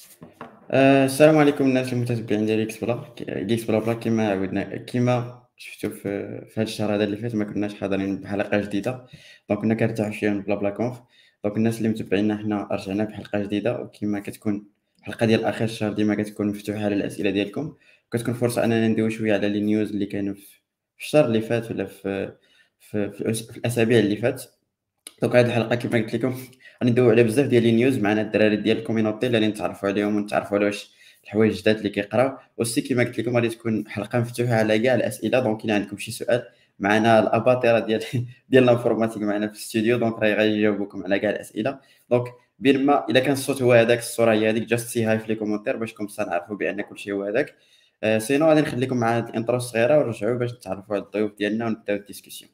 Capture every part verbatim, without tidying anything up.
آه، السلام عليكم الناس المتتبعين ديال اكس بلا اكس بلا بلا كما عودنا كما شفتوا في في هذا الشهر هذا اللي فات ما كناش حاضرين بحلقه جديده. دونك كنا كنرتاحوا شويه من بلا بلا كونف. دونك الناس اللي متبعينا حنا رجعنا بحلقه جديده، وكما كتكون الحلقه ديال اخر الشهر ديما كتكون مفتوحه على الاسئله ديالكم، كتكون فرصه اننا ندويو شويه على لي نيوز اللي كانوا في في الشهر اللي فات ولا في في, في, الأس- في الاسابيع اللي فات. دونك هذه الحلقه كما قلت لكم غندويو على بزاف ديال لي نيوز معنا الدراري ديال الكوميونيتي اللي نتعرفوا عليهم ونتعرفوا على واش الحوايج الجداد اللي كيقراو. وسي كما قلت لكم غادي تكون حلقه مفتوحه على كاع الاسئله. دونك الا عندكم شي سؤال معنا الاباطره ديال ديال الانفورماتيك معنا في الاستوديو، دونك راه غيجاوبوكم على كاع الاسئله. دونك بين ما الا كان الصوت هو هذاك الصوره هي هذيك جاست سي هاي في لي كومونتير باش كم نعرفوا بان كلشي هو هذاك. آه سينو غادي نخليكم مع هاد الانترو الصغيره ونرجعوا باش نتعرفوا على الضيوف ديالنا ونبداو الديسكسيون.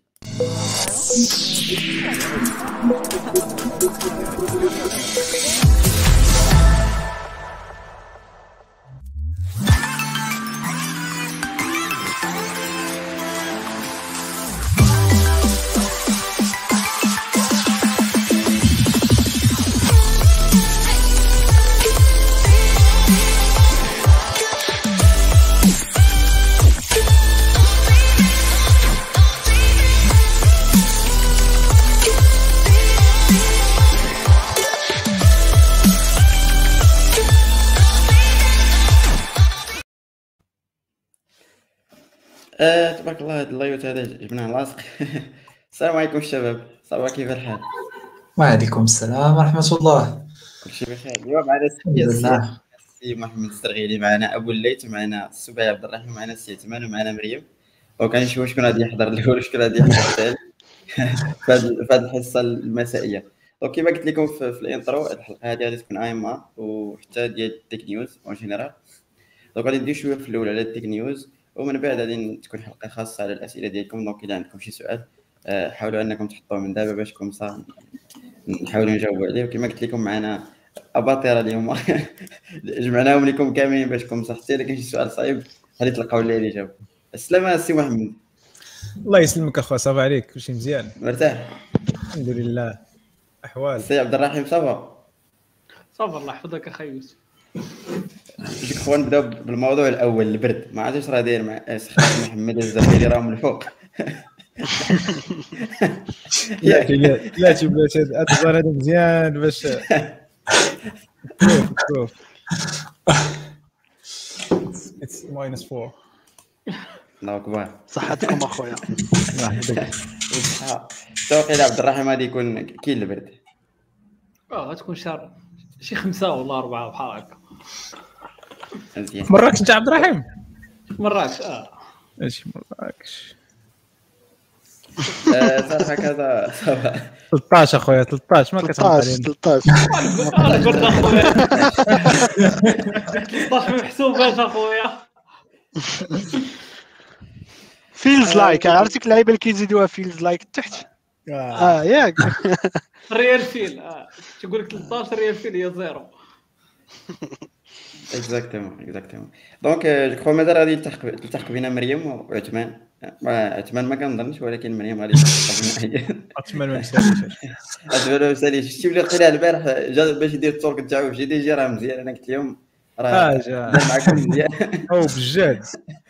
آه تبارك الله هاد اللايوت هذا جبناه لاصق. السلام عليكم الشباب، صافا كيف الحال؟ وعليكم السلام ورحمة الله. كلشي بخير. اليوم معنا الحمد السي لله. السي محمد الزرغيلي، معنا ابو الليث، معنا السبايع عبد الرحيم، معنا السي عثمان، ومعنا مريم. وكان نشوف شكون غادي يحضر الاول وشكون غادي يحضر الثاني في هاد في هاد الحصه المسائيه. دونك كما قلت لكم في, في الانترو، الحلقه هذه غادي تكون ايما وحتى ديال التيك نيوز اون جينيرال. دونك غادي ندير شويه في الاول على التيك نيوز، ومن بعد غادي تكون حلقه خاصه على الاسئله ديالكم. دونك الا عندكم شي سؤال آه، حاولوا انكم تحطوه من دابا باش كومسا نحاولوا نجاوبوا عليه. وكما قلت لكم معنا اباطره اليوم. جمعناهم لكم كاملين باش كومسا حتى الا كان شي سؤال صعيب غادي تلقاو ليه الاجابه. السلامه السي محمد. الله يسلمك اخويا، صافا عليك؟ كلشي مزيان؟ مرتاح الحمد لله. احوال السي عبد الرحيم؟ صافا صافا الله يحفظك اخي يوسف. جيك خويا نبداو بالموضوع الاول، البرد. ما عرفتش راه داير مع سخاف محمد الزرغيلي راهم الفوق. لا لا تبات هذا هذا مزيان باش شوف شوف اتس ماينس أربعة. الله كبار. صحتكم اخويا. الله يحفظك. توقيل عبد الرحيم غادي يكون كاين البرد. اه غتكون شهر شي خمسة ولا أربعة بحال هكا. مزيان. مراكش انت عبد الرحيم؟ مراكش اه ماشي مراكش. صافا هكذا صافا. ثلاثطاش اخويا، ثلاثطاش ما كتهضر علينا. ثلاثطاش انا قلت اخويا ثلاثطاش ما محسوباش اخويا. فيلز لايك عرفتك اللعيبه اللي كيزيدوها فيلز لايك تحت. اه ياك ريال فيل اه تقول لك ثلاثطاش ريال فيل هي زيرو. اكزاكتومون اكزاكتومون. دونك جو كخوا مازال غادي تلتحق تلتحق بينا مريم وعثمان. ما عثمان ما كنظنش، ولكن مريم غادي تلتحق بينا. عثمان ما مساليش. عثمان ما مساليش. شتي بلي قيل البارح جا باش يدير التورك تاعو في جي دي جي راه مزيان. انا قلت لهم راه جا معكم مزيان. او بالجد.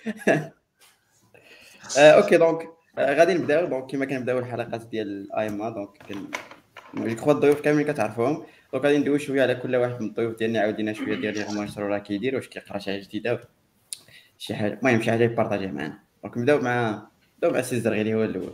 اوكي دونك غادي نبداو. دونك كما كنبداو الحلقات ديال ايما، دونك جو كخوا الضيوف كاملين كتعرفوهم. دونك غادي ندويو شويه على كل واحد من الضيوف ديالنا، عاودينا شويه ديال لي غومونسترو راه كيدير، واش كيقرا شي حاجه جديده، شي حاجه المهم شي حاجه يبارطاجيها معنا. دونك نبداو مع نبداو مع السي الزرغيلي هو الاول.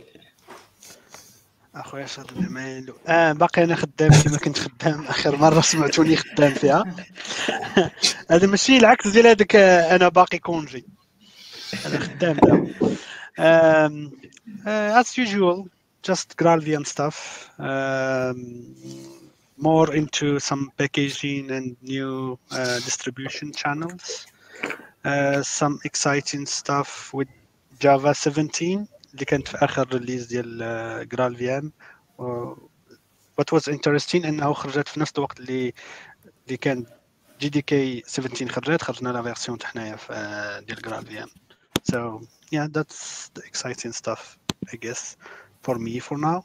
اخويا شاد المالو. اه باقي انا خدام كما كنت خدام اخر مره سمعتوني خدام فيها. هذا ماشي العكس ديال هذاك انا باقي كونجي، انا خدام دابا. um, uh, as usual just Graalvm stuff, um, more into some packaging and new uh, distribution channels, uh, some exciting stuff with Java seventeen اللي كانت في اخر ريليز ديال Graalvm. uh, what was interesting انه خرجت في نفس الوقت اللي اللي كان جي دي كي سبعطاش خرجت خرجنا لا فيرسيون تاع حنايا في ديال Graalvm. So yeah, that's the exciting stuff, I guess, for me for now.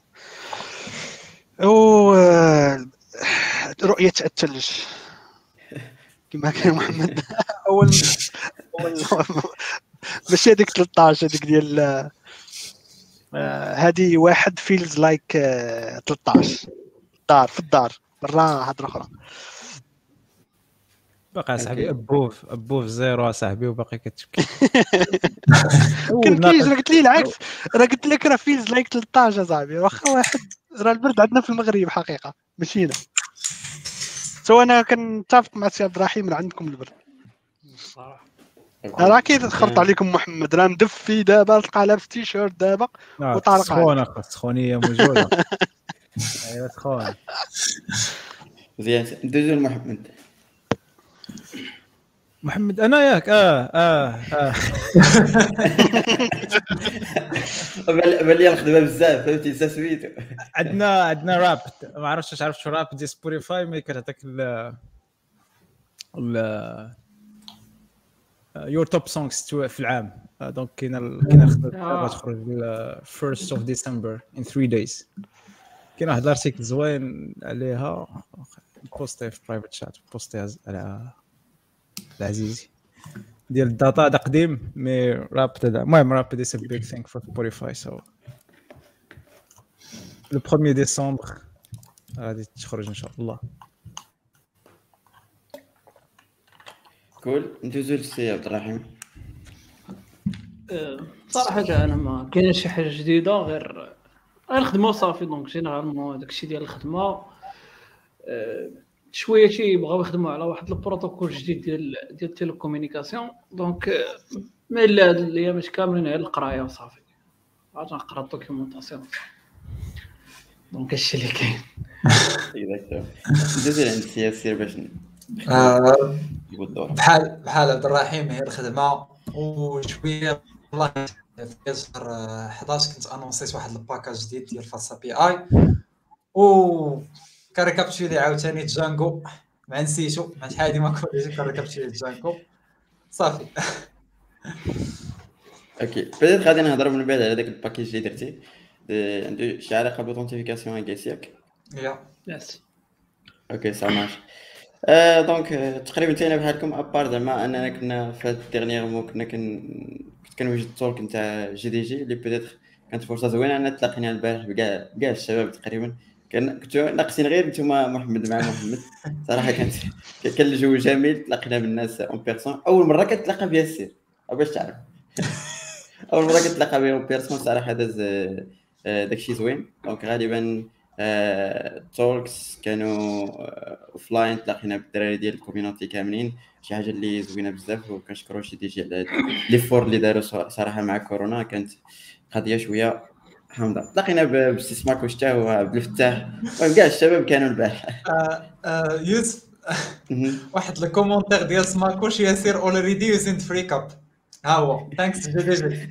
Oh, uh, رؤية الثلج. كما كان محمد اول اول ماشي هذيك ثلاثة عشر هذيك ديال هذه واحد فيلز لايك ثلاثة عشر دار في الدار برا هضره اخرى باقي صاحبي ابوف ابوف زيرو صاحبي وباقي كتبكي كان كيجي راه قلت لي العكس راه قلت لك راه فيلز لايك ثلاثة عشر صاحبي واخا واحد راه البرد عندنا في المغرب حقيقه ماشي هنا سو انا كنتفق مع سي عبد الرحيم راه عندكم البرد صراحه راه اكيد خرط عليكم محمد راه مدفي دابا تلقى لابس تيشيرت دابا وطارق سخونه السخونيه موجوده ايوا سخونه مزيان ندوزو لمحمد محمد انا ياك اه اه اه بان لي الخدمه بزاف فهمتي سا سويتو عندنا عندنا راب ما عرفتش واش عرفت شو راب دي سبوتيفاي ملي كتعطيك ال ال يور توب سونغز في العام دونك كاينه كاينه الخدمه غتخرج first of December in three days كاين واحد الارتيكل زوين عليها بوستي في برايفت شات بوستي على العزيزي ديال الداتا هذا قديم مي راب تاع المهم راب دي سي بيج ثينك فور سبوتيفاي سو لو premier ديسمبر غادي تخرج ان شاء الله. كول ندوزو للسي عبد الرحيم. صراحه انا ما كاينش شي حاجه جديده غير غير الخدمه صافي دونك جينيرالمون داكشي ديال الخدمه شويه شي بغاو يخدموا على واحد البروتوكول جديد ديال ديال التيليكومونيكاسيون دونك ما الا هاد الايام كاملين على القرايه وصافي عاد نقرا الدوكيومونطاسيون دونك هادشي اللي كاين. اكزاكتو ندوزو عند السياسي باش بحال بحال عبد الرحيم هي الخدمه وشويه والله في شهر أحد عشر كنت انونسيت واحد الباكاج جديد ديال فاصا بي اي و كاريكابتشولي عاوتاني جانجو مع نسيتو مع شحال هادي ما كنتش كاريكابتشولي جانجو صافي. اوكي بديت غادي نهضر من بعد على داك الباكيج اللي درتي عنده شي علاقه بالاوثنتيفيكاسيون اكيس ياك يا يس اوكي سا مارش. آه دونك تقريبا تينا بحالكم ابار زعما اننا كنا في هاد الديرنيير مو كنا كن كنت كنوجد التولك نتاع جي دي جي اللي بيتيتر كانت فرصه زوينه ان تلاقينا البارح بكاع كاع الشباب تقريبا كان كنتو ناقصين غير نتوما محمد مع محمد صراحه كانت كان الجو جميل تلاقينا بالناس اون بيرسون اول مره كتلاقى بها السير باش تعرف اول مره كتلاقى بها اون بيرسون صراحه داز داكشي زوين دونك غالبا تولكس كانوا اوفلاين تلاقينا بالدراري ديال الكوميونيتي كاملين شي حاجه اللي زوينه بزاف وكنشكروا شي دي جي على لي فور اللي داروا صراحه مع كورونا كانت قضيه شويه حامضه. تلاقينا بسي سماك وشتا وعبد الفتاح وكاع الشباب كانوا البارح. يوسف واحد الكومونتير ديال سماكوش ياسير اولريدي يوزينت فري كاب ها هو ثانكس جي دي جي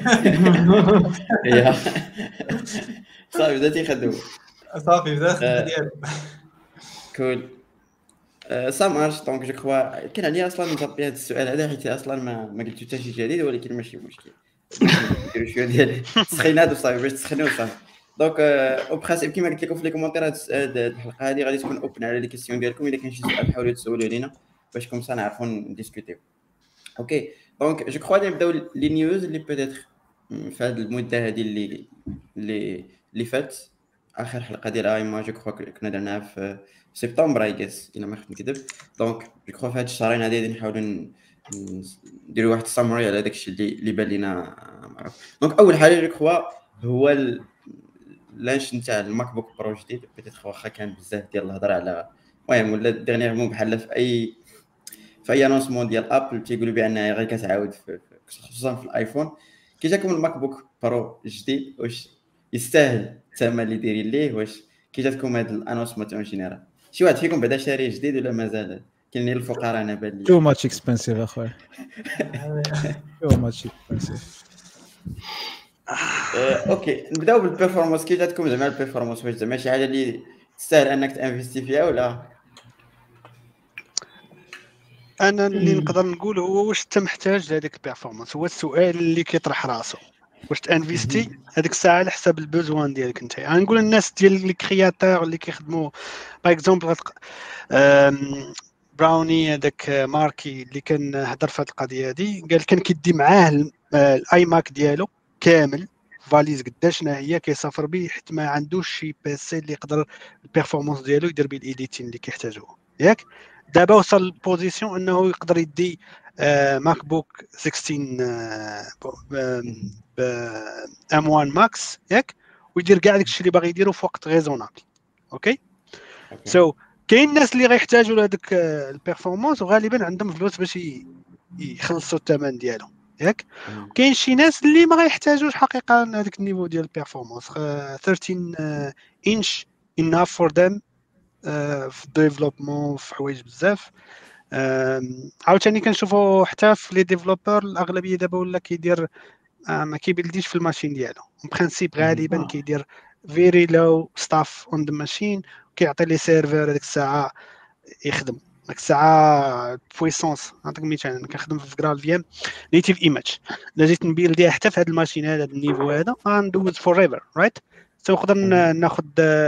يا صافي بدات يخدم صافي بدات ديالو كول سا مارش دونك جو كخوا كان عليا اصلا نجاوب هذا السؤال هذا حيت اصلا ما ما قلتو حتى شي جديد ولكن ماشي مشكل نديرو شويه ديال السخينات وصافي باش تسخنوا صافي. دونك او برينسيپ كيما قلت لكم في لي كومونتيرات هاد الحلقه هذه غادي تكون اوبن على لي كيسيون ديالكم الا كاين شي سؤال حاولوا تسولوا لينا باش كوم سا نعرفوا نديسكوتيو. اوكي دونك جو كخوا نبداو لي نيوز اللي بيتيتر في هذه المده هذه اللي اللي اللي فات اخر حلقه ديال اي ما جو كخوا كنا درناها في سبتمبر اي جيس الا ما خفت نكذب. دونك جو كخوا في هاد الشهرين هادي غادي نحاولوا نديروا واحد السامري على داكشي اللي اللي بان لينا معروف. دونك اول حاجه جو كخوا هو لانش نتاع الماك بوك برو جديد بيتيتر واخا كان بزاف ديال الهضره على المهم ولا ديرنيير مو بحال في اي في اي انونسمون ديال ابل تيقولوا بانها غير كتعاود خصوصا في الايفون كي جاكم الماك بوك برو جديد واش يستاهل الثمن اللي دايرين ليه واش كي جاتكم هاد الانونسمون تاع جينيرال شي واحد فيكم بعدا شاري جديد ولا مازال كاين الفقراء انا بان لي تو ماتش اكسبنسيف اخويا تو ماتش اكسبنسيف. اوكي نبداو بالبيرفورمانس كي جاتكم زعما البيرفورمانس واش زعما شي حاجه اللي تستاهل انك تانفيستي فيها ولا انا اللي نقدر نقول هو واش انت محتاج لهذيك البيرفورمانس هو السؤال اللي كيطرح راسو واش تانفيستي هذيك الساعه على حساب البوزوان ديالك انت. انا نقول الناس ديال لي كرياتور اللي كيخدموا باغ اكزومبل براوني هذاك ماركي اللي كان هضر في هذه القضيه هذه، قال كان كيدي معاه الاي ماك ديالو كامل فاليز قداش هي كيسافر به، حيت ما عندوش شي بيسي اللي يقدر البيرفورمانس ديالو يدير به الايديتين اللي كيحتاجوه ياك. دابا وصل البوزيسيون انه يقدر يدي آه ماك بوك ستة عشر ب ام واحد ماكس ياك، ويدير كاع داكشي اللي باغي يديرو في وقت ريزونابل. اوكي سو so, كاين الناس اللي غيحتاجوا لهذاك البيرفورمانس وغالبا عندهم فلوس باش يخلصوا الثمن ديالو ياك. كاين شي ناس اللي ما غيحتاجوش حقيقه هذاك النيفو ديال البيرفورمانس. ثلاثة عشر انش enough for them في الديفلوبمون في حوايج بزاف. عاوتاني كنشوفوا حتى في لي ديفلوبر الاغلبيه دابا ولا كيدير ما كيبلديش في الماشين ديالو برينسيپ، غالبا كيدير فيري لو ستاف اون ذا ماشين، كيعطي لي سيرفر هذيك الساعه يخدم ديك الساعه بويسونس. نعطيك مثال، انا كنخدم في جرال في ام نيتيف ايماج، الا جيت نبيلديها حتى في هذا الماشين هذا النيفو هذا غندوز فور ايفر رايت. سو نقدر ناخذ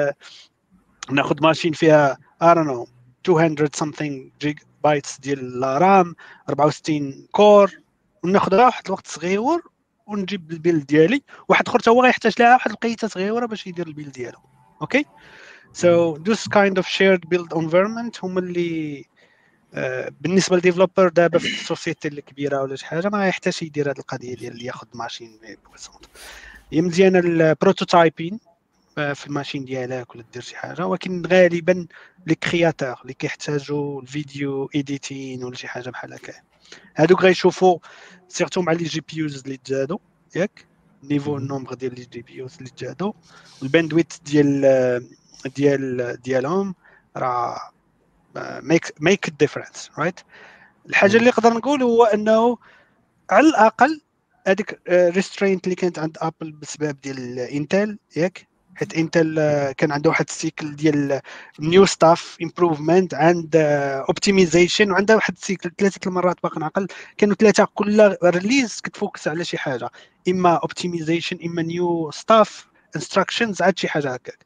ناخذ ماشين فيها I don't know مئتين something جيج بايتس ديال رام أربعة وستين كور، وناخذها واحد الوقت صغير ونجيب البيلد ديالي. واحد اخر حتى هو غيحتاج لها واحد القيته صغيره باش يدير البيلد ديالو. اوكي سو دوس كايند اوف شيرد بيلد انفيرمنت هما اللي آه بالنسبه للديفلوبر دابا في السوسيتي اللي كبيره ولا شي حاجه ما يحتاجش يدير هذه القضيه ديال اللي ياخذ ماشين بويسونت. هي مزيانه البروتوتايبين في الماشين ديالك ولا دير شي حاجه، ولكن غالبا لي كرياتور اللي كيحتاجوا الفيديو ايديتين ولا شي حاجه بحال هكا هادوك غيشوفوا سيرتو مع لي جي بي يوز اللي تزادوا ياك، نيفو النومبر ديال لي جي بي يوز اللي تزادوا والباندويت ديال ديال ديالهم راه ميك ميك ديفرنس رايت. الحاجه اللي نقدر نقول هو انه على الاقل هذيك ريسترينت اللي كانت عند ابل بسبب ديال انتل ياك، حيت انتل كان عنده واحد السيكل ديال نيو ستاف امبروفمنت عند اوبتيمايزيشن، وعنده واحد السيكل ثلاثه المرات باقي نعقل كانوا ثلاثه كل ريليز كتفوكس على شي حاجه، اما اوبتيمايزيشن اما نيو ستاف انستراكشنز عاد شي حاجه هكاك.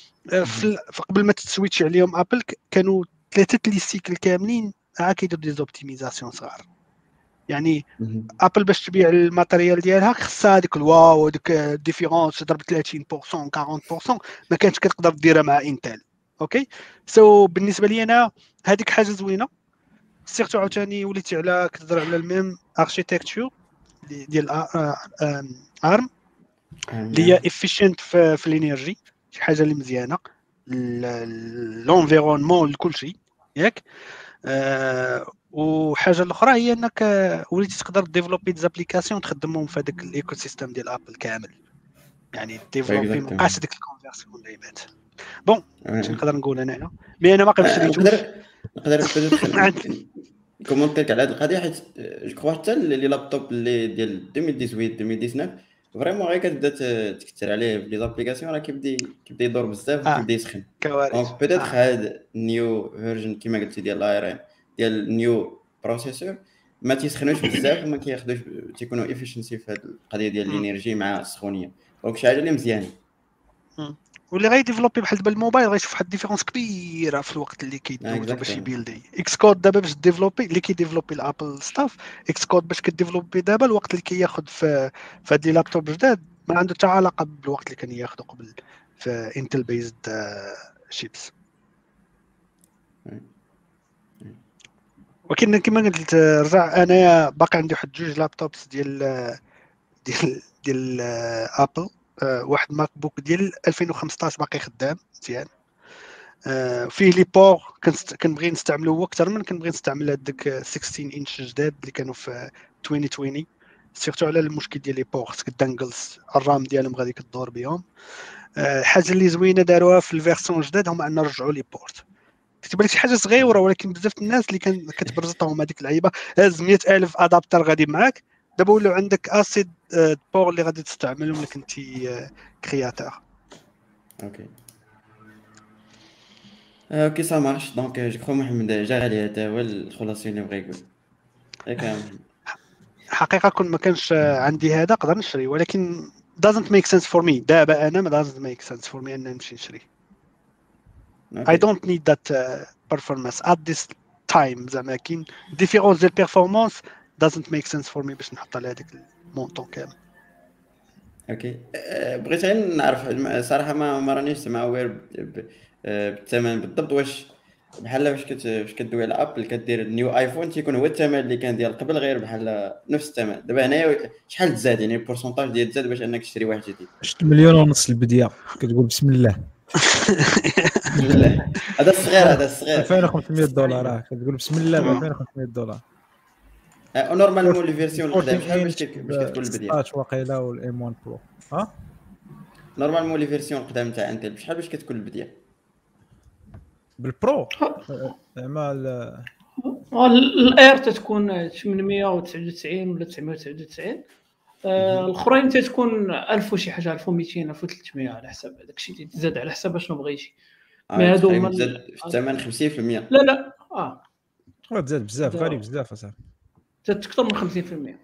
قبل ما تسويتش عليهم ابل كانوا ثلاثه لي سيكل كاملين عا كيديروا دي زوبتيمايزاسيون صغار. يعني ابل باش تبيع الماتيريال ديالها خصها هذيك الواو هذيك الديفيرونس تضرب ثلاثين بالمية أربعين بالمية ما كانتش كتقدر ديرها مع انتل. اوكي سو so, بالنسبه لي انا هذيك حاجه زوينه، سيرتو عاوتاني وليتي على كتهضر على الميم اركيتكتور ديال ارم اللي هي افيشنت في, في الانرجي، شي حاجه اللي مزيانه لونفيرونمون لكل شيء ياك. أه وحاجه الاخرى هي انك وليتي تقدر ديفلوبي ديزابليكاسيون تخدمهم في هذاك الايكو سيستم ديال ابل كامل، يعني ديفلوبي مابقاش ديك الكونفيرسيون اللي بات بون اش نقدر نقول انايا مي انا ما كنشريتوش. نقدر نقدر كومونتيك على هذه القضيه، حيت جو كخوا حتى لي لابتوب اللي ديال ألفين وثمانية عشر ألفين وتسعطاش فريمون غير كتبدا تكثر عليه في لي زابليكاسيون راه كيبدا كيبدا يدور بزاف وكيبدا يسخن. دونك بيتيت هاد نيو فيرجن كيما قلتي ديال الايرين ديال نيو بروسيسور ما تيسخنوش بزاف وما كياخذوش تيكونوا افيشنسي في هاد القضيه ديال الانرجي مع السخونيه. دونك شي حاجه اللي مزيانه. واللي غيديفلوبي بحال دابا الموبايل غيشوف واحد الديفيرونس كبيره في الوقت اللي كيدوزو باش يبيلدي. اكس كود دابا باش ديفلوبي اللي كيديفلوبي الابل ستاف اكس كود باش كديفلوبي دابا الوقت اللي كياخذ في في هاد لي لابتوب جداد ما عنده حتى علاقه بالوقت اللي كان ياخذه قبل في انتل بيزد شيبس. ولكن كما قلت رجع انايا باقي عندي واحد جوج لابتوبس ديال ديال ديال ابل. أه واحد ماك بوك ديال ألفين وخمسطاش باقي خدام مزيان. أه فيه لي بور كنبغي نستعملو هو اكثر من كنبغي نستعمل هذاك ستة عشر انش جداد اللي كانوا في ألفين وعشرين سيرتو على المشكل ديال لي بور خصك الدانجلز الرام ديالهم غادي كدور بهم. أه حاجه اللي زوينه داروها في الفيرسون جداد هما ان رجعوا لي بورت. كتبان لك شي حاجه صغيره ولكن بزاف الناس اللي كان كتبرزطهم هذيك اللعيبه هاز مية ألف ادابتر غادي معاك دابا ولاو عندك اسيد بور اللي غادي تستعملهم لك انت كرياتور. اوكي اوكي سا مارش. دونك جو كرو محمد جا عليه هذا هو الخلاصه اللي بغا يقول ياك. حقيقه كون ما كانش عندي هذا نقدر نشري، ولكن doesn't make sense for me دابا انا ما doesn't make sense for me ان نمشي نشري. I don't need that uh, performance at this تايم زعما كاين ديفيرونس ديال بيرفورمانس doesn't make sense for me باش نحط على هذاك المونطون كامل. اوكي أه، بغيت غير نعرف الم- صراحه ما ما رانيش سمع وير ب- ب- أه، بالثمن بالضبط. واش بحال فاش كت فاش كدوي على ابل كدير نيو ايفون تيكون هو الثمن اللي كان ديال قبل غير بحال نفس الثمن؟ دابا هنايا شحال تزاد يعني البورسونتاج ديال تزاد باش انك تشري واحد جديد؟ شت مليون ونص البديه كتقول بسم الله بالله هذا الصغير هذا الصغير ألفين وخمسمية دولار آه، كتقول بسم الله ب ألفين وخمسمية دولار. أه، نورمالمون لي فيرسيون القدام شحال باش أربعطاش كت- باش كتكون البديه؟ ستاشر واقيلا والام واحد برو ها نورمالمون لي فيرسيون القدام تاع انتل بشحال باش كتكون البديه؟ بالبرو زعما ال- الاير تتكون ثمانمية وتسعة وتسعين ولا تسعمية وتسعة وتسعين. آه، الاخرين تتكون ألف وشي حاجه ألف ومئتين ألف وثلاثمية على حسب داكشي اللي تزاد على حسب شنو بغيتي. مي اه هادو تقريبا هما تزاد ال- في الثمن خمسين بالمية. لا لا اه تزاد بزاف غالي بزاف اصاحبي. زاد اكثر من خمسين بالمية.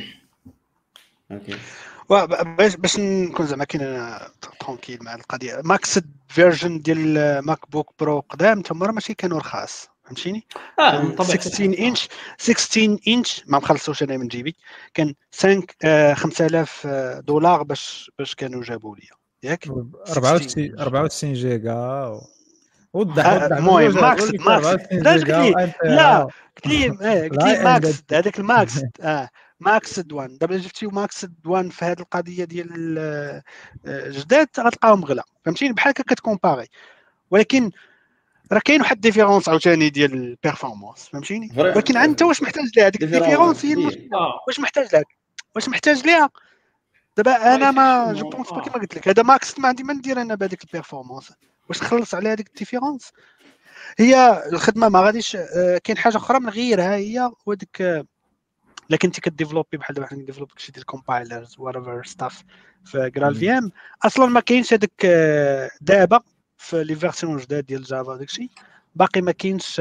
اوكي باش باش نكون زعما كاين انا ترونكيل مع القضيه ماكس فيرجن ديال ماك بوك برو قدام تما راه ماشي كانوا رخاص فهمتيني. اه من طبيعه ستة عشر انش ستة عشر انش ما مخلصوش انا من جيبي كان خمسة آه، خمسة آلاف دولار باش باش كانوا جابوا لي ياك أربعة وتسعين أربعة وتسعين جيجا و- وضح آه، وضح المهم بالوجه، ماكس قول لي ماكس أربعة وتسعين لا جيجا قلت لي وأنت لا راه- قلت لي آه، قلت لا لي ماكس عندك. هذاك الماكس اه ماكس دوان دابا جبتي ماكس دوان في هذه القضيه ديال آه، آه، جداد غتلقاهم غلا فهمتيني بحال هكا كتكومباري ولكن راه كاين واحد ديفيرونس عاوتاني ديال البيرفورمانس فهمتيني فريمون. ولكن انت واش محتاج لها هذيك ديفيرونس الديفيرونس هي كبير. المشكله اه واش محتاج لها واش محتاج ليها دابا انا ما جو effectivement، بونس با آه. كيما قلت لك هذا ماكس ما عندي ما ندير انا بهذيك البيرفورمانس واش نخلص على هذيك الديفيرونس هي الخدمه ما غاديش آه، كاين حاجه اخرى من غيرها هي وديك آه، الا كنتي كديفلوبي بحال دابا حنا كنديفلوبي شي ديال الكومبايلرز وات ستاف في جرال في ام اصلا ما كاينش هذاك آه، دابا في لي فيرسيون جداد ديال جافا داكشي باقي ما كاينش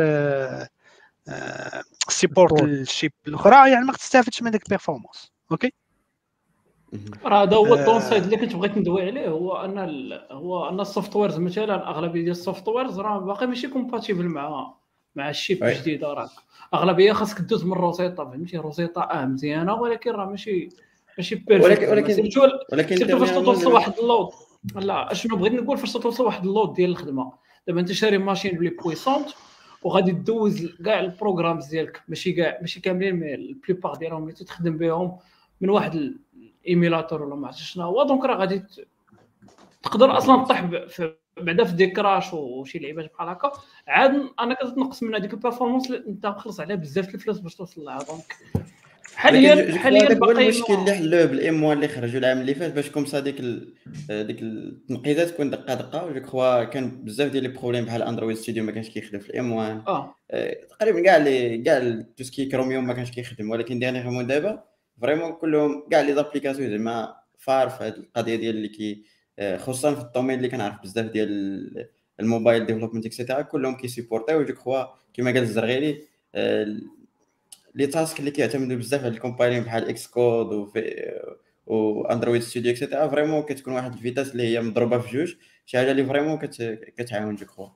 سيبورت الشيب الاخرى يعني ما تستافدش من ديك البيرفورمانس اوكي راه هذا هو آه. الدون سايد اللي كنت بغيت ندوي عليه هو ان ال... هو ان السوفت ويرز مثلا اغلبيه ديال السوفت ويرز راه باقي ماشي كومباتيبل مع مع الشيب وي. الجديد راه اغلبيه خاصك دوز من روزيتا فهمتي روزيتا اه مزيانه ولكن راه ماشي ماشي بيرفكت ولكن ولكن سيرتو ولكن سيرتو فاش dernièrement توصل دابا- واحد اللود لا اشنو بغيت نقول فاش توصل واحد اللود ديال الخدمه دابا انت شاري ماشين بلي بويسونت وغادي تدوز كاع البروغرامز ديالك ماشي كاع ماشي كاملين مي البليبار ديالهم اللي تخدم بهم من واحد الايميلاتور ولا ما عرفتش شنو هو دونك راه غادي ت- تقدر اصلا تطيح ب- في بعدا في دي كراش وشي لعيبات بحال هكا عاد انا كتنقص من هذيك البيرفورمانس اللي انت مخلص عليها بزاف د الفلوس باش توصل لها دونك حاليا حاليا هذاك هو باقي المشكل اللي حلوه بالام واحد اللي خرجوا العام اللي فات باش كومسا ديك ال... ديك التنقيزات تكون دقه دقه وجو كخوا كان بزاف ديال لي بروبليم بحال اندرويد ستوديو ما كانش كيخدم في الام واحد اه آه، تقريبا كاع لي كاع توسكي كروميوم ما كانش كيخدم ولكن ديرنيغمون دابا فريمون كلهم كاع لي زابليكاسيون زعما فار في هذه القضيه ديال اللي كي آه، خصوصا في الدومين اللي كنعرف بزاف ديال الموبايل ديفلوبمنت اكسيتيرا كلهم كيسيبورتيو جو كخوا كيما قال الزرغيري آه، لي تاسك اللي كيعتمدوا بزاف على الكومبايلين بحال اكس كود و و اندرويد ستوديو اكسيتيرا فريمون كتكون واحد الفيتاس اللي هي مضروبه في جوج شي حاجه اللي فريمون كت... كتعاون جو كخوا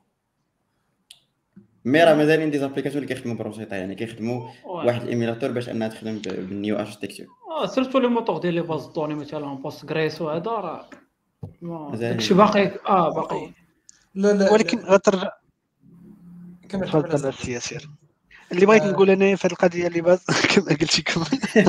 مي راه مازالين دي زابليكاسيون اللي كيخدموا بروسيطه يعني كيخدموا واحد الايميلاتور باش انها تخدم ب- بالنيو اركتيكتور اه سيرتو لي موتور ديال لي باز دوني مثلا بوست جريس وهذا راه ما- مزيان. داكشي باقي اه باقي لا لا ولكن غترجع كمل تفضل كمل السي ياسر اللي بغيت آه. نقول انا في هذه القضيه اللي باز كما قلتي كمل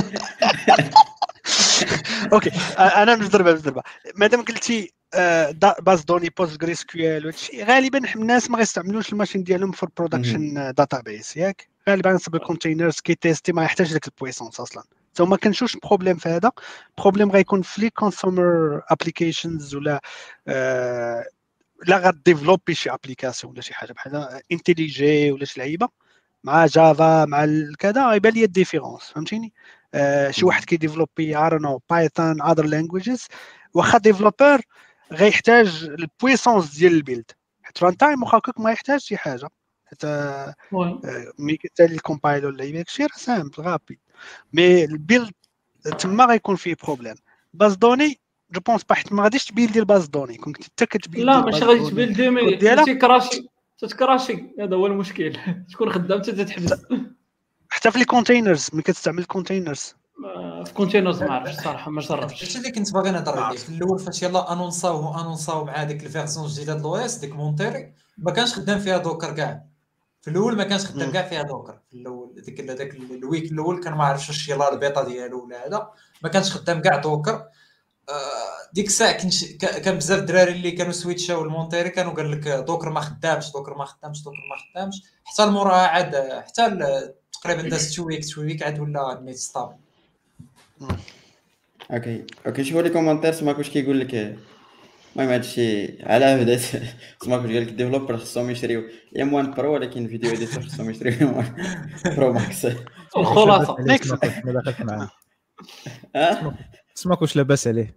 اوكي آه، انا نضرب نضرب مادام قلتي آه، دا- باز دوني بوست جريس كيو وهادشي غالبا الناس ما غيستعملوش الماشين ديالهم في البرودكشن داتابيس ياك غالبا صب الكونتينرز كي تيستي ما يحتاج داك البويسونس اصلا سو ما كنشوفش بروبليم في هذا بروبليم غيكون في لي كونسومر ابليكيشنز ولا آه، لا غاديفلوبي شي ابليكاسيون ولا شي حاجه بحال انتيليجي ولا شي لعيبه مع جافا مع كذا غيبان لي الديفيرونس فهمتيني آه شي واحد كيديفلوبي اي دون نو بايثون اذر لانجويجز واخا ديفلوبر غيحتاج البويسونس ديال البيلد حيت ران تايم واخا هكاك ما يحتاج شي حاجه حيت آه وي ملي كتسالي الكومبايل ولا يبيك شي راه سامبل غابي مي البيلد تما غيكون فيه بروبليم باز دوني جو بونس با حيت ما غاديش تبيلدي الباز دوني كون كنت حتى كتبيلدي لا ماشي غادي تبيلدي مي ديالها تيكراشي تتكراشي، هذا هو المشكل. تكون خدام حتى تتحبس. حتى في لي كونتينرز ملي كتستعمل كونتينرز في كونتينرز ما عرفتش الصراحه، ما هادشي جربتش. اللي كنت باغي نهضر ما عليه عرفت. في الاول، فاش يلاه انونساو انونساو مع ديك الفيرسيون الجديده د الاو اس ديك مونتيري، ما كانش خدام فيها دوكر كاع. في الاول ما كانش خدام مم. كاع فيها دوكر في الاول، ديك داك الويك الاول كان ما عرفتش واش يلاه البيتا ديالو ولا هذا، ما كانش خدام كاع دوكر. آه، ديك الساعه كنش كا- كان بزاف الدراري اللي كانوا سويتشاو المونتيري كانوا قال لك دوكر ما خدامش دوكر ما خدامش دوكر ما خدامش، حتى الموراها عاد حتى ال- تقريبا داز تو ويك تو ويك عاد ولا نيت ستابل. اوكي اوكي شوفوا لي كومونتير سماك واش كيقول لك. المهم هادشي على بدات سماك واش قال لك الديفلوبر خصهم يشريو ام واحد برو، ولكن فيديو اديتور خصهم يشريو ام واحد برو ماكس. الخلاصه نيكس. سماك ما دخلت معاه. ها سماك واش لاباس عليه.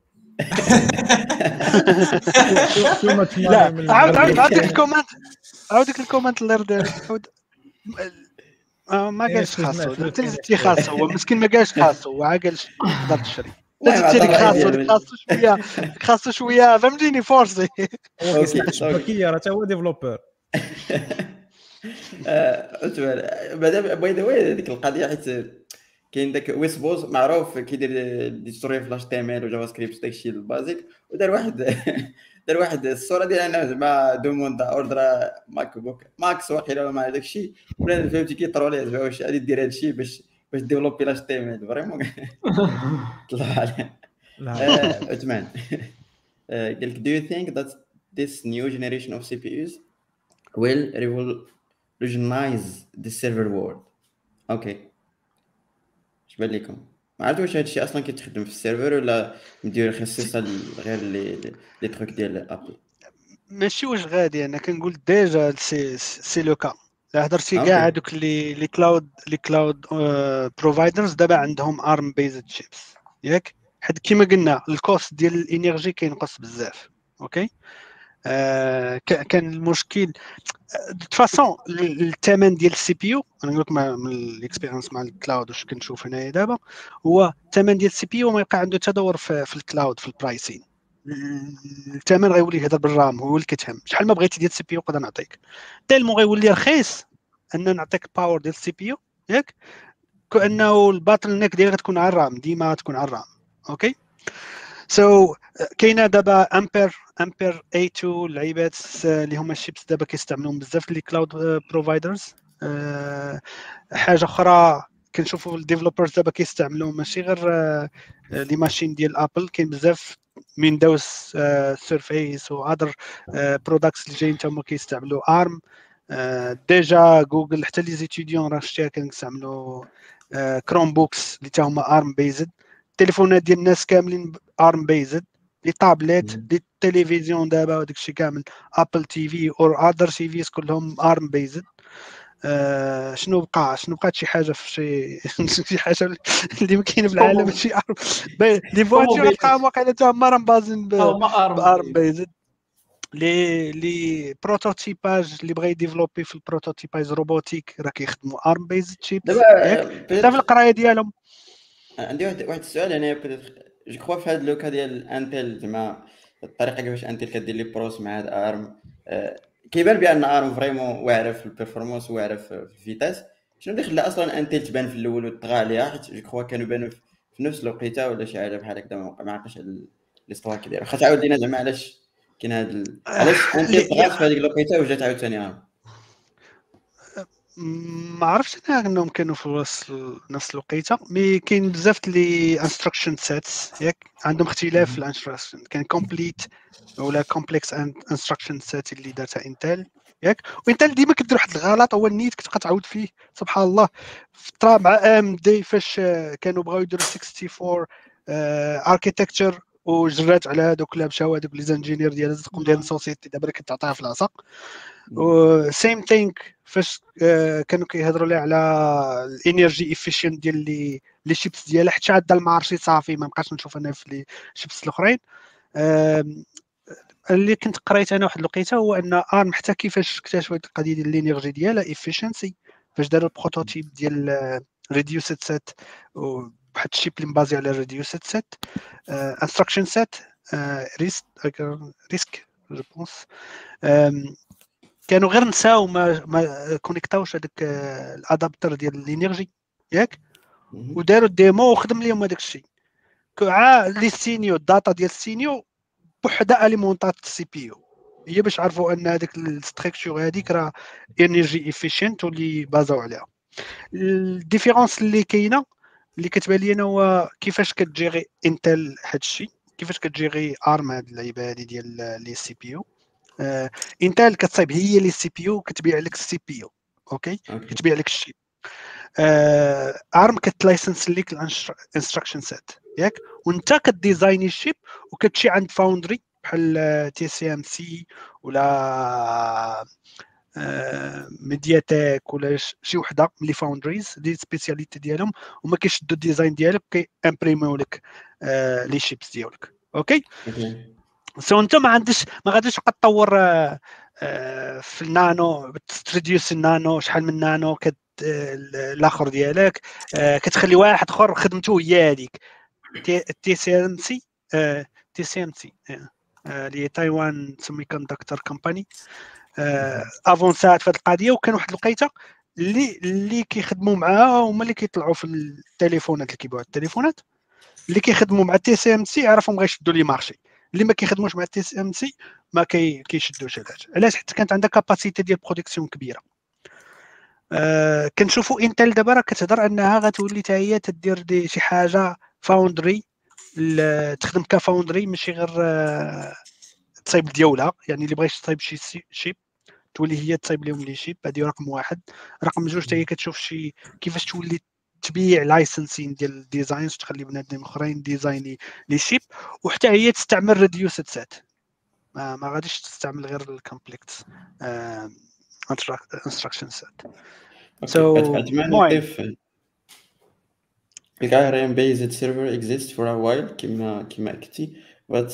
تو ماتش لا ماني من عاود عاود من- عاود ديك الكومنت عاود ديك الكومنت اللي رد عاود. آه، ما إيه، قالش شنو خاصو، سمعت؟ شنو انت اللي سمعت؟ زدتي خاصو، هو مسكين ما قالش خاصو، هو عا قال تقدر تشري. انت المهم زدتي عطى ديك الرأي خاصو، ديالو. ديك خاصو شويه ديك خاصو شويه فهمتيني فورسي. هو أوكي، كيصنع أوكي. الشبكيه راه حتى هو ديفلوبر. آه، بعدا باي ذا واي هذيك القضيه، حيت كاين داك ويسبوز معروف كيدير ديستوري في لاش تي ام ال وجافا سكريبت داكشي البازيك، ودار واحد دار واحد الصوره ديال انا زعما دوموند اوردر ماك بوك ماكس واقيلا ما داكشي، ولا فهمتي كيطرولي زعما واش غادي دير هادشي باش باش ديفلوبي لاش تي ام ال فريمون طلع عليه. لا آه، عثمان آه، قال لك do you think that this new generation of سي بي يوز will revolutionize the server world؟ اوكي اش بان لكم؟ ما عرفت واش هادشي اصلا كيتخدم في السيرفر ولا مدير خصيصه غير لي لي تروك ديال ابل. ماشي واش غادي، انا كنقول ديجا سي سي لو كا. لا هضرتي أوكي. كاع هذوك اللي لي كلاود لي كلاود بروفايدرز دابا عندهم ارم بيزد شيبس ياك، حيت كيما قلنا الكوست ديال الانرجي كينقص بزاف. اوكي آه كا- كان المشكل دو فاسون الثمن ديال السي بي يو. انا نقول لك مع- من الاكسبيرينس مع الكلاود واش كنشوف هنايا دابا، هو الثمن ديال السي بي يو ما يبقى عنده تدور في, في الكلاود في البرايسين. الثمن غيولي يهضر بالرام، هو اللي كتهم شحال ما بغيتي ديال السي بي يو نقدر نعطيك. تالمو غيولي رخيص ان نعطيك باور ديال السي بي يو ياك، كانه الباتل نيك ديالها تكون على الرام، ديما تكون على الرام. اوكي سو so, كاينه دابا امبير امبير اي اثنين اللعيبات اللي هما الشيبس دابا كيستعملوهم بزاف لي كلاود بروفايدرز. حاجه اخرى كنشوفوا الديفلوبرز دابا كيستعملوا ماشي غير لي ماشين ديال ابل، كاين بزاف من دوز سيرفيس و اذر برودكتس اللي جايين تما كيستعملوا ارم. ديجا جوجل حتى لي زيتيديون راه شتيها كنستعملوا كروم بوكس اللي تا هما ارم بيزد. التليفونات ديال الناس كاملين ارم بيزد، لي طابليت لي تلفزيون دابا وداك الشيء كامل ابل تي في او اذر تي فيز كلهم ارم بيزد. آه شنو بقى شنو بقات شي حاجه في شي شي حاجه اللي ما كاين في العالم شي ارم لي فواتور بقاو واقيلا تا هما راه بازين بارم بيزد. لي لي بروتوتيباج اللي بغا يديفلوبي في البروتوتيباج روبوتيك راه كيخدموا ارم بيزد شيبس ياك حتى في القرايه ديالهم. عندي واحد واحد السؤال انا جو كخوا في هذا لوكا ديال انتل زعما الطريقه كيفاش انتل كدير لي بروس مع هاد ارم. أه كيبان بان ارم فريمون واعره في البيرفورمانس واعره في الفيتاس. شنو اللي خلى اصلا انتل تبان في الاول وطغى عليها؟ حيت جو كخوا كانوا بانوا في نفس الوقيته ولا شي حاجه بحال هكذا، ما عرفتش الاستوا كيدير. خاص تعاود لينا زعما علاش كاين هاد ال... علاش انتل طغات في هذيك الوقيته وجات عاوتاني ارم. ما عرفتش انا انهم كانوا في وسط نفس الوقيته، مي كاين بزاف لي انستراكشن سيتس ياك عندهم اختلاف في الانستراكشن. كان كومبليت ولا كومبلكس انستراكشن سيت اللي دارتها انتل ياك، وانتل ديما كدير واحد الغلط هو النيت كتبقى تعاود فيه سبحان الله. في الطرا مع ام دي فاش كانوا بغاو يديروا أربعة وستين اركيتكتشر وجرات على هذوك اللي مشاو هذوك لي زانجينير ديال الزقوم ديال السوسيتي دابا كتعطيها في العصا. سيم ثينك فاش كانوا كيهضروا لي على الانرجي افيشنت ديال لي لي شيبس ديالها حتى عاد المارشي صافي ما بقاش نشوف انا في لي شيبس الاخرين. اللي كنت قريت انا واحد الوقيته هو ان ارم حتى كيفاش اكتشفوا القضيه ديال الانرجي ديالها افيشنسي فاش داروا البروتوتيب ديال ريديوسد سيت وواحد الشيب اللي مبازي على ريديوسد سيت انستراكشن سيت ريسك ريسك جو بونس. كانوا غير نساو ما ما كونيكتاوش هذاك الادابتر ديال الانرجي ياك، وداروا الديمو وخدم لهم هذاك الشيء. كاع لي سينيو الداتا ديال السينيو بوحده اليمونطات السي بي يو، هي باش عرفوا ان هذيك الستركتور هذيك راه انرجي افيشنت واللي بازاو عليها. الديفيرونس اللي كاينه اللي كتبان لي انا هو كيفاش كتجيري انتل هذا الشيء، كيفاش كتجيري ارم هاد اللعيبه هذه ديال لي سي بي يو. آه، انتل كتصايب هي لي سي بي يو كتبيع لك السي بي يو، اوكي كتبيع لك الشيء. آه، ارم كتلايسنس ليك الانستراكشن سيت ياك، وانت كديزايني الشيب وكتمشي عند فاوندري بحال تي سي ام سي ولا ميدياتيك ولا شي وحده من لي فاوندريز دي سبيسياليتي ديالهم، هما كيشدوا الديزاين ديالك كي امبريميو لك آه لي شيبس ديالك. اوكي سو انت ما عندكش ما غاديش تبقى تطور آه آه في النانو، تريديوس النانو شحال من نانو كت الاخر ديالك آه كتخلي واحد اخر خدمته هي هذيك تي سي ام سي تي سي ام سي اللي تايوان سيمي كوندكتور كومباني افونسات في هذه القضيه. وكان واحد الوقيته اللي اللي كيخدموا معاها هما اللي كيطلعوا في التليفونات اللي كيبيعوا التليفونات، اللي كيخدموا مع تي سي ام سي عرفهم غيشدوا لي مارشي، اللي ما كيخدموش مع تي سي ام سي ما كي كيشدوش هذا. علاش؟ حتى كانت عندها كاباسيتي ديال برودكسيون كبيره. آه كنشوفوا انتل دابا راه كتهضر انها غتولي حتى هي تدير دي شي حاجه فاوندري، تخدم كفاوندري ماشي غير آه تصايب ديولها، يعني اللي بغيتي تصايب شي شيب تولي هي تصايب لهم لي شيب. هذه رقم واحد. رقم جوج حتى هي كتشوف شي كيفاش تولي تبيع لايسنسين ديال الديزاينز، تخلي بنادم اخرين ديزايني لي شيب، وحتى هي تستعمل ريديوسد سيت، ما, ما غاديش تستعمل غير الكومبلكس انستراكشن سيت. سو نضيف الكايرين بيزد سيرفر exists for a while كما كما قلتي، but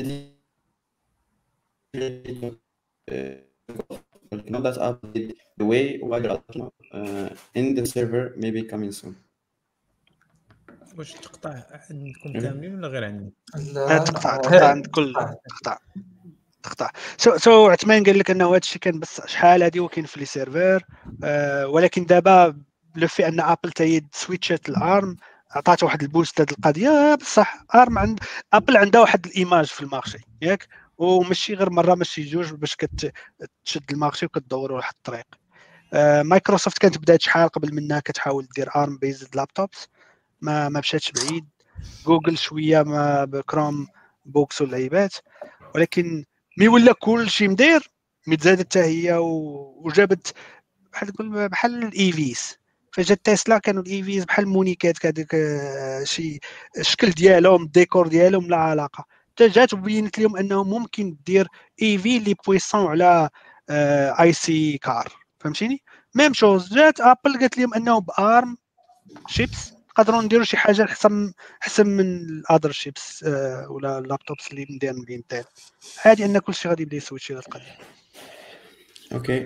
know that update the way while uh, in the server maybe coming soon. واش تقطع عندكم كاملين ولا غير عندي؟ لا تقطع تقطع عند كل تقطع تقطع. سو سو عثمان قال لك انه هذا الشيء كان بس شحال هذه وكاين في لي سيرفر، آه ولكن دابا لو في ان ابل تايد سويتشات الارم عطات واحد البوست لهذه القضيه. بصح ارم عند ابل عندها واحد الايماج في المارشي ياك، وماشي غير مره ماشي جوج باش كتشد المارشي وكتدور واحد الطريق. آه مايكروسوفت كانت بدات شحال قبل منها كتحاول دير ارم بيزد لابتوبس، ما ما مشاتش بعيد. جوجل شويه ما بكروم بوكس واللعيبات، ولكن مي ولا كل شيء مدير متزادت حتى هي وجابت بحال تقول بحال الايفيس. فجات تسلا كانوا الايفيز بحال مونيكات كذاك شي الشكل ديالهم الديكور ديالهم لا علاقه، حتى جات وبينت لهم انه ممكن دير ايفي اللي بويسون على اي سي كار. فهمتيني؟ ميم شوز جات ابل قالت لهم انه بارم شيبس نقدروا نديروا شي حاجه احسن احسن من الادر شيبس آه ولا اللابتوبس اللي مديرين بانتل. عادي ان كلشي غادي يبدا يسويتشي هذه القضيه. اوكي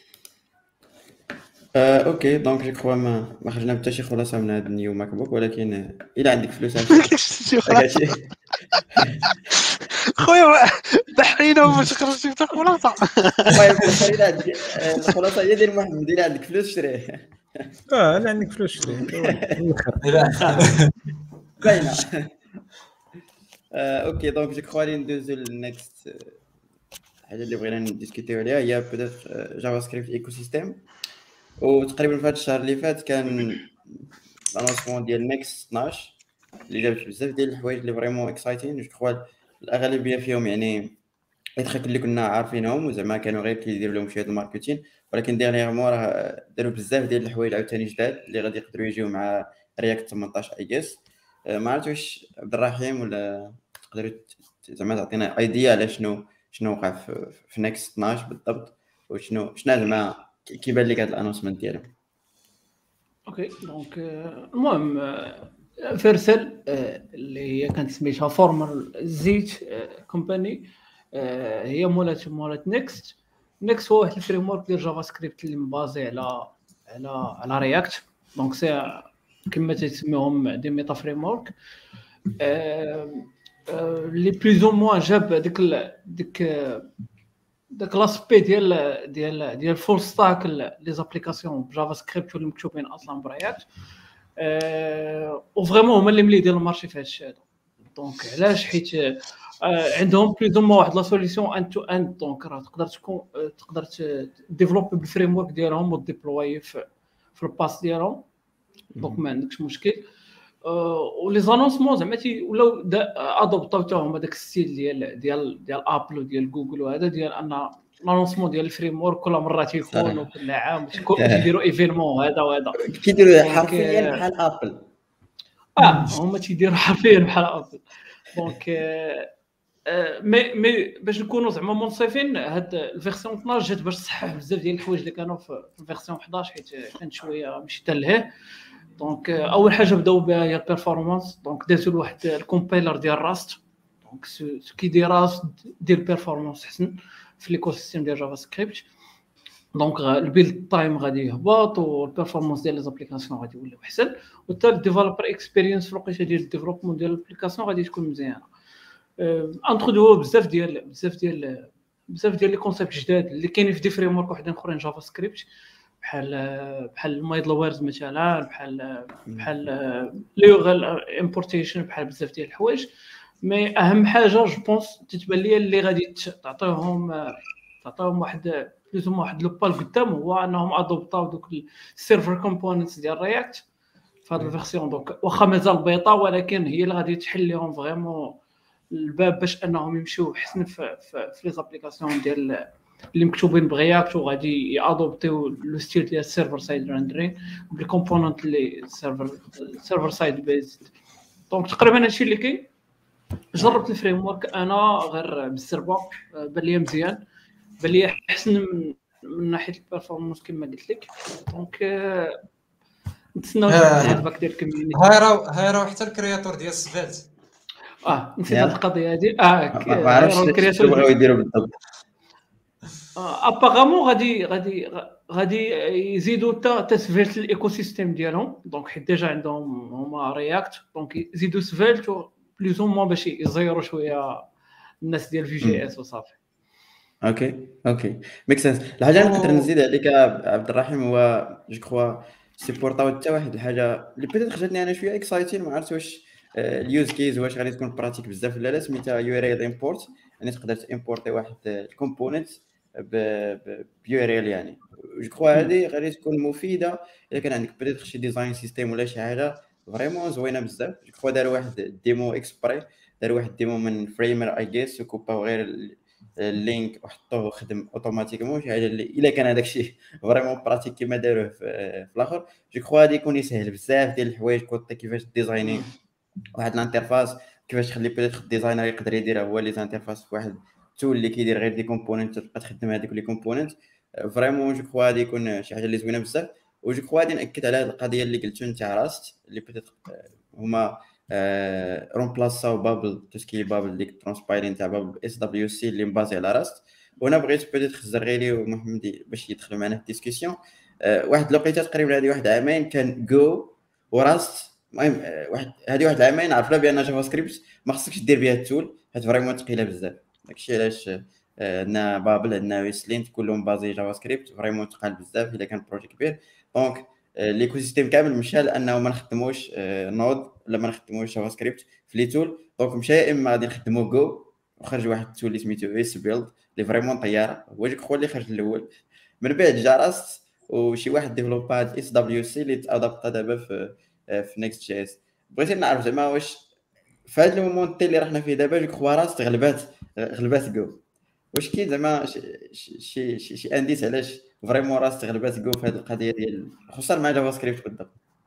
آه، اوكي دونك جو كخوا ما ما خرجنا حتى شي خلاصه من هذا النيو ماك بوك، ولكن الا عندك فلوس شي خلاصه خويا بحرينا باش خرج شي خلاصه. المهم الا عندك الخلاصه هي ديال محمد، الا عندك فلوس شريه. اه الا عندك فلوس شريه باينه. اوكي دونك جو كخوا لي ندوزو للنكست حاجه اللي بغينا نديسكوتيو عليها هي بيتيت جافا سكريبت ايكو سيستيم. وتقريبا في هذا الشهر اللي فات كان لانونسمون ديال نيكست اثناش اللي جاب بزاف ديال الحوايج اللي فريمون اكسايتين. جو كخوا الاغلبيه فيهم يعني يتخيل اللي كنا عارفينهم وزعما كانوا غير كيديروا لهم شويه الماركتين، ولكن ديرنييرمون راه داروا بزاف ديال الحوايج عاوتاني جداد اللي غادي يقدروا يجيو مع رياكت ثمنطاش اي جيس. ما عرفتش واش عبد الرحيم ولا تقدروا زعما تعطينا ايديا على شنو شنو وقع في, في نيكست اثناش بالضبط، وشنو شنو زعما كيبان لك هذا الانونسمنت ديالهم. اوكي دونك المهم فيرسل اللي هي كانت سميتها فورمال زيت كومباني، هي مولات مولات نيكست. نيكست هو واحد الفريم ورك ديال جافا سكريبت اللي مبازي على على على رياكت. دونك سي كما تسميهم دي ميتا فريم ورك اللي بلوز او موان جاب ديك ديك داك لاسبي ديال ديال ديال فول ستاك لي زابليكاسيون بجافا سكريبت واللي مكتوبين اصلا برياكت أه وفريمون هما اللي ملي ديال المارشي في هذا الشيء هذا. دونك علاش؟ حيت أه عندهم بلوز ما واحد لا سوليسيون ان تو ان. دونك راه تقدر تكون تقدر ديفلوبي بالفريم ورك ديالهم وديبلوي في في الباس ديالهم. دونك ما عندكش مشكل. ولي زانونسمون زعما تي ولاو ادوبطاوهم هذاك الستيل ديال ديال ديال ابل وديال جوجل وهذا ديال ان لانونسمون ديال الفريم ورك كل مره تيكون وكل عام تيديروا ايفينمون هذا وهذا كيديروا حرفيا بحال ابل. اه هما تيديروا حرفيا بحال ابل. دونك مي مي باش نكونوا زعما منصفين هاد الفيرسيون اثناش جات باش تصحح بزاف ديال الحوايج اللي كانوا في الفيرسيون حداش حيت كانت شويه ماشي تلهيه. دونك اول حاجه بداو بها هي البيرفورمانس. دونك دازوا لواحد الكومبايلر ديال راست. دونك سو كي دي راست دير بيرفورمانس حسن في ليكو سيستيم ديال جافا سكريبت. دونك البيلد تايم غادي يهبط والبيرفورمانس ديال لي زابليكاسيون غادي يولي احسن وحتى الديفلوبر اكسبيرينس في الوقيته ديال الديفلوبمون ديال الابليكاسيون غادي تكون مزيانه. انترودو بزاف ديال بزاف ديال بزاف ديال لي كونسيبت جداد اللي كاينين في دي فريم ورك وحدين اخرين جافا سكريبت بحال بحال المايدل ويرز مثلا بحال بحال ليغال امبورتيشن بحال بزاف ديال الحوايج. مي اهم حاجه جو بونس تتبان لي اللي غادي تعطيهم تعطيهم واحد بلوز واحد لو بال قدام هو انهم ادوبطاو دوك السيرفر كومبوننتس ديال رياكت في هذه الفيرسيون. دونك واخا مازال بيطا ولكن هي اللي غادي تحل لهم فريمون الباب باش انهم يمشيو حسن في في, في لي زابليكاسيون ديال اللي مكتوبين برياكت وغادي يادوبتيو لو ستيل ديال السيرفر سايد ريندرين بالكومبوننت اللي سيرفر سيرفر سايد بيزد. دونك تقريبا هادشي اللي كاين. جربت الفريم ورك انا غير بالسربه بان لي مزيان بان لي احسن من من ناحيه البيرفورمانس كما قلت لك. دونك نتسناو الفيدباك ديال الكوميونيتي. هاي راه هاي راه حتى الكرياتور ديال سفالت اه نسيت هاد القضيه هادي. اه ما عرفتش شنو بغاو يديروا بالضبط. ابارامون غادي غادي غادي يزيدوا حتى تسفيلت الايكو سيستيم ديالهم. دونك حيت ديجا عندهم هما رياكت دونك يزيدوا سفيلت بلوز او موان باش يزيروا شويه الناس ديال في جي اس وصافي. اوكي اوكي ميك سنس. الحاجه اللي نقدر نزيد عليك عبد الرحيم هو جو كخوا سيبورطاو حتى واحد الحاجه اللي بيتيت خرجتني انا شويه اكسايتين. ما عرفتش واش اليوز كيز واش غادي تكون براتيك بزاف ولا لا. سميتها يو ار ال امبورت يعني تقدر تامبورتي واحد الكومبوننت بيو ار ال يعني. جو كخوا هذه غادي تكون مفيده الا كان عندك بيتيت شي ديزاين سيستيم ولا شي حاجه فريمون زوينه بزاف. جو كخوا دار واحد ديمو اكسبري دار واحد ديمو من فريمر اي جيس وكوباو غير اللينك وحطوه خدم اوتوماتيكمون شي حاجه اللي الا كان هذاك الشيء فريمون براتيك كما داروه في, في الاخر. جو كخوا غادي يكون يسهل بزاف ديال الحوايج كوطي كيفاش ديزايني واحد الانترفاس كيفاش تخلي بيتيت الديزاينر يقدر يديرها هو لي زانترفاس في واحد تول اللي كيدير غير دي كومبوننت تبقى تخدم هذيك لي كومبوننت. فريمون جو كخوا غادي يكون شي حاجه اللي زوينه بزاف. وجو كخوا غادي ناكد على هذه القضيه اللي قلتو انت راست اللي بيتيت هما رومبلاساو بابل توسكي بابل ديك ترانسبايرين تاع بابل اس دبليو سي اللي مبازي على راست. وانا بغيت بيتيت خزر غيري ومحمد باش يدخلوا معنا في الديسكسيون. واحد الوقيته تقريبا هذه واحد عامين كان جو وراست. المهم واحد هذه واحد العامين عرفنا بان جافا سكريبت ما خصكش دير بها التول حيت فريمون ثقيله بزاف. داكشي علاش عندنا بابل عندنا ويسلينت كلهم بازي جافا سكريبت فريمون ثقال بزاف الا كان بروجي كبير. دونك ليكو سيستيم كامل مشى لانه ما نخدموش نود ولا ما نخدموش جافا سكريبت في لي تول. دونك مشى يا اما غادي نخدمو جو وخرج واحد التول اللي سميتو اس بيلد اللي فريمون طياره هو جوك خو اللي خرج الاول. من بعد جا راست وشي واحد ديفلوباد اس دبليو سي اللي تادابطا دابا في في نيكست جي اس. بغيت نعرف زعما واش في هذا المومونت اللي رحنا فيه دابا جوك خو راست غلبات غلبات جو واش كاين زعما شي شي شي انديس علاش فريمون راست غلبات جو في هذه القضيه ديال خصوصا مع جافا سكريبت بالضبط.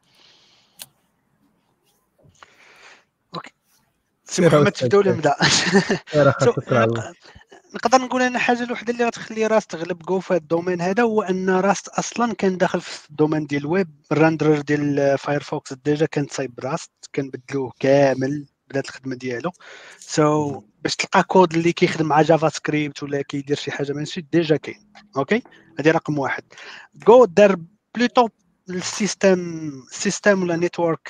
اوكي سي محمد تبداو ولا نبدا؟ نقدر نقول انا حاجه الوحده اللي غتخلي راست تغلب جو في الدومين هذا هو ان راست اصلا كان داخل في الدومين ديال الويب. الراندرر ديال فايرفوكس ديجا كان صايب راست كنبدلوه كامل بدات الخدمه ديالو. سو so, باش تلقى كود اللي كيخدم مع جافا سكريبت ولا كيدير شي حاجه ماشي ديجا كاين. اوكي هذه رقم واحد. جو دار بلوتو السيستم سيستم ولا نيتورك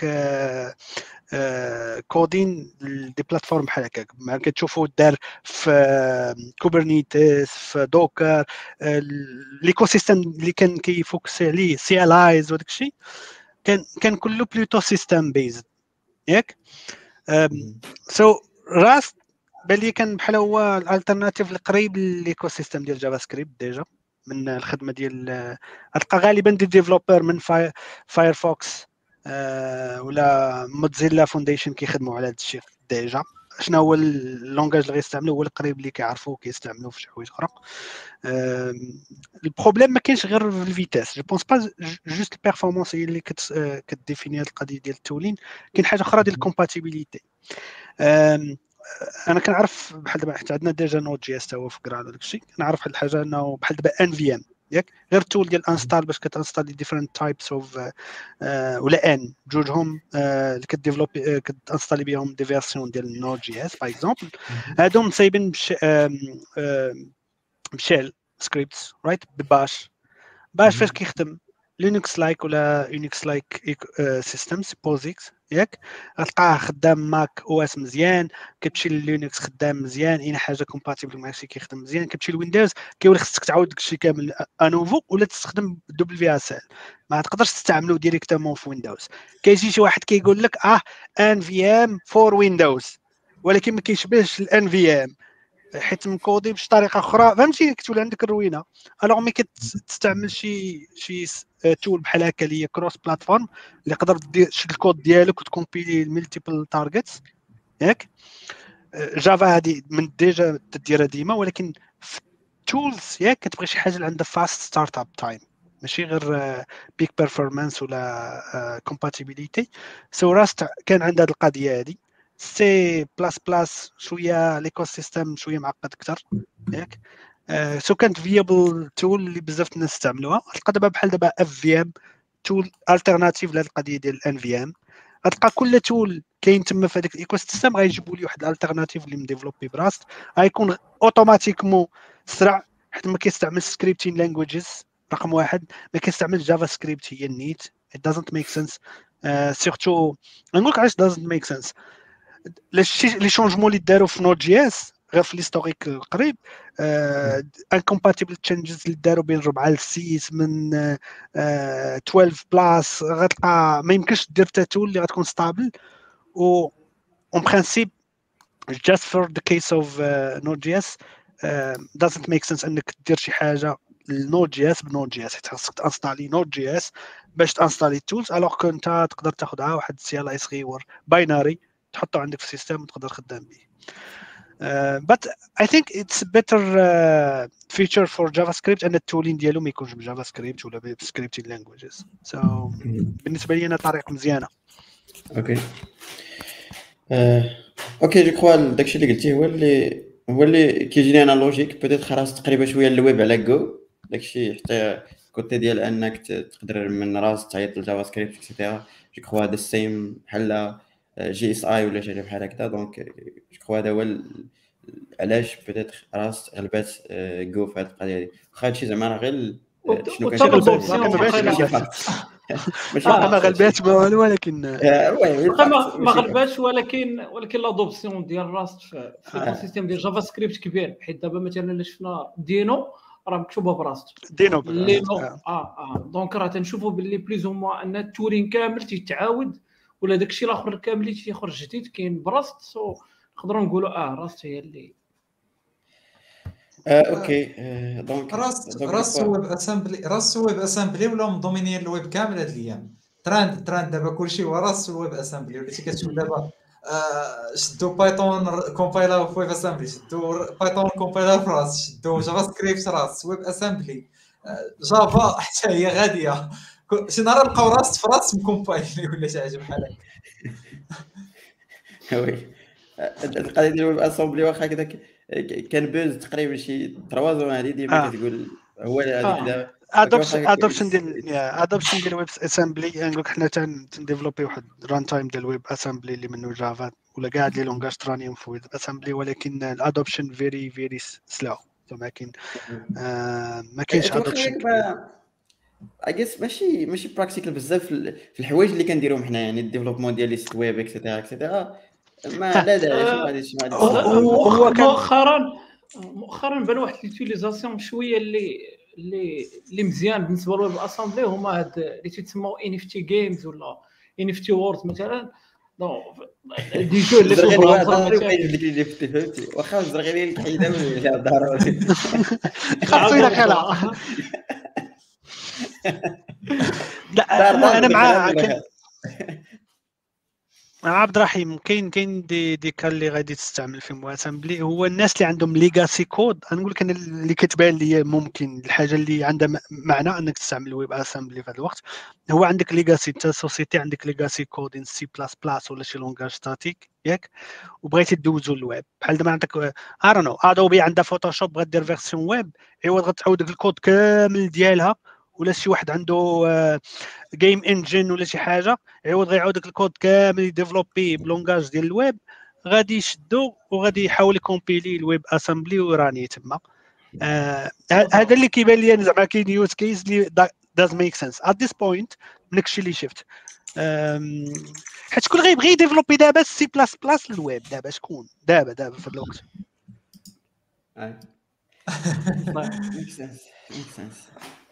كودين دي بلاتفورم بحال هكاك ما كتشوفوا دار في كوبرنيتيس في دوكر ليكو سيستم اللي كان كيفوكسي عليه سي ال ايز وداك الشيء كان كان كله بلوتو سيستم بيزد ياك سو راست بان لي كان بحال هو الالترناتيف القريب للايكو سيستم ديال جافا سكريبت ديجا من الخدمه ديال غتلقى غالبا دي ديفلوبر من فاي فايرفوكس أه ولا موزيلا فونديشن كيخدموا على هذا الشيء ديجا. شنو هو اللونغاج اللي غيستعملوا هو القريب اللي كيعرفوا كيستعملوا في شي حوايج اخرى. أه البروبليم ما كاينش غير في الفيتاس جو بونس با جوست البيرفورمانس هي اللي كت كديفيني هذه القضيه ديال التولين. كاين حاجه اخرى ديال الكومباتيبيليتي. أه انا كنعرف بحال دابا حتى عندنا ديجا نوت جي اس تا هو في كراد وداك الشيء كنعرف واحد الحاجه انه بحال دابا ان في ام ياك غير تول ديال انستال باش كتانستالي ديفرنت تايبس اوف ولا ان جوجهم اللي كديفلوبي كتانستالي بهم دي فيرسيون ديال نوت جي اس باغ اكزومبل هادو مصايبين بشيل سكريبتس رايت بباش باش فاش كيخدم لينكس لايك ولا يونكس لايك سيستمز بوزيكس ياك غتلقاه خدام ماك او اس مزيان كتمشي للينكس خدام مزيان اين حاجه كومباتيبل مع شي كيخدم مزيان كتمشي لويندوز كيولي خصك تعاود داكشي كامل انوفو ولا تستخدم دبل في اس ال ما تقدرش تستعملو ديريكتومون في ويندوز. كيجي شي واحد كيقول لك اه ان في ام فور ويندوز ولكن ما كيشبهش الان في ام حيت مكودي بشي طريقه اخرى فهمتي كتولي عندك الروينه. الوغ ملي كتستعمل شي شي تول بحال هكا اللي هي كروس بلاتفورم اللي يقدر دير شي الكود ديالك وتكومبيلي ملتيبل تارجتس ياك جافا هذه من ديجا تديرها ديما ولكن في تولز ياك كتبغي شي حاجه اللي عندها فاست ستارت اب تايم ماشي غير بيك بيرفورمانس ولا كومباتيبيليتي. سو راست كان عندها هذه القضيه هذه سي بلاس بلاس شويه ليكو سيستم شويه معقد اكثر ياك سو كانت فيابل تول اللي بزاف الناس استعملوها. تلقى دابا بحال دابا اف في ام تول التيرناتيف لهاد القضيه ديال الان في ام غتلقى كل تول كاين تما في هذاك الايكو سيستم غيجيبوا لي واحد الالتيرناتيف اللي مديفلوبي براست غيكون اوتوماتيكمون سرع حيت ما كيستعمل سكريبتين لانجويجز رقم واحد ما كيستعمل جافا سكريبت هي النيت it doesn't make sense سيرتو نقول لك علاش doesn't make sense لي شونجمون اللي داروا في نوت جي اس غير في ليستوريك القريب انكومباتيبل تشينجز اللي داروا بين أربعة ل ستة من اثنا عشر بلاس غتلقى ما يمكنش دير حتى تول اللي غتكون ستابل و اون برينسيپ just for the case of نوت جي اس doesn't make sense انك دير شي حاجه النوت جي اس بنوت جي اس حيت خاصك تانستالي نوت جي اس باش تانستالي التولز الوغ كنت تقدر تاخذها واحد السي ال اي صغيور بايناري تحطه عندك في السيستم وتقدر خدام به. Uh, but I think it's a better uh, feature for JavaScript and التولين ديالو ما يكونش بجافا سكريبت ولا بسكريبتين languages. So بالنسبه لي انا طريقه مزيانه. اوكي اوكي جو كخوا داكشي اللي قلتيه هو اللي هو اللي كيجيني انا لوجيك بيتيت خلاص تقريبا شويه الويب على جو داكشي حتى كوتي ديال انك تقدر من راس تعيط للجافا سكريبت اكسيتيرا جو كخوا هذا السيم بحال جي اس اي ولا شي حاجه بحال هكذا. دونك جو كخوا هذا هو علاش بيتيت راس غلبات جو في هذه القضيه هذه واخا هادشي زعما راه غير شنو ماشي ما غلباتش ما والو ولكن ما غلباتش ولكن ولكن لادوبسيون ديال راست في السيستم ديال جافا سكريبت كبير بحيث دابا مثلا الا شفنا دينو راه مكتوبه براست دينو لينو اه اه دونك راه تنشوفوا باللي بليز او موا ان التورين كامل تيتعاود ولا داكشي الاخر كامل اللي تيخرج جديد كاين براست سو نقدروا نقولوا اه راست هي اللي آه، اوكي آه، دونك راست راست ويب اسامبلي راست ويب اسامبلي ولا مضمنين الويب كامل هاد الايام تراند تراند دابا كلشي هو راست ويب اسامبلي وليتي كتشوف دابا آه شدوا بايثون كومبايلر في ويب اسامبلي شدوا بايثون كومبايلر في راست شدوا جافا سكريبت راست ويب اسامبلي آه جافا حتى هي غاديه شي نهار لقاو راست في راست مكومبايلي ولا شي حاجه بحال هكا وي القضيه ديال الويب اسامبلي واخا هكذا كان بوز تقريبا شي ثلاثة زون هذه ديما كتقول هو هذيك دابا ادوبشن ادوبشن ديال ادوبشن ديال ويب اسامبلي نقول لك حنا تنديفلوبي واحد ران تايم ديال ويب اسامبلي اللي منه جافا ولا كاع لي لونغاج ترانيهم في ويب اسامبلي ولكن الادوبشن فيري فيري سلو ما كاين ما كاينش ادوبشن اجيس ماشي ماشي براكتيكال بزاف في ال- في الحوايج اللي كنديروهم حنا، يعني الديفلوبمون ديال لي سيت ويب اكسيتيرا اكسيتيرا، ما لا داعي، شنو آه، غادي شنو غادي هو- تستافد هو- منه. هو مؤخ- كان مؤخرا مؤخرا بان واحد اليوتيليزاسيون شويه اللي اللي اللي مزيان بالنسبه للويب اسامبلي هما هاد اللي تيتسموا ان اف تي جيمز ولا ان اف تي وورد مثلا. دونك دي جو اللي الزرغيري تبغى واحد عمرك ما تزرغي يجبد لك اللي فهمتي فهمتي، واخا الزرغيري الحيده ولا ضروري. خاصو الى خلع. لا دار انا دار انا دخل مع هذا كان دخل. مع عبد الرحيم. كاين كاين دي دي كال اللي غادي تستعمل في مواسمبلي، هو الناس اللي عندهم ليغاسي كود. انا نقول لك انا اللي كتبان لي ممكن الحاجه اللي عندها م- معنى انك تستعمل الويب اسامبلي في هذا الوقت، هو عندك ليغاسي. انت سوسيتي عندك ليغاسي كود ان سي بلاس بلاس ولا شي لونغاج ستاتيك ياك، وبغيتي تدوزو للويب بحال دابا عندك ارونو ادوبي عندها فوتوشوب بغات دير فيرسيون ويب، عوض غتعاود داك الكود كامل ديالها، ولا شي واحد عنده جيم انجن ولا شي حاجه عوض غيعاود داك الكود كامل يديفلوبي بلونغاج ديال الويب، غادي يشدو وغادي يحاول يكومبيلي الويب اسامبلي وراني تما. آه هذا اللي كيبان لي زعما كاين يوز كيس اللي داز ميك سنس ات ذيس بوينت من داكشي اللي شفت. حيت شكون غيبغي يديفلوبي دابا سي بلاس بلاس للويب؟ دابا شكون دابا دابا في هذا الوقت؟ ميك سنس ميك سنس.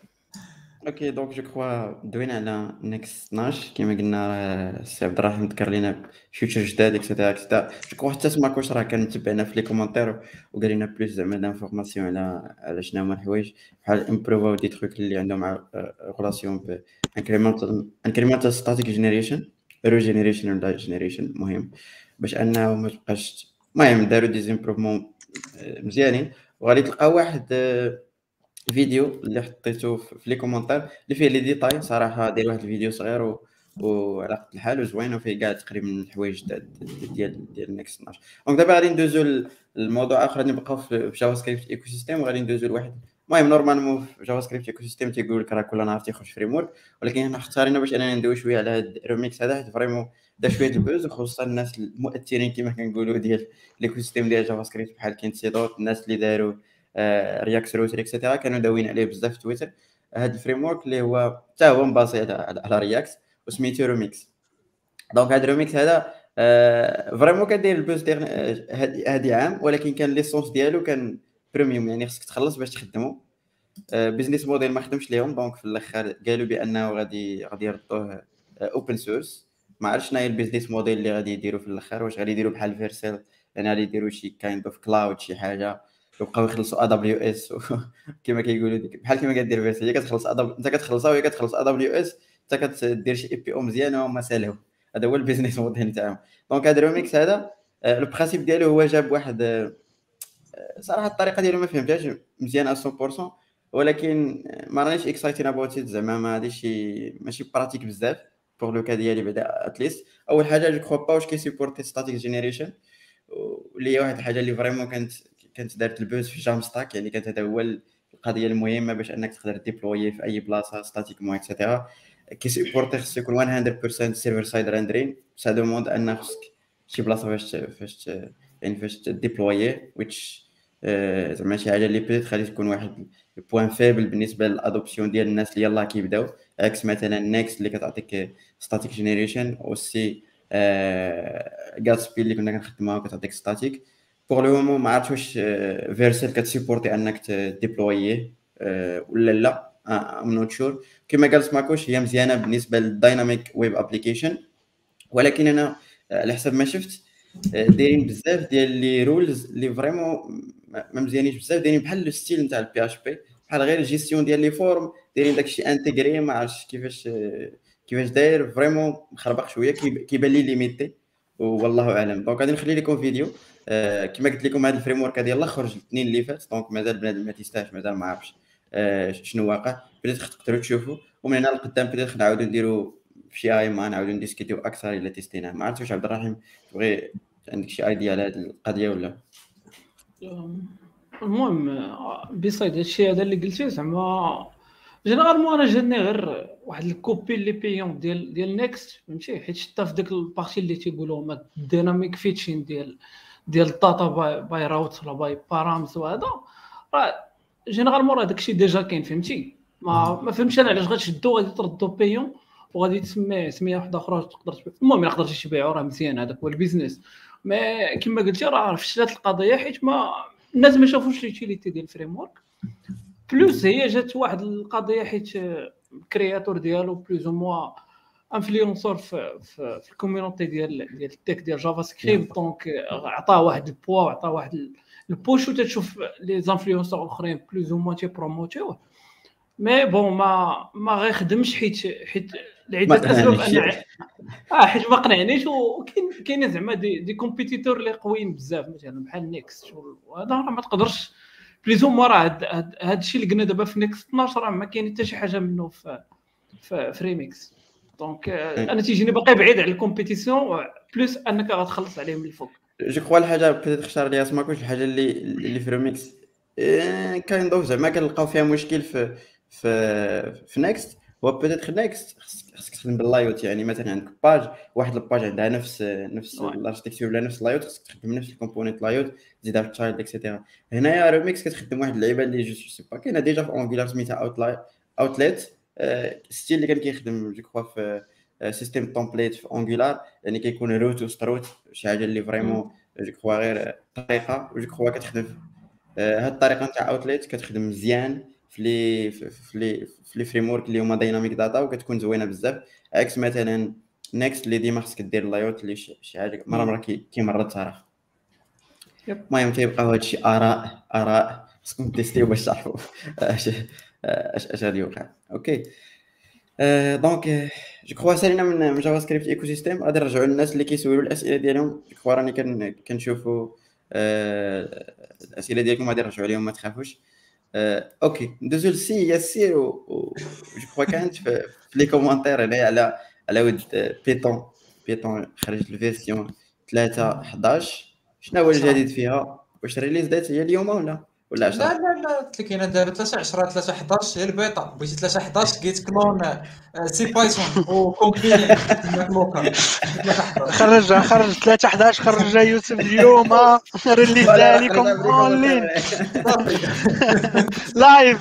اوكي دونك جو كخوا دوينا على نيكست اثناش كما قلنا، راه السي عبد الرحيم ذكر لنا فيوتشر جداد اكسيتيرا اكسيتيرا. جو كخوا حتى سماكوش راه كان متبعنا في لي كومونتير وقال لنا بلوس زعما دانفورماسيون على على شنو هما الحوايج بحال امبروفاو دي تروك اللي عندهم مع ريلاسيون ب انكريمنتال انكريمنتال ستاتيك جينيريشن رو جينيريشن ولا جينيريشن، مهم باش انه ما تبقاش. المهم داروا دي زيمبروفمون مزيانين، وغادي تلقى واحد آه، فيديو اللي حطيته في في لي كومونتير اللي فيه لي ديتاي صراحه. داير واحد الفيديو صغير و وعلى قد الحال وزوين، وفيه كاع تقريبا الحوايج ديال ديال ديال نيكست اثناش. دونك دابا غادي ندوزو للموضوع اخر، غادي نبقاو في في جافا سكريبت ايكو سيستيم، وغادي ندوزو لواحد. المهم نورمالمون في جافا سكريبت ايكو سيستيم تيقول لك راه كل نهار تيخرج فريم ورك، ولكن حنا اختارينا باش اننا ندوي شويه على هاد الريميكس هذا، حيت فريمون دا شويه البوز، وخصوصا الناس المؤثرين كما كنقولوا ديال الايكو سيستيم ديال جافا سكريبت بحال كين سيدوت، الناس اللي داروا رياكت روتر اكسيتيرا كانوا داويين عليه بزاف في تويتر. هذا الفريم ورك اللي هو حتى هو مباسي على على رياكت وسميتو روميكس. دونك هذا الروميكس هذا آه فريمون كدير البوز ديال هذه عام، ولكن كان ليسونس ديالو كان بريميوم، يعني خصك تخلص باش تخدمو. آه بيزنس موديل ما خدمش ليهم، دونك في الاخر قالوا بانه غادي غادي يردوه اوبن سورس. ما عرفتش شنو هي البيزنس موديل اللي غادي يديروا في الاخر، واش غادي يديروا بحال فيرسيل يعني غادي يديروا شي كايند اوف كلاود شي حاجه، يبقاو يخلصوا ا دبليو اس كما كيقولوا ديك بحال كما كدير فيرسيل، هي كتخلص انت كتخلصها وهي كتخلص ا دبليو اس، انت كدير شي اي بي او مزيان وهما سالهو. هذا هو البيزنس موديل تاعهم. دونك هذا الروميكس هذا لو برينسيپ ديالو هو جاب واحد آه، صراحه الطريقه ديالو ما فهمتهاش مزيان مية بالمية، ولكن ما رانيش اكسايتين اباوت ات، زعما ما غاديش شي ماشي براتيك بزاف بور لو كا ديالي بعدا اتليست. اول حاجه جو كخوا با واش كيسيبورتي ستاتيك جينيريشن، واللي هي واحد الحاجه اللي فريمون كانت كانت دارت البوز في جام ستاك، يعني كانت هذا هو القضيه المهمه باش انك تقدر ديبلوي في اي بلاصه ستاتيك مو اكسيتيرا. كيسيبورتي خصو يكون مية بالمية سيرفر سايد ريندرين، سا دوموند ان خصك شي بلاصه فاش فاش يعني فاش تديبلوي ويتش آه، زعما شي حاجه اللي بيت غادي تكون واحد البوان فيبل بالنسبه للادوبسيون ديال الناس اللي يلاه كيبداو، عكس مثلا نيكست اللي كتعطيك ستاتيك جينيريشن اوسي غاتسبي اللي كنا كنخدموها كتعطيك ستاتيك. بوغ لو مومون ما عرفتش واش فيرسيل كتسيبورتي انك تديبلويه ولا لا، ام نوت شور. كما قال سماكوش هي مزيانه بالنسبه للدايناميك ويب ابليكيشن، ولكن انا على حسب ما شفت دايرين بزاف ديال لي رولز اللي فريمون ما مزيانينش بزاف، دايرين بحال لو ستيل نتاع البي اش بي، بحال غير الجيستيون ديال لي فورم دايرين داكشي انتيغري، ما عرفتش كيفاش كيفاش داير فريمون مخربق شويه، كيبان لي ليميتي والله اعلم. دونك غادي نخلي لكم فيديو آه كما قلت لكم هذا الفريم ورك هذا يلاه خرج الاثنين اللي فات، دونك مازال بنادم ما تيستاهش، مازال ما عرفش آه شنو واقع، بديت تقدروا تشوفوا، ومن هنا لقدام بديت نعاودوا نديروا في شي اي ما نعاودوا نديسكوتيو اكثر الا تيستينا. ما عرفتش واش عبد الرحيم تبغي عندك شي ايديا على هذه القضيه ولا؟ المهم بيصيد هادشي هذا اللي قلتي زعما جينيرالمون انا جاني غير واحد الكوبي اللي بيون ديال ديال نيكست فهمتي، حيت حتى في ديك البارتي اللي تيقولوا هما الديناميك فيتشين ديال ديال الداتا باي, باي راوت ولا باي بارامز، وهذا راه جينيرالمون راه داكشي ديجا كاين فهمتي. ما ما فهمتش انا علاش غتشدو غادي تردو بيون وغادي تسميه سميه واحده اخرى تقدر تبيع. المهم ما يقدرش يبيعوا راه مزيان، هذاك هو البيزنس. ما كما قلتي راه فشلت القضيه حيت ما الناس ما شافوش ليوتيليتي ديال الفريم ورك. بلوس هي جات واحد القضيه حيت الكرياتور ديالو بلوز او موا انفلونسور في في, في الكوميونيتي ديال ديال التك ديال جافا سكريبت، دونك عطاه واحد البوا وعطاه واحد البوش وتشوف لي زانفلونسور الاخرين بلوز او موا تي بروموتيوه. مي بون ما ما غيخدمش حيت حيت لعده اسباب. انا اه حيت ما قنعنيش، وكاين كاين زعما دي دي كومبيتيتور اللي قويين بزاف مثلا بحال نيكست، وهذا راه ما تقدرش بليزوم. راه هذا الشيء اللي قلنا دابا في نيكست اثناش راه ما كاين حتى شي حاجه منه في في فريميكس. دونك انا تيجيني باقي بعيد على الكومبيتيسيون بلوس انك غتخلص عليهم من الفوق. جو كخوا الحاجه بيتيت اختار ليها سماكوش الحاجه اللي اللي في ريميكس كاين ضوء زعما كنلقاو فيها مشكل في في في نيكست. هو بيتيت نيكست خصك تخدم باللايوت، يعني مثلا عندك باج واحد الباج عندها نفس نفس الاركتيكتور ولا نفس اللايوت، خصك تخدم نفس الكومبوننت لايوت تزيدها في التشايلد اكسيتيرا. هنايا ريميكس كتخدم واحد اللعيبه اللي جو سي با كاينه ديجا في اونغولار سميتها اوتلايت اوتليت ستيل اللي كان كيخدم جو كخوا في سيستيم تومبليت في اونغولار، يعني كيكون روت وستروت شي حاجه اللي فريمون جو كخوا غير طريقه وجو كخوا كتخدم هاد الطريقه نتاع اوتليت كتخدم مزيان في لي في لي في لي فريم ورك اللي هما دايناميك داتا وكتكون زوينه بزاف، عكس مثلا نيكست اللي ديما خصك دير اللايوت اللي شي حاجه مره مره كيمرض صراحه. المهم تيبقاو هادشي اراء اراء خصكم تيستيو باش تعرفوا اش اش غادي يوقع. اوكي أه دونك جو كخوا سالينا من جافا سكريبت ايكو سيستيم. غادي نرجعوا للناس اللي كيسولوا الاسئله ديالهم. جو كخوا راني كن كنشوفوا أه الاسئله ديالكم غادي نرجعوا عليهم ما تخافوش. أه اوكي ندوزو لسي ياسير و جو كخوا كانت في لي كومونتير هنايا على على ود بيتون. بيتون خرجت الفيرسيون ثلاثة حداش، شنو هو الجديد فيها؟ واش ريليز دات هي اليوم ولا ولا عشرة؟ لا لا لا قلت لك انا دابا ثلاثة عشرة ثلاثة حداش هي البيتا. بغيتي ثلاثة حداش جيت كلون سي بايثون وكومبيل لوكال. خرج خرج ثلاثة حداش خرج يوسف اليوم ريليز عليكم اونلاين لايف.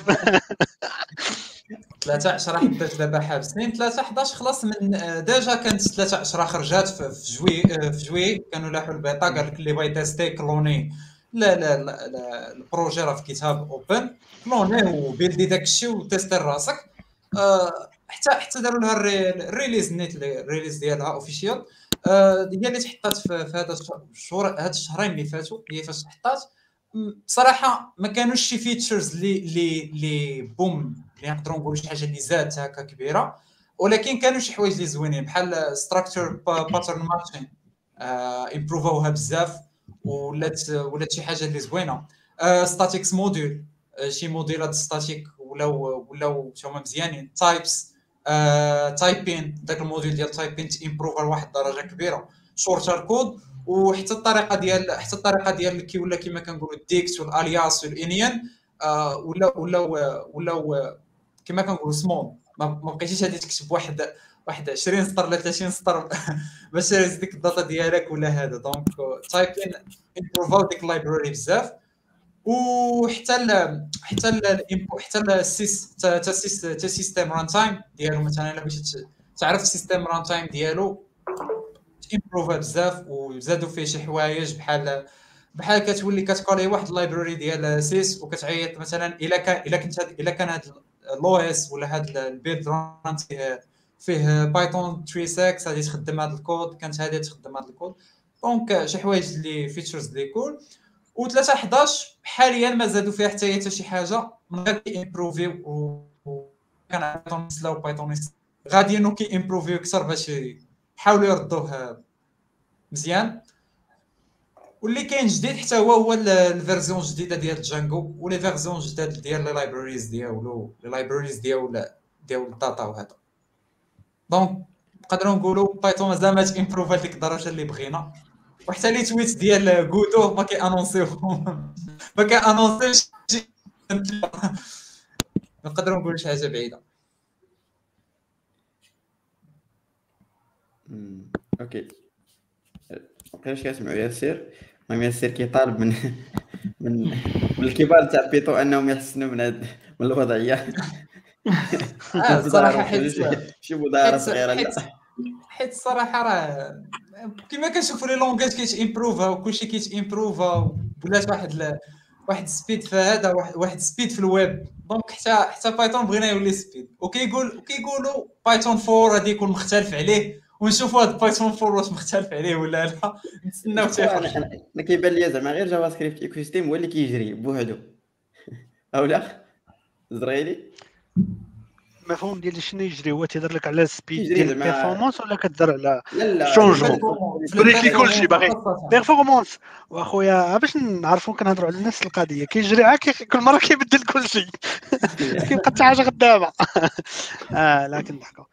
ثلاثة عشرة حداش دابا حابسين، ثلاثة حداش خلاص من ديجا كانت ثلاثة عشرة خرجات في جوي في جوي كانوا لاحوا البيتا. قال لك اللي بغا يتيستي كلوني لا لا لا البروجي راه في كتاب اوبن كلونيه وبيلدي داكشي وتيستي راسك. أه حتى حتى داروا لها الريليز نيت الريليز ديالها اوفيشيال. أه هي اللي تحطات في هذا الشهور هاد الشهرين اللي فاتوا. هي فاش تحطات بصراحه ما كانوش شي فيتشرز اللي اللي اللي بوم اللي نقدروا نقولوا شي حاجه اللي زادت هكا كبيره، ولكن كانوا شي حوايج اللي زوينين بحال ستراكشر باترن ماتشين امبروفوها بزاف ولات ولات شي حاجه اللي زوينه. ستاتيكس موديل شي موديلات ستاتيك ولاو ولاو هما مزيانين. تايبس تايبين داك الموديل ديال تايبين امبروف لواحد الدرجه كبيره. شورتر كود وحتى الطريقه ديال حتى الطريقه ديال كي ولا كما كنقولوا الديكس والالياس والانيان ولا ولا ولا كما كنقولوا سمول. ما بقيتيش غادي تكتب واحد واحد عشرين سطر ولا ثلاثين سطر باش تهز ديك الداتا ديالك ولا هذا. دونك تايبين امبروفاو ديك اللايبراري بزاف. وحتى ال حتى ال حتى السيس حتى السيس حتى السيستم ران تايم ديالو مثلا الا بغيتي تعرف السيستم ران تايم ديالو امبروفا بزاف وزادوا فيه شي حوايج بحال بحال كتولي كتقالي واحد اللايبراري ديال سيس وكتعيط مثلا الا كان الا كنت الا كان هذا الاو اس ولا هذا البيلد ران فيه بايثون ثلاثة ستة غادي تخدم هذا الكود كانت هذه تخدم هذا الكود. دونك شي حوايج اللي فيتشرز اللي كول. و ثلاثة حداش حاليا ما زادوا فيها حتى حتى شي حاجه من غير كي امبروفي و كان بايثون سلاو بايثون غادي انه كي امبروفي اكثر باش يحاولوا يردوه مزيان. واللي كاين جديد حتى هو هو الفيرزيون الجديده ديال جانجو ولي فيرزيون جداد ديال لي لايبراريز ديالو لي لايبراريز ديال ديال الداتا وهذا. دونك نقدروا نقولوا بايثون مازال ما امبروفا لديك الدرجه اللي بغينا. وحتى لي تويت ديال غودو ما كي انونسيو ما كي انونسيش نقدروا نقولوا شي حاجه بعيده. اوكي بقيناش كنسمعوا ياسير. المهم ياسير كيطالب من من من الكبار تاع بيتو انهم يحسنوا من هاد من الوضعيه. اه الصراحه حيت شي مدارة حيت صغيرة حيت لا حيت الصراحه راه كما كنشوفوا لي لونغاج كيت امبروفا وكلشي كيت امبروفا ولات واحد ل... واحد سبيد في هذا واحد واحد سبيد في الويب دونك حتى حتى بايثون بغينا يولي سبيد وكيقول وكيقولوا بايثون أربعة غادي يكون مختلف عليه ونشوفوا هذا بايثون أربعة واش مختلف عليه ولا لا نتسناو حتى انا يخرج. انا أنا كيبان لي زعما غير جافا سكريبت ايكو سيستيم هو اللي كيجري بوحدو او لا زريلي المفهوم ديال شنو يجري هو تيهضر لك على السبيد كيجري ديال زعما البيرفورمانس ولا كتهضر على لا لا شونجمون؟ في بريكلي كلشي البيرفورمانس باغي خاصة. بيرفورمانس. واخويا باش نعرفوا كنهضروا على نفس القضيه كيجري عا كي- كل مره كيبدل كلشي كيبقى حتى حاجه خدامه. اه لكن ضحكوا.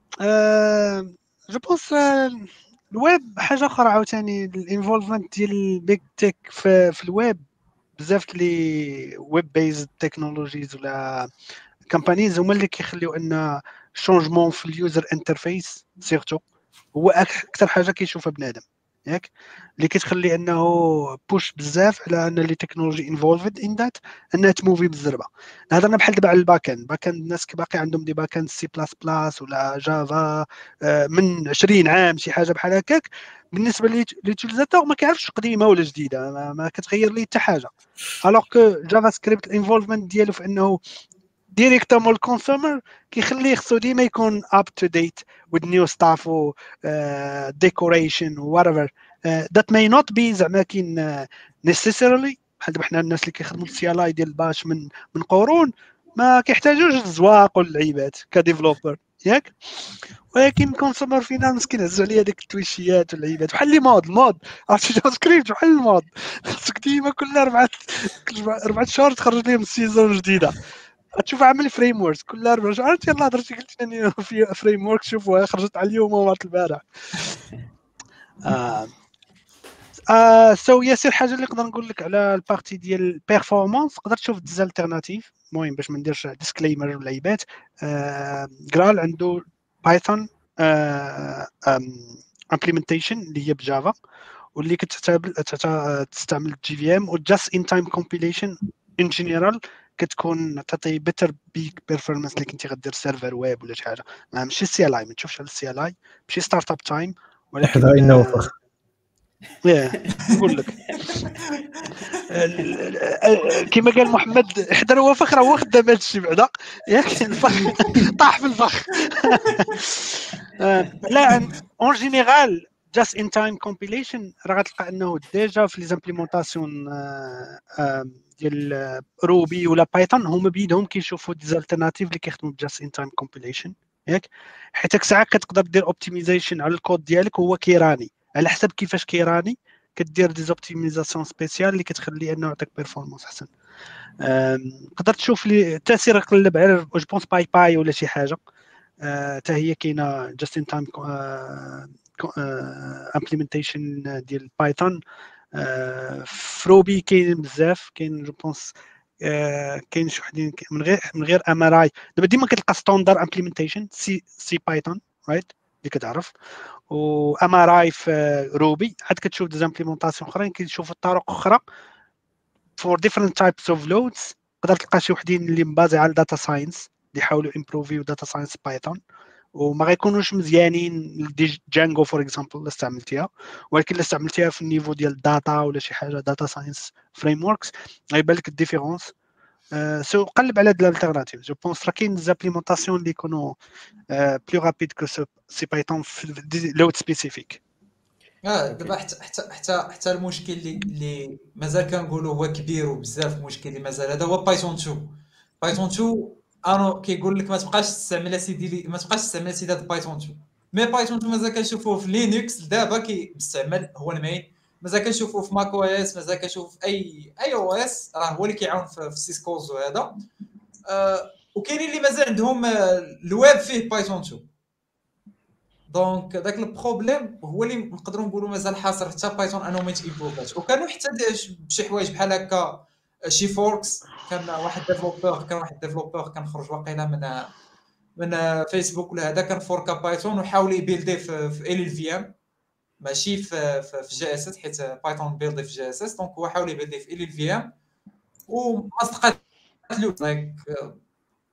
آه جو بونس الويب حاجه اخرى عاوتاني الانفولفمنت ديال البيج تيك في, في الويب بزاف لي ويب بيز تكنولوجيز ولا كامبانيز هما اللي كيخليو ان شونجمون في اليوزر انترفيس سيرتو هو اكثر حاجه كيشوفها بنادم ياك اللي كتخلي انه بوش بزاف على ان لي تكنولوجي انفولفد ان ذات انها تموفي بالزربه. هضرنا بحال دابا على الباك اند باك اند الناس باقي عندهم دي باك اند سي بلاس بلاس ولا جافا من عشرين عام شي حاجه بحال هكاك بالنسبه لليوتيليزاتور ما كيعرفش قديمه ولا جديده ما, ما كتغير ليه حتى حاجه. الوغ كو جافا سكريبت الانفولفمنت ديالو في انه ديريكتومون الكونسومر كيخليه خصو ديما يكون اب تو ديت with new stuff و uh, decoration و whatever uh, that may not be زعما كاين uh, necessarily بحال دابا حنا الناس اللي كيخدموا السي ال اي ديال باش من من قرون ما كيحتاجوش الزواق واللعيبات كديفلوبر ياك ولكن كونسومر فينانس كينهزوا عليه هذيك التويشيات واللعيبات بحال لي مود المود عرفتي جافا سكريبت بحال المود خصك ديما كل اربعه اربعه شهور تخرج لهم سيزون جديده تشوف عامل فريم ورك كل اربع شهور يلاه هضرتي قلت لي في فريم ورك شوفوا خرجت على اليوم ومرات البارح. اه اه سو ياسر حاجه اللي نقدر نقول لك على البارتي ديال البيرفورمانس تقدر تشوف ديز التيرناتيف المهم باش ما نديرش ديسكليمر ولا عيبات. آه جرال عنده بايثون امبليمنتيشن اللي هي بجافا واللي كتستعمل تستعمل جي في ام وجاست ان تايم كومبيليشن ان جينيرال كتكون تعطي بيتر بيك بيرفورمانس اللي كنتي غدير سيرفر ويب ولا شي حاجه ماشي السي ال اي ما تشوفش على السي ال اي ماشي ستارت اب تايم ولكن حذر انه وفخ ياه نقول لك كما قال محمد حذر هو فخ راه هو خدام هذا الشيء بعدا ياك الفخ طاح في الفخ. لا اون جينيرال جاست ان تايم كومبيليشن راه غتلقى انه ديجا في لي زامبليمونطاسيون ديال روبي ولا بايثون هما بيدهم كيشوفوا دي التيرناتيف اللي كيخدموا جاست ان تايم كومبيليشن ياك حيت ساعات كتقدر دير اوبتيمايزيشن على الكود ديالك هو كيراني على حسب كيفاش كيراني كدير دي اوبتيمايزاسيون سبيسيال اللي كتخلي انه يعطيك بيرفورمانس احسن. تقدر تشوف لي التاثير قلب على جو بونس باي باي ولا شي حاجه حتى هي كاينه جاست ان تايم امبليمنتيشن ديال بايثون. فروبي كاين بزاف كاين جو بونس كاين شي وحدين من غير من غير ام ار اي دابا ديما كتلقى ستاندر امبليمنتيشن سي سي بايثون رايت اللي كتعرف و ام ار اي في روبي عاد كتشوف دي امبليمونطاسيون اخرين كيشوفوا طرق اخرى فور ديفرنت تايبس اوف لودز. تقدر تلقى شي وحدين اللي مبازي على الداتا ساينس اللي يحاولوا امبروفيو داتا ساينس بايثون وما غيكونوش مزيانين جانجو فور اكزامبل اللي استعملتيها ولكن اللي استعملتيها في النيفو ديال الداتا ولا شي حاجه داتا ساينس فريم وركس غيبان لك الديفيرونس. أه سو قلب على هاد الالتيرناتيف جو بونس راه كاين زابليمونطاسيون اللي يكونوا أه بلو رابيد كو سي بايثون في لود سبيسيفيك. اه دابا حتى حتى حتى حتى المشكل اللي اللي مازال كنقولوا هو كبير وبزاف المشكل اللي مازال هذا هو بايثون اثنين. بايثون اثنين انا كيقول لك ما تبقاش تستعمل سيدي ما تبقاش تستعمل سيدي هذا بايثون اثنين مي بايثون اثنين مازال كنشوفوه في لينكس دابا كيستعمل هو المين مازال كنشوفوه في ماك او اس مازال كنشوفوه في اي اي او اس راه هو اللي كيعاون في سيسكوز وهذا. آه وكاينين اللي مازال عندهم الويب فيه بايثون اثنين دونك داك البروبليم هو اللي نقدروا نقولوا مازال حاصر حتى بايثون انه ما تيبروفاش وكانوا حتى بشي حوايج بحال هكا شي فوركس كان واحد ديفلوبر كان واحد ديفلوبر كان خرج واقيلا من من فيسبوك ولا هذا كان فوركا بايثون وحاول يبيلدي في في ال في ام ماشي في في جي اس اس حيت بايثون بيلدي في جي اس اس دونك هو حاول يبيلدي في ال في ام وما استقات له لايك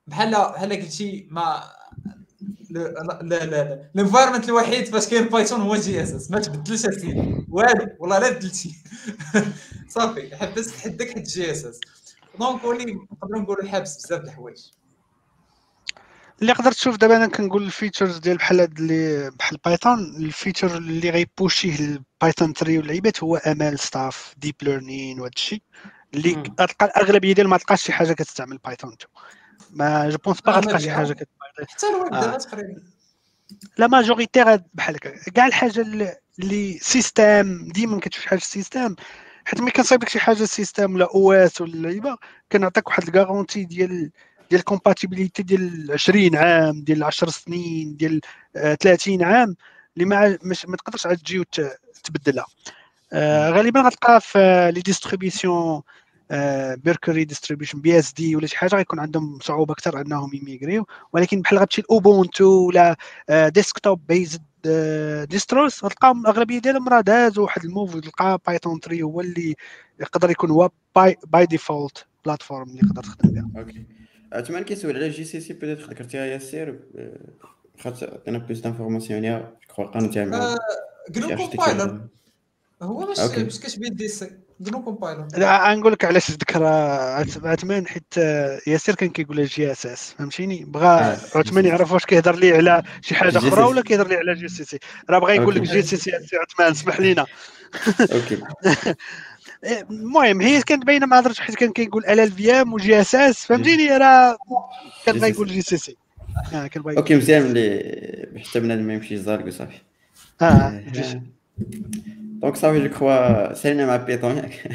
بحال بحال قلتي ما لا لا لا الانفايرمنت الوحيد فاش كاين بايثون هو جي اس اس، ما تبدلش اسيدي والو والله لا بدلتي صافي حبست حدك حد جي اس اس. دونك ولي نقدروا نقولوا حابس بزاف د الحوايج اللي قدرت تشوف دابا. انا كنقول الفيتشرز ديال بحال هاد اللي بحال بايثون، الفيتشر اللي غيبوشيه البايثون ثري واللعيبات هو امال ستاف ديب ليرنين وهذا الشيء اللي مم. غتلقى الاغلبيه ديال ما تلقاش شي حاجه كتستعمل بايثون تو. ما جو بونس با آه، غتلقى شي مزيان. حاجه كت... حتى الويب آه. دابا تقريبا لا ماجوريتير بحال هكا كاع الحاجه اللي- اللي سيستم ديما كتشوف شي حاجه سيستم، حيت ملي كنصايب لك شي حاجه سيستم ولا او اس ولا اللعيبه كنعطيك واحد الكارونتي ديال ديال الكومباتيبيليتي ديال عشرين عام ديال عشر سنين ديال آه، ثلاثين عام اللي ما مش ما تقدرش عاد تجي وتبدلها. آه، غالبا غتلقى في لي ديستريبيسيون ميركوري ديستريبيوشن بي اس دي ولا شي حاجه غيكون عندهم صعوبه اكثر انهم يميغريو، ولكن بحال غتمشي لاوبونتو ولا ديسكتوب بيزد ديستروس غتلقاهم الاغلبيه ديالهم راه دازوا واحد الموف، تلقى بايثون ثري هو اللي يقدر يكون هو باي باي ديفولت بلاتفورم اللي يقدر تخدم بها. اوكي عثمان كيسول على جي سي سي بيتيت ذكرتيها ياسر خاطر عطينا بلوس دانفورماسيون عليها كو قانون تاع مع جنو كومبايلر هو باش باش كتبي دي سي جنو كومبايلر. لا نقول لك علاش ذكر عثمان، حيت ياسر كان كيقول جي اس اس فهمتيني، بغى عثمان يعرف واش كيهضر لي على شي حاجه اخرى ولا كيهضر لي على جي سي سي. راه بغى يقول لك جي سي سي عثمان اسمح لينا. اوكي المهم هي كانت باينه ما هضرتش حيت كان كيقول ال ال في ام وجي اس اس فهمتيني، راه كان بغى يقول جي سي سي. اه كان بغى اوكي مزيان اللي حتى بنادم ما يمشي يزارك وصافي. اه دونك صافي جو كخوا سالينا مع بيتون ياك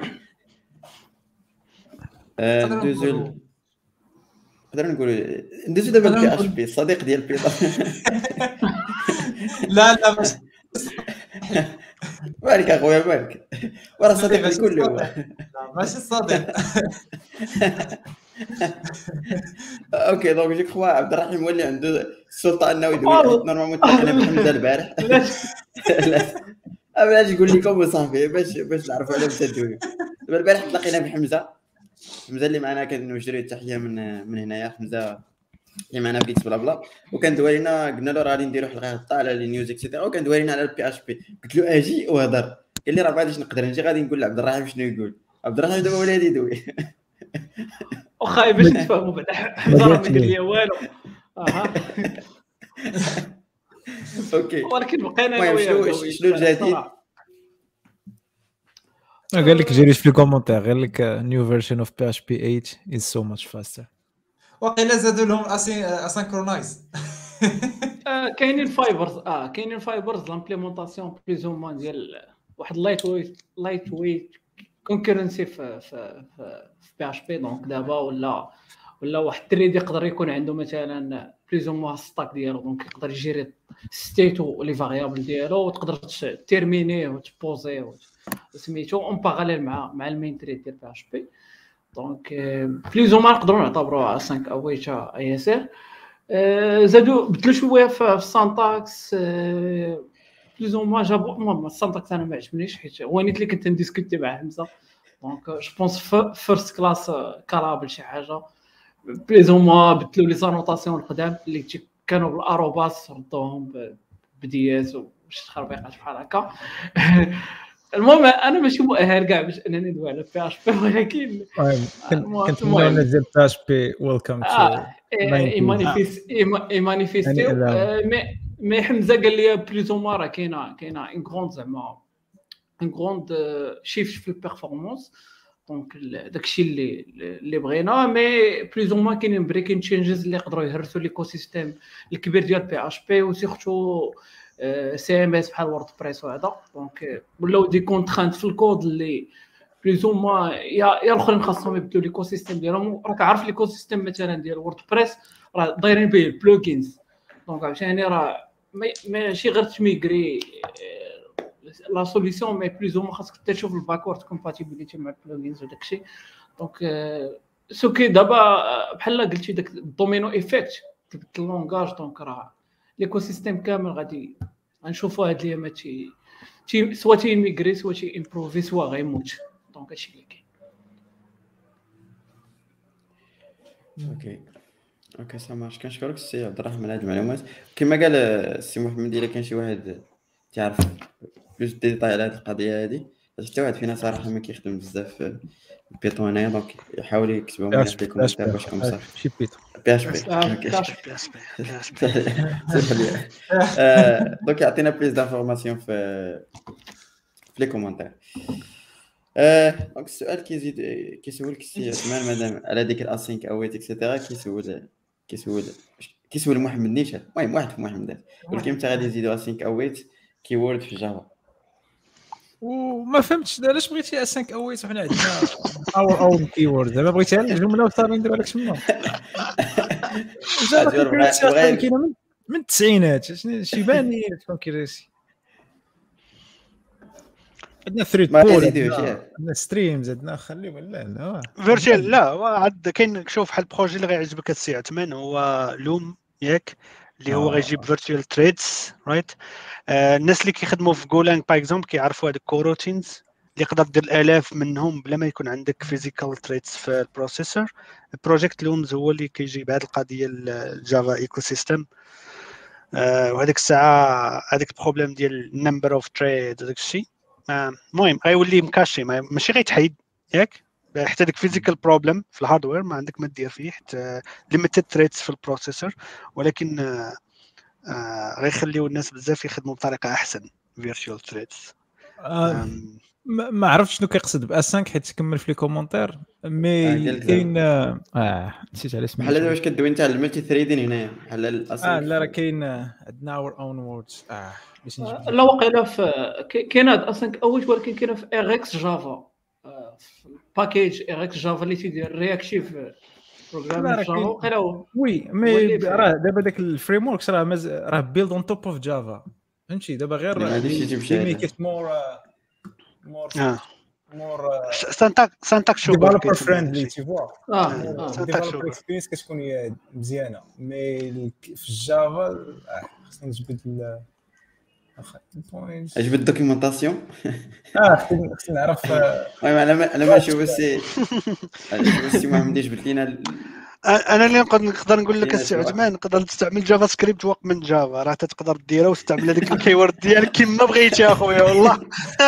ندوزو نقدر نقولوا ندوزو دابا بي اش بي الصديق ديال بيتون. لا لا ماشي مالك اخويا مالك وراه صديق كله هو ماشي الصديق. اوكي دونك جو كخوا عبد الرحيم ولي عنده السلطه انه يدوي حيت نورمالمون تلاقينا بحمزه البارح. باش نقول لكم وصافي باش باش نعرفوا على بدا الدوي. دابا البارح تلاقينا بحمزه حمزه اللي معنا كنوجدوا التحيه من من هنايا حمزه اللي معنا في جيكس بلا بلا، وكان دوالينا قلنا له راه غادي نديروا حلقه غدا على لي نيوز اكسيتيرا، وكان دوالينا على البي اش بي. قلت له اجي وهضر، قال لي راه ما غاديش نقدر نجي غادي نقول لعبد الرحيم شنو يقول. عبد الرحيم دابا ولا يدوي واخا باش نتفاهموا بعدا حمزه راه ما قال لي والو. اها اوكي ولكن بقينا المهم شنو شنو الجديد؟ قال لك جيريش في الكومونتير قال لك نيو فيرجن اوف بي اتش بي ثمانية از سو ماتش فاستر. وقيلا زادوا لهم اسينكرونايز. كاينين فايبرز اه كاينين فايبرز لامبليمونطاسيون بليز او مان ديال واحد لايت ويت لايت ويت كونكورنسي في في في بي اتش بي. دونك دابا ولا ولا واحد التريد يقدر يكون عنده مثلا بليز او مان ستاك ديالو، دونك يقدر يجيري ستيتو لي فاريابل ديالو وتقدر تيرمينيه وتبوزي سميتو اون باراليل مع مع المين تريد ديال بي اتش بي. دونك بليز او مان نقدروا نعتبروها خمسة اويتا اي اس ار. زادوا بدلوا شويه في السانتاكس بليز او مان جابوا المهم السانتاكس انا ما عجبنيش حيت هو نيت اللي كنت نديسكوتي مع حمزه. دونك جو بونس فيرست كلاس كارابل شي حاجه بليز او مان بدلوا لي زانوطاسيون القدام اللي كانوا بالاروباس ردوهم بدي اس وشي تخربيقات بحال هكا. المهم انا ماشي مؤهل كاع باش انني ندوي على بي اش بي، ولكن كنتمنى ننزل بي اش بي ويلكم تو مانيفيستيو. مي مي حمزه قال لي بليز او راه كاينه كاينه ان غروند زعما ان غروند شيفت في البيرفورمانس. دونك داكشي اللي اللي بغينا، مي بليز او كاينين بريكين تشينجز اللي يقدروا يهرسوا ليكو سيستيم الكبير ديال بي اش بي وسيرتو سي ام اس بحال ووردبريس وهذا. دونك ولاو دي كونترانت في الكود اللي بليز او ما يا يا الاخرين خاصهم يبدلوا ليكو سيستيم ديالهم. راك عارف ليكو سيستيم مثلا ديال ووردبريس راه دايرين به البلوجينز، دونك عشان راه ماشي غير تميغري لا سوليسيون، مي بليز او ما خاصك حتى تشوف الباكورد كومباتيبيليتي مع البلوجينز وداكشي. دونك سو كي دابا بحال قلتي داك الدومينو ايفيكت تبدل اللونغاج، دونك راه ليكو سيستيم كامل غادي غنشوفوا هاد الايامات تي تي سوا تي ميغري سوا تي امبروفي سوا غيموت. دونك هادشي اللي كاين. اوكي اوكي سا مارش. كنشكرك السي عبد الرحمن على هاد المعلومات. كما قال السي محمد الا كان شي واحد تعرف بلوس ديتاي على هاد القضيه هادي، حتى واحد فينا صراحه ما كيخدم بزاف في البيتون هنايا، دونك يحاول يكتبهم لنا في الكومنتات باش يكون صافي. شي بيتون بي اش بي آه، اوكي كاش. بي اس بي بي اس بي آه، دونك يعطينا بليز دانفورماسيون في في لي كومونتير. آه، دونك السؤال كيزيد كيسولك السي عثمان مادام على ديك الاسينك اويت اكسيتيرا، كيسول كيسول كيسول محمد نيشان، المهم واحد في محمد ولكن انت غادي يزيدوا اسينك اويت كيورد في جافا. وما فهمتش علاش بغيتي اسانك اويت وحنا عندنا اور اون كيورد، دابا بغيتيها الجمله وصافي نديروا لك شنو جافا كاينه من من التسعينات، شنو شي باني تكون كيريسي عندنا ثريد بول عندنا ستريمز عندنا خليو لا لا فيرتشوال لا عاد كاين شوف بحال البروجي اللي غيعجبك السي عثمان هو لوم ياك اللي هو غيجيب فيرتشوال تريدز رايت. الناس اللي كيخدموا في جولانج باغ اكزومبل كيعرفوا هذوك كوروتينز اللي يقدر دير الالاف منهم بلا ما يكون عندك فيزيكال تريدز في البروسيسور. بروجيكت لومز هو اللي كيجيب هذه القضيه الجافا ايكو سيستم. وهذيك الساعه هذيك البروبليم ديال النمبر اوف تريد هذاك الشيء المهم غيولي مكاشي ماشي غيتحيد ياك حتى ديك فيزيكال بروبليم في الهاردوير ما عندك ما دير فيه حتى ليميتد تريدز في البروسيسور، ولكن آه آه غيخليو الناس بزاف يخدموا بطريقه احسن فيرتشوال تريدز. آه ما عرفتش شنو كيقصد ب خمسة حيت كمل في لي كومونتير مي كاين اه نسيت على اسمه بحال واش كدوي انت على الملتي ثريدين هنايا بحال الاسم. اه لا راه كاين عندنا اور اون ووردز اه باش نجيب لا واقيلا في كاين هاد اصلا اول ولكن كاين في ار اكس جافا باكيج ار اكس جافا اللي تيدير رياكتيف بروغرام جافا واقيلا وي مي راه دابا داك الفريم وركس راه مز... راه بيلد اون توب اوف جافا فهمتي دابا غير ميك مور مور مور سانتاك سانتاك شو ديفلوبر فريندلي تي فوا اه ديفلوبر اكسبيرينس كتكون مزيانه مي في الجافا خصنا نجبد اجبد الدوكيومونطاسيون اه خصني نعرف المهم انا انا ما نشوف السي السي محمد يجبد لينا. انا اللي نقدر نقول لك السي عثمان نقدر تستعمل جافا سكريبت وقت من جافا راه تقدر ديرها وتستعمل هذيك الكيورد ديالك كيما بغيتي اخويا والله.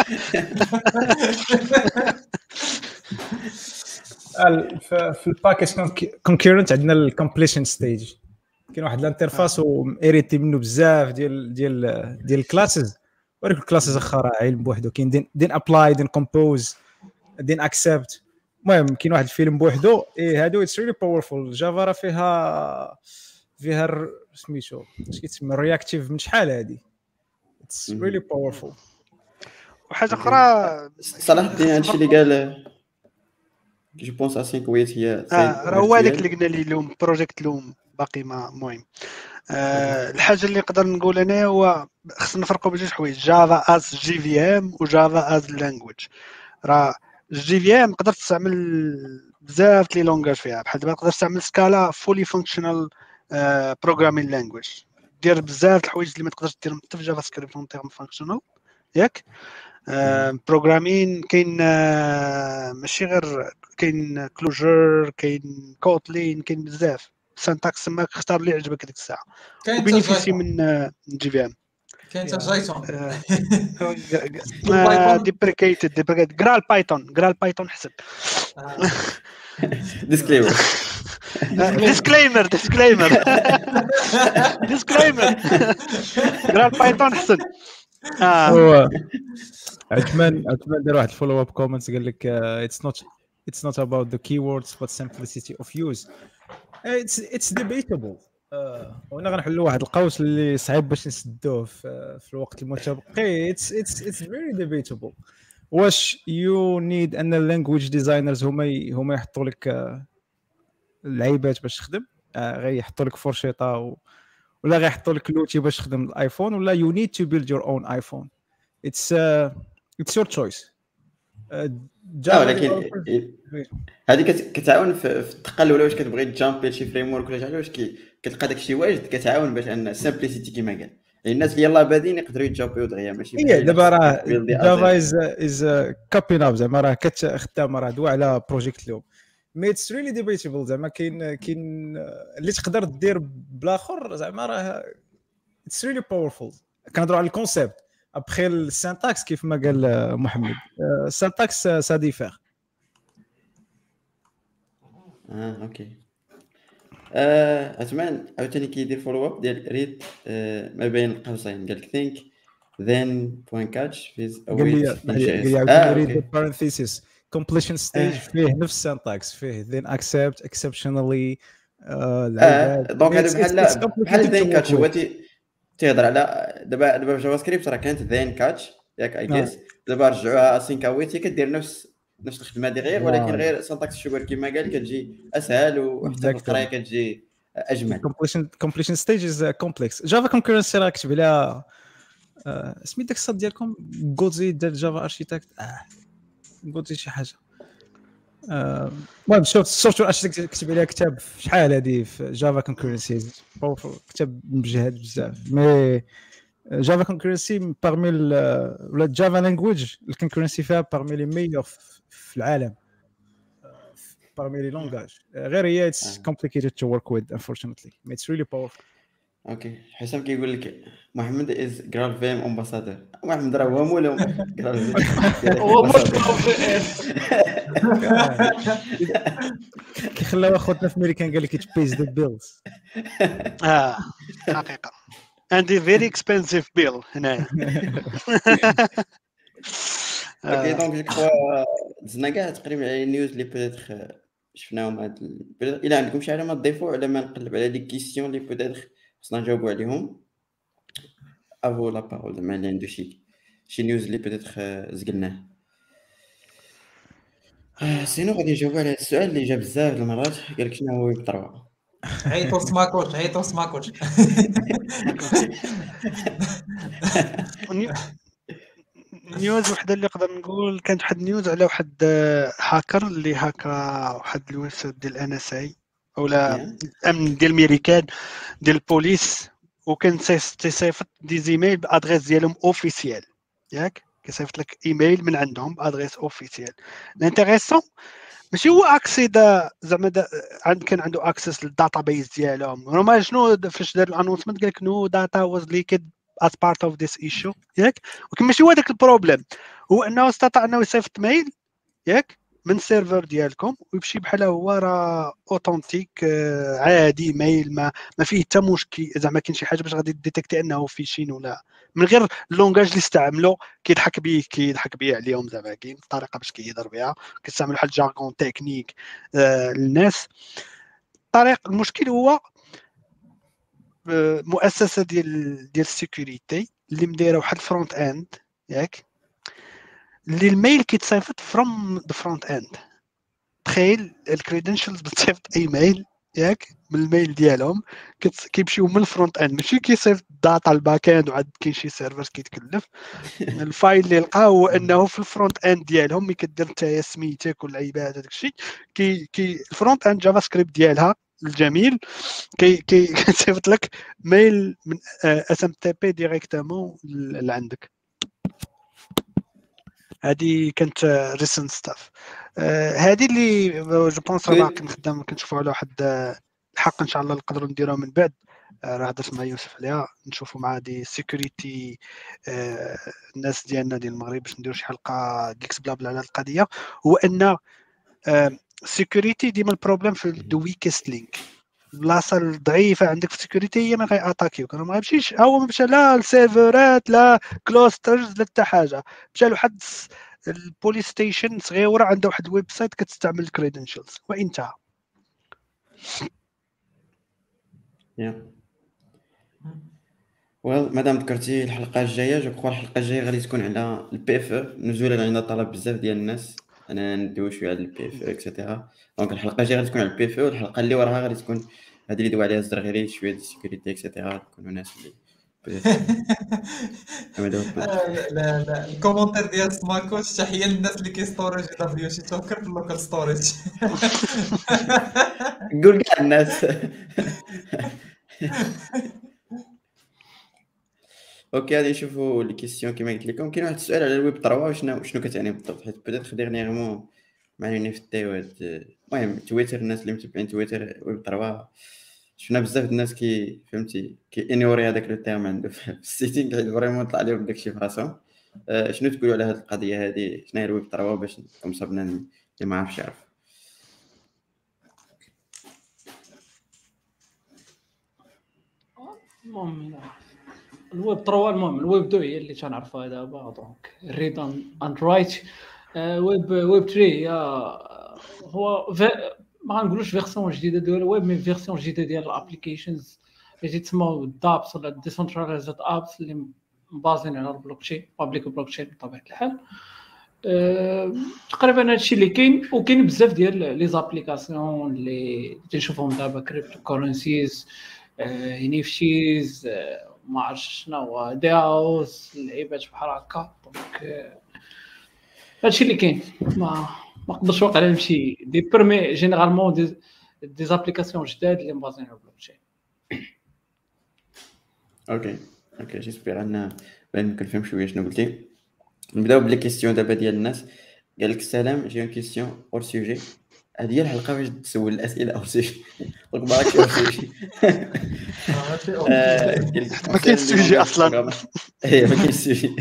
في الباكيج كونكورنت عندنا الكومبليشن ستيج كاين واحد الانترفاس واريتي منه بزاف ديال ديال ديال الكلاسز وريك الكلاسز اخرى علم بوحدو كاين دين دين ابلاي دين كومبوز دين اكسبت. المهم كاين واحد الفيلم بوحدو ايه هادو اتس ريلي باورفول. جافا راه فيها فيها سميتو اش كيتسمى رياكتيف من شحال هادي اتس ريلي باورفول. وحاجه اخرى صلاح الدين هادشي اللي قال جو بونس اسينك ويت هي راه هو هذاك اللي قلنا لي لوم بروجيكت لوم باقي ما المهم. أه الحاجه اللي نقدر نقول انا هو خصنا نفرقوا بين جوج حوايج جافا از جي في ام وجافا از لانجويج. راه الجي في ام تقدر تستعمل بزاف لي لونغاج فيها بحال دابا تقدر تستعمل سكالا فولي فانكشنال بروغرامين لانجويج دير بزاف الحوايج اللي ما تقدرش ديرهم حتى في جافا سكريبت اون تيرم فانكشنال ياك. بروغرامين كاين ماشي غير كاين كلوجر كاين كوتلين كاين بزاف سانتاكس ما اختار اللي يعجبك ديك الساعه. كاين بينيفيسي من جي في ام كاين حتى جايتون ديبريكيتد ديبريكيتد جرال بايثون جرال بايثون حسب ديسكليمر ديسكليمر ديسكليمر ديسكليمر جرال بايثون حسن. هو عثمان عثمان دار واحد الفولو اب كومنتس قال لك اتس نوت it's not about the keywords but simplicity of use. it's it's debatable. آه وانا غنحلوا واحد القوس اللي صعيب باش نسدوه في, في الوقت المتبقي. it's it's it's very debatable. واش you need ان اللانجويج ديزاينرز هما هما يحطوا لك آه اللعيبات باش تخدم آه غيحطوا لك فورشيطه و... ولا غيحطوا لك لوتي باش تخدم الايفون ولا you need to build your own iPhone. it's uh, it's your choice. جا ولكن هذه كتعاون في التقل ولا واش كتبغي تجامبي لشي فريم ورك ولا شي حاجه واش كتلقى داكشي واجد كتعاون باش ان سامبليسيتي كما قال الناس اللي يلاه بادين يقدروا يتجامبيو دغيا ماشي هي دابا راه جافا از از كابين اب زعما راه كتخدم راه دوا على بروجيكت لوم مي اتس ريلي ديبيتابل زعما كاين كاين اللي تقدر دير بالاخر زعما راه اتس ريلي باورفول. كنهضروا على الكونسيبت ابخي السانتاكس كيف ما قال محمد السانتاكس سا ديفير. اه اوكي. آه اتمنى عاوتاني كيدير فولو اب ديال ريد آه ما بين القوسين قال لك think then point catch with a قال لي wait in قال جي اس. لي اه عاوتاني ريد اوكي parenthesis completion stage اه فيه نفس السانتاكس فيه then accept exceptionally اه العباد دونك هذا it's it's it's بحال بحال complicated to then work catch هو with. تي تيهضر على دابا دابا في جافا سكريبت راه كانت then catch ياك اي آه. جيس دابا رجعوها async await هي كدير نفس نفس الخدمه دي غير ولكن فوالا غير سانتاكس شوبر كما قال كتجي اسهل وحتى في القرايه exactly كتجي اجمل. completion completion stage is uh, complex. Java concurrency راه كتب عليها آه، سميت داك الصاد ديالكم غوزي ديال جافا اركيتكت اه غوزي شي حاجه. آه، المهم شوف السوفتوير اركيتكت كتب عليها كتاب شحال هذه في جافا كونكورنسيز كتاب مجهد بزاف. مي جافا كونكورنسي بارمي ولا جافا لانجويج الكونكورنسي فيها بارمي لي ميور في العالم بارمي لي لونغاج غير هي اتس آه. complicated to work with unfortunately but it's really powerful. اوكي حسام كيقول لك محمد از جرال فيم امباسادور. محمد راه هو مولهم جرال فيم هو مش كيخلاو اخوتنا في امريكان قال لك it pays the bills. اه حقيقه عندي فيري اكسبنسيف بيل هنايا. اوكي دونك جو كخوا دزنا كاع تقريبا على النيوز اللي بيتيتر شفناهم هاد الى عندكم شي حاجه ما تضيفوا على ما نقلب على دي كيسيون اللي بيتيتر خصنا نجاوبوا عليهم افو لا بارول زعما اللي عنده شي شي نيوز اللي بيتيتر زقلناه. سينو غادي نجاوبوا على السؤال اللي جا بزاف المرات قال لك شنو هو ويب ثلاثة. عيطوا سماكوش عيطوا سماكوش. نيوز وحده اللي نقدر نقول كانت واحد نيوز على واحد هاكر اللي هاكا واحد الويب سايت ديال ان اس اي اولا الامن ديال الميريكان ديال البوليس وكان تيصيفط دي زيميل بادريس ديالهم اوفيسيال ياك كيصيفط لك ايميل من عندهم بادريس اوفيسيال. الانتريسون ماشي هو اكسيدا زعما عند كان عنده اكسس للداتابيز ديالهم هما شنو فاش دار الانونسمنت قال لك نو داتا واز ليكد as part of this issue ياك ولكن ماشي هو داك البروبليم هو انه استطاع انه يصيفط ميل ياك من السيرفر ديالكم ويمشي بحال هو راه اوثنتيك عادي ميل ما ما فيه حتى مشكل زعما كاين شي حاجه باش غادي ديتيكتي انه فيشين ولا من غير اللونغاج اللي استعملوا كيضحك بيه كيضحك بيه عليهم زعما كاين طريقه باش كيهضر بها كيستعملوا بحال جارغون تكنيك آه للناس. الطريق المشكل هو مؤسسه ديال ديال السيكوريتي اللي مدايره واحد الفرونت اند ياك اللي الميل كيتصيفط فروم ذا فرونت اند. تخيل الكريدنشالز بتصيفط ايميل ياك من الميل ديالهم كيمشيو من الفرونت اند ماشي كيصيفط داتا الباك اند وعاد كاين شي سيرفر كيتكلف. الفايل اللي لقاه هو انه في الفرونت اند ديالهم ملي كدير نتايا سميتك والعيبات هذاك الشيء كي كي الفرونت اند جافا سكريبت ديالها الجميل كي كي كيصيفط لك ميل من اس ام تي بي ديريكتومون لعندك. هذه كانت ريسنت ستاف هذه اللي جو بونس راه باقي نخدم كنشوفوا على واحد الحق ان شاء الله نقدروا نديروها من بعد راه هضرت مع يوسف عليها نشوفوا مع دي سيكوريتي الناس ديالنا ديال المغرب باش نديروا شي حلقه ديكس بلا بلا على القضيه. هو ان سيكوريتي ديما البروبليم في الدو ويكست لينك البلاصه الضعيفه عندك في السيكوريتي هي ما غياتاكيوك ما غيمشيش هو ما مشى لا السيرفرات لا كلوسترز لا حتى حاجه مشى لواحد البوليس ستيشن صغيره عنده واحد الويب سايت كتستعمل الكريدنشالز وانتهى. يا ويل مادام ذكرتي الحلقه الجايه جو كخوا الحلقه الجايه غادي تكون على البي اف نزولا عندنا طلب بزاف ديال الناس انا ندوي شويه على البي اف اكسيتيرا. دونك الحلقه الجايه غادي تكون على البي اف والحلقه اللي وراها غادي تكون هذه اللي دوا عليها الزرغيري شويه ديال السيكوريتي اكسيتيرا يكونوا ناس اللي لا لا الكومنتير ديال سماكوش تحيه للناس اللي كيستورج دبليو سي توكر في اللوكال ستوريج. نقول كاع الناس اوكي غادي نشوفوا لي كيسيون كما قلت لكم. كاين واحد السؤال على الويب ثلاثة شنو شنو كتعني بالضبط حيت بدات ديرنييرمون معنيين في التيوات. المهم تويتر، الناس اللي متبعين تويتر ويب ثلاثة شفنا بزاف د الناس كي فهمتي كي انيوري هذاك لو تيرم عنده في السيتينغ حيت فريمون طلع عليهم داكشي في راسهم. أه شنو تقولوا على هذه القضيه هذه؟ شنو هي الويب ثلاثة باش نكون صابنا اللي ما عرفش يعرف؟ المهم الويب ثلاثة المهم الويب اثنين هي اللي تنعرفها دابا. دونك ريد اند رايت. ويب ويب ثلاثة هي هو ما غنقولوش فيرسيون جديده ديال الويب، مي فيرسيون جديده ديال الابليكيشنز اللي تسموا دابس ولا ديسنتراليزد ابس اللي مبازين على البلوكشين بابليك بلوكشين بطبيعه الحال. أه تقريبا هادشي اللي كاين، وكاين بزاف ديال لي زابليكاسيون اللي تنشوفهم دابا كريبتو كورنسيز، انيفتيز، ما عرفتش شنو هو داوس، لعيبات بحال هكا. دونك هادشي اللي كاين. ما ما نقدرش واقع نمشي دي بيرمي جينيرالمون دي دي زابليكاسيون جداد اللي مبازين على البلوكشين. اوكي اوكي جيسبيغ ان بان كنفهم شويه شنو قلتي. نبداو بلي كيسيون دابا ديال الناس. قال لك السلام، جي اون كيسيون اور سوجي. هذه الحلقه باش تسول الاسئله اور سوجي دونك ماكش اور سوجي. ما كاينش سوجي اصلا. اي ما كاينش سوجي.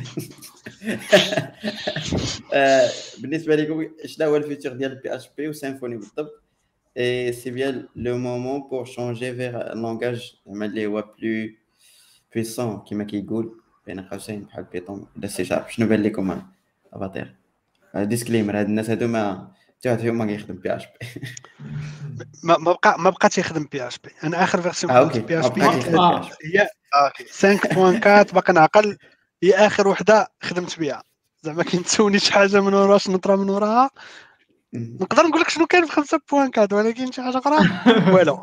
بالنسبه لكم شنو هو الفيتشر ديال بي اتش بي وسيمفوني بالضبط؟ اي سي بيان لو مومون بور شونجي فيغ ان لونغاج اللي هو بلو بويسون كيما كيقول بين قوسين بحال بيتون ولا سي شارب. شنو بان لكم افاتير؟ ديسكليمر، هاد الناس هادو ما حتى واحد فيهم ما كيخدم بي اتش بي. ما ما بقى ما بقى تيخدم بي اتش بي. انا اخر فيرسيون آه، كنت أوكي. بي اتش بي ما بقى تيخدم آه. PHP. هي اوكي خمسة فاصلة أربعة باقي نعقل. هي اخر وحده خدمت بها. زعما كنتسوني شي حاجه من ورا شنو طرا من وراها. مم. نقدر نقول لك شنو كاين في خمسة فاصلة أربعة ولكن شي حاجه اخرى والو.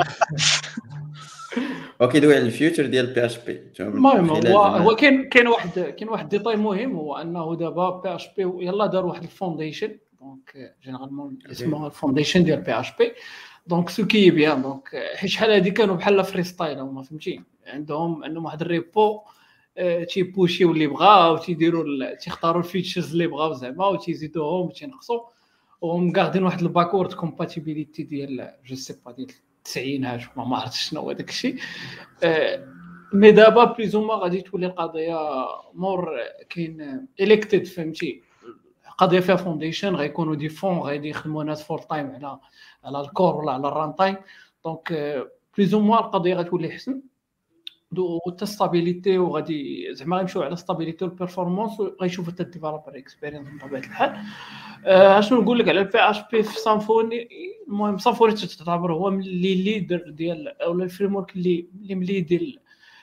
اوكي دوي على الفيوتشر ديال بي اتش بي. المهم هو هو كاين كاين واحد كاين واحد ديتاي مهم، هو انه دابا بي اتش بي يلا دار واحد الفونديشن. دونك جينيرالمون اسمها الفونديشن ديال بي اتش بي. دونك سو كي بيان دونك حيت شحال هادي كانوا بحال فري ستايل هما فهمتي، عندهم عندهم واحد الريبو تيبوشيو اللي بغاو تيديروا تيختاروا الفيتشرز اللي بغاو زعما وتيزيدوهم وتينقصوا، وهم قاعدين واحد الباكورد كومباتيبيليتي ديال جو سي با ديال التسعينات ما ما عرفتش شنو هو داك الشيء. مي دابا بليزوما غادي تولي القضيه مور كاين الكتد فهمتي، قضيه فيها فونديشن غيكونوا دي فون غادي يخدموا ناس فول تايم على على الكور ولا على الران تايم. دونك بليزوما القضيه غتولي احسن دو ستابيليتي، وغادي زعما غيمشيو على ستابيليتي والبيرفورمانس، وغيشوفوا حتى الديفلوبر اكسبيرينس بطبيعه الحال. اشنو نقول لك على البي اتش بي في سامفوني؟ المهم سامفوني تعتبر هو اللي ليدر ديال او الفريم ورك اللي اللي مليدي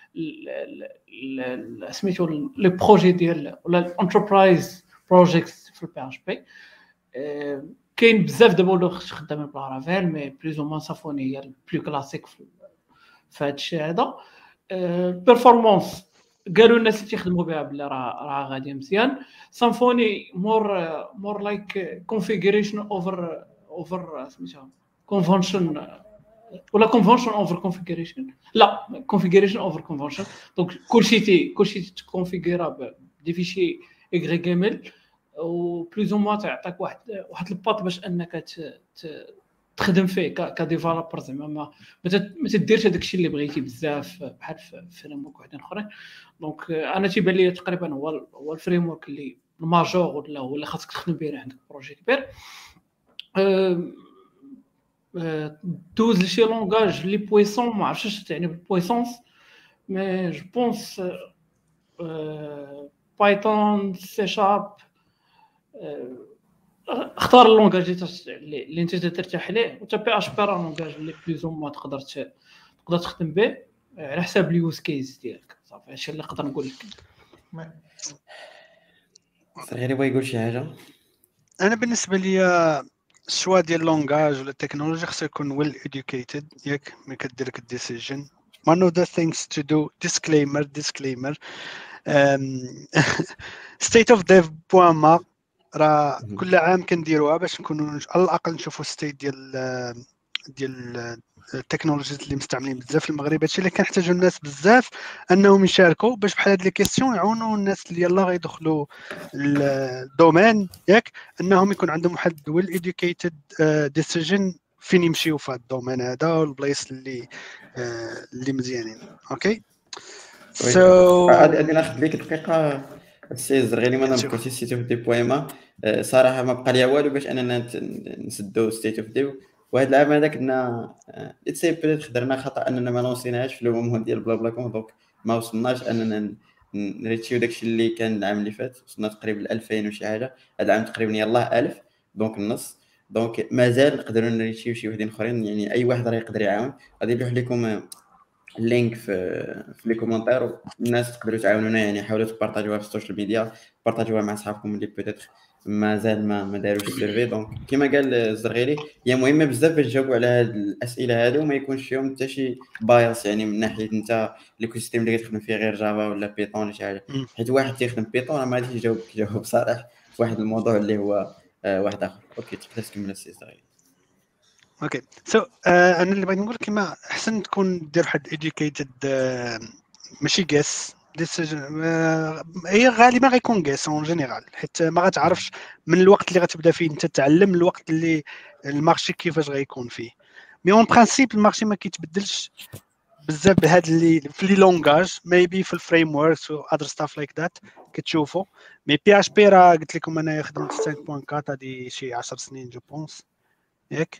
سميتو لي بروجي ديال ولا الانتربرايز بروجيكتس في البي اتش بي. كاين بزاف دابا ولاو خدامين بالارافيل، مي بلوز او مان سامفوني هي البلو كلاسيك في هذا الشيء هذا. بيرفورمانس قالوا الناس اللي تيخدموا بها بلا راه راه غادي مزيان. سامفوني مور مور لايك كونفيغوريشن اوفر اوفر سميتها كونفنشن ولا كونفنشن اوفر كونفيغوريشن، لا كونفيغوريشن اوفر كونفنشن. دونك كلشي تي كلشي تكونفيغورا بدي فيشي اغريغيمل، و بلوز او موا تعطيك واحد واحد الباط باش انك تخدم فيه كديفلوبر زعما ما ما تديرش هذاك الشيء اللي بغيتي بزاف بحال في فريم ورك وحدين اخرين. دونك انا تيبان لي تقريبا هو هو الفريم ورك اللي الماجور ولا هو اللي خاصك تخدم به عندك بروجي كبير. دوز لشي لونغاج لي بويسون ما عرفتش اش تعني بالبويسونس، مي جو بونس بايثون سي شارب. اختار اللونغاج اللي انت ترتاح ليه، وتا بي اش بي راه لونغاج اللي بليزون ما تقدر تقدر تخدم به على حساب اليوز كيس ديالك. صافي هادشي اللي نقدر نقول لك. صغيري بغا يقول شي حاجه. انا بالنسبه لي الشوا ديال اللونغاج ولا التكنولوجيا خصو يكون ويل ادوكيتد ياك ملي كدير لك الديسيجن. one of the things to do disclaimer disclaimer um, state of dev بوان راه كل عام كنديروها باش نكونوا على الاقل نشوفوا ستيت ديال ديال التكنولوجيات اللي مستعملين بزاف في المغرب. هادشي اللي كنحتاجوا الناس بزاف انهم يشاركوا باش بحال هاد لي كيسيون يعاونوا الناس اللي يلاه غيدخلوا الدومين ياك انهم يكون عندهم واحد ويل ايديوكيتد ديسيجن فين يمشيو في هاد الدومين هذا والبلايص اللي آه اللي مزيانين. اوكي سو غادي ناخذ ليك دقيقه السي الزرغيلي ما شوف. نبقاوش ستيت اوف دي بويما. صراحه ما بقى ليا والو باش اننا نت- نسدو ستيت اوف دي. وهذا العام هذا كنا اتسي بيت خدرنا خطا اننا ما لونسيناهاش في لو مومون ديال بلا بلا كون، دونك ما وصلناش اننا ن- نريتشيو داكشي اللي كان العام اللي فات. وصلنا تقريبا ل ألفين وشي حاجه، هذا العام تقريبا يلاه ألف، دونك النص. دونك مازال نقدروا نريتشيو شي وحدين اخرين، يعني اي واحد راه يقدر يعاون. غادي نلوح لكم اللينك في في لي كومونتير، الناس تقدروا تعاونونا، يعني حاولوا تبارطاجيوها في السوشيال ميديا، بارطاجيوها مع صحابكم اللي بيتيتر مازال ما ما داروش السيرفي. دونك كما قال الزرغيري هي مهمه بزاف باش تجاوبوا على هاد الاسئله هادو وما يكونش فيهم حتى شي بايس، يعني من ناحيه انت ليكو سيستيم اللي كتخدم فيه غير جافا ولا بيتون ولا شي حاجه. مم. حيت واحد تيخدم بيتون راه ما غاديش يجاوبك جواب صالح في واحد الموضوع اللي هو آه واحد اخر. اوكي تقدر تكمل السي الزرغيري. اوكي سو so, uh, انا اللي بغيت نقول كما احسن تكون دير واحد educated uh, ماشي قاس ديسيجن. هي غالبا غيكون قاس اون جينيرال، حيت ما غتعرفش من الوقت اللي غتبدا فيه انت تتعلم الوقت اللي المارشي كيفاش غيكون فيه. مي اون برانسيب المارشي ما كيتبدلش بزاف بهاد اللي في لي لونغاج ميبي في الفريم وركس و اذر ستاف لايك ذات كتشوفوا. مي بي اش بي راه قلت لكم انا خدمت خمسة فاصلة أربعة هادي شي عشر سنين جو بونس ياك.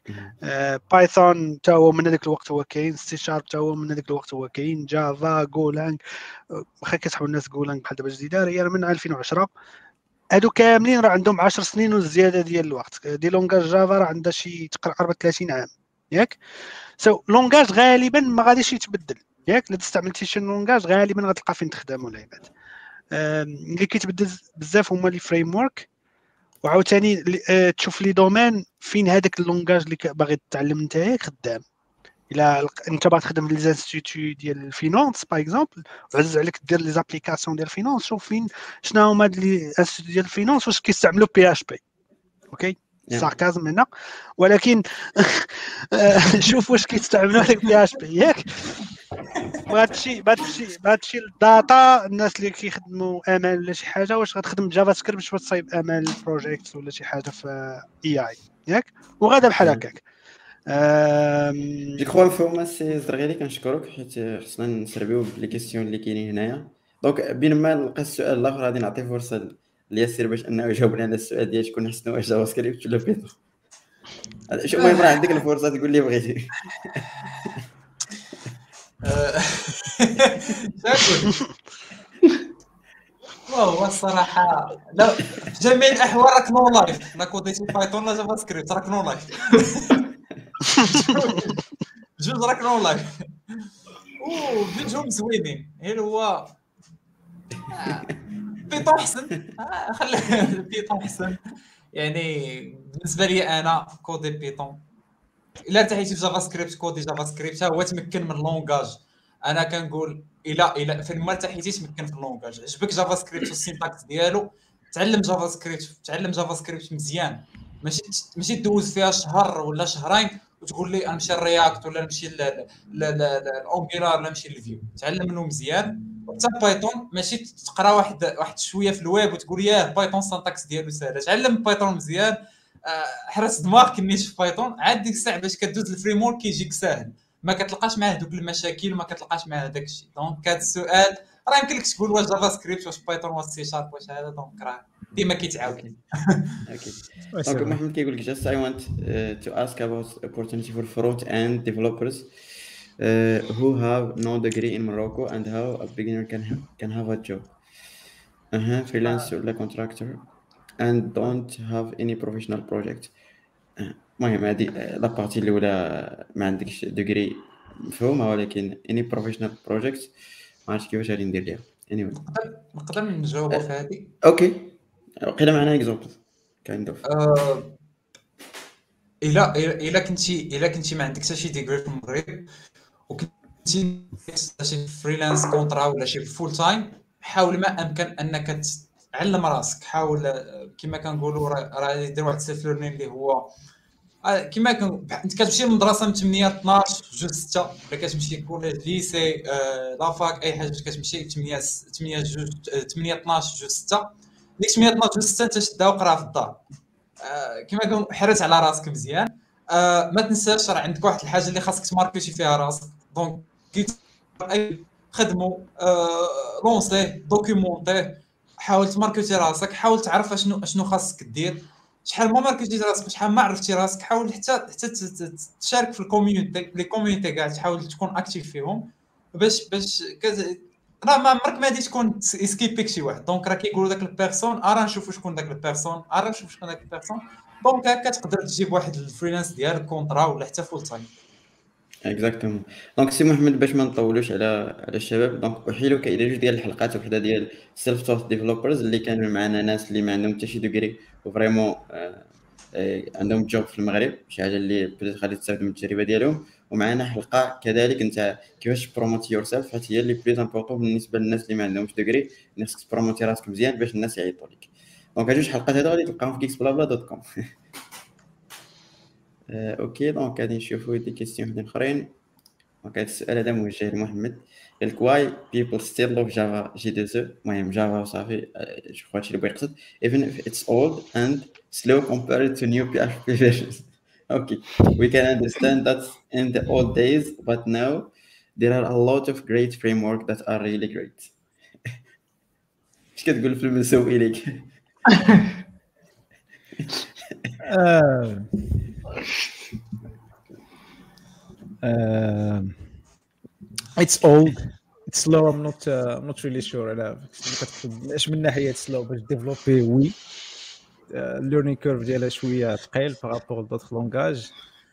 بايثون تا هو من هذاك الوقت هو كاين، سي شارب تا هو من هذاك الوقت هو كاين، جافا جولانج واخا كتحاول الناس جولانج بحال دابا جديده هي من ألفين وعشرة. هادو كاملين راه عندهم عشر سنين وزياده ديال الوقت. دي لونغاج جافا راه عندها شي تقريبا ثلاثين عام ياك. سو so, لونغاج غالبا ما غاديش يتبدل ياك. الا استعملتي شي لونغاج غالبا غتلقى فين تخدم ولا عباد. اللي كيتبدل بزاف هما لي فريم ورك، وعاوتاني تشوف لي دومين فين هذاك اللونغاج اللي باغي تتعلم نتايا خدام. الا انت باغي تخدم لي زانستيتيو ديال الفينانس باغ اكزومبل وعزز عليك دير لي زابليكاسيون ديال الفينانس، شوف فين شنو هما هاد لي انستيتيو ديال الفينانس واش كيستعملوا بي اش بي. اوكي ساركازم هنا، ولكن شوف واش كيستعملوا هذاك بي اش بي ياك. وهادشي بهادشي بهادشي الداتا الناس اللي كيخدموا امل ولا شي حاجه واش غتخدم جافا سكريبت واش تصايب امل بروجيكت ولا شي حاجه في اي اي ياك. وغادا بحال هكاك. جو كخوا نفهموا السي الزرغيلي كنشكرك حيت خصنا نسربيو لي كيسيون اللي كاينين هنايا. دونك بين ما نلقى السؤال الاخر غادي نعطي فرصه لياسير باش انه يجاوبنا على السؤال ديال شكون حسنوا واش جافا سكريبت ولا بيتون. شوف المهم راه عندك الفرصه تقول لي بغيتي. هو الصراحه لا في جميع الاحوال راك نو لايف، لا كوديتي بايثون لا جافا سكريبت راك نو لايف. جوج راك نو لايف وبيجهم زوينين. غير هو بيتون احسن، خلي بيتون احسن. يعني بالنسبه لي انا كودي بيتون. الا ارتحيتي في جافا سكريبت كودي جافا سكريبت هو تمكن من اللونغاج. انا كنقول الا الا فين ما ارتحيتي تمكن في اللونغاج. عجبك جافا سكريبت والسينتاكس ديالو تعلم جافا سكريبت، تعلم جافا سكريبت مزيان. ماشي ماشي تدوز فيها شهر ولا شهرين وتقول لي نمشي للرياكت ولا نمشي للانجولار ولا نمشي للفيو. تعلم منه مزيان. وحتى بايثون ماشي تقرا واحد واحد شويه في الويب وتقول ياه بايثون سانتاكس ديالو ساهله. تعلم بايثون مزيان، حرس دماغك نيت في بايثون، عاد ديك الساعه باش كدوز الفريم ورك كيجيك ساهل، ما كتلقاش معاه دوك المشاكل وما كتلقاش معاه داك الشيء. دونك هذا السؤال راه يمكن لك تقول واش جافا سكريبت واش بايثون واش سي شارب واش هذا. دونك راه ديما كيتعاود. اوكي دونك محمد كيقول لك just I want uh, to ask about opportunity for front end developers uh, who have no degree in Morocco and how a beginner can have, can have a job uh-huh, freelance ولا contractor and don't have any professional project. المهم هذه لا بارتي الاولى ما عندكش ديجري مفهومه، ولكن اني بروفيشنال بروجيكت ما عرفتش كيفاش غادي ندير ليها. اني anyway. نقدر نقدر نجاوبوا في هذه. اوكي وقيله معنا اكزامبل كايند اوف. الا الا كنتي الا كنتي ما عندك حتى شي ديجري في المغرب وكنتي شي فريلانس كونترا ولا شي فول تايم، حاول ما امكن انك تعلم راسك. حاول كما كنقولوا راه دير واحد السيلف ليرنين اللي هو آه، كيما كن انت كتمشي للمدرسه من ثمانية ل اثناش جوج ستة، ولا كتمشي كوليج ليسي آه، لافاك اي حاجه كتمشي ثمانية ثمانية جوج ثمانية اثناش جوج ستة. ديك ثمانية اثناش جوج ستة انت شدها وقراها في الدار. آه، كيما كن حرز على راسك مزيان. آه، ما تنساش راه عندك واحد الحاجه اللي خاصك تماركيتي فيها راسك. دونك كي اي خدمو آه، لونسيه دوكيمونطيه، حاول تماركيتي راسك، حاول تعرف اشنو اشنو خاصك دير، شحال ما ماركيتي راسك شحال ما عرفتي راسك. حاول حتى حتى تشارك في الكوميونيتي لي كوميونيتي كاع، تحاول تكون اكتيف فيهم باش باش كز... راه ما عمرك ما غادي تكون اسكيبيك شي واحد. دونك راه كيقولوا داك البيرسون ارا نشوفوا شكون داك البيرسون ارا نشوف شكون داك البيرسون. دونك هكا تقدر تجيب واحد الفريلانس ديالك كونطرا ولا حتى فول تايم. اكزاكتومون. دونك سي محمد باش ما نطولوش على على الشباب، دونك احيلك الى جوج ديال الحلقات، وحده ديال سيلف توث ديفلوبرز اللي كانوا معنا ناس اللي ما عندهم حتى شي دوغري وفريمون آه آه عندهم جوب في المغرب، شي حاجه اللي بدات غادي تستافد من التجربه ديالهم. ومعنا حلقه كذلك نتاع كيفاش بروموتي يور سيلف، حيت هي اللي بليز امبورطون بالنسبه للناس اللي ما عندهمش دوغري، خصك تبروموتي راسك مزيان باش الناس يعيطوا لك. دونك هاد جوج حلقات هادو غادي تلقاهم في geeks bla bla dot com. آه اوكي دونك غادي نشوفوا دي كيسيون وحدين اخرين. دونك هذا السؤال هذا موجه لمحمد، قال لك واي people still love Java جي دو سي. المهم جافا وصافي، جو كخوا هادشي اللي بغا يقصد. even if it's old and slow compared to new P H P versions. okay, we can understand that in the old days, but now there are a lot of great framework that are really great. اش كتقول في المسوي ليك؟ Uh, it's old, it's slow. I'm not uh, I'm not really sure على اش من ناحيه slow باش ديفلوبي. وي الليرنينغ كيرف ديالها شويه ثقيل بارابور لدوطخ لونغاج.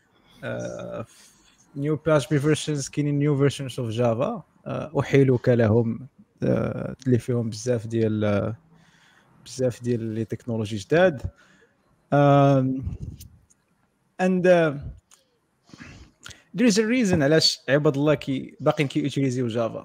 نيو بي اتش بي فيرجنز كاينين نيو فيرجنز اوف جافا احيلك لهم اللي فيهم بزاف ديال بزاف ديال لي تكنولوجي جداد. and uh, there is a reason علاش عباد الله كي باقيين كي يوتيليزيو جافا،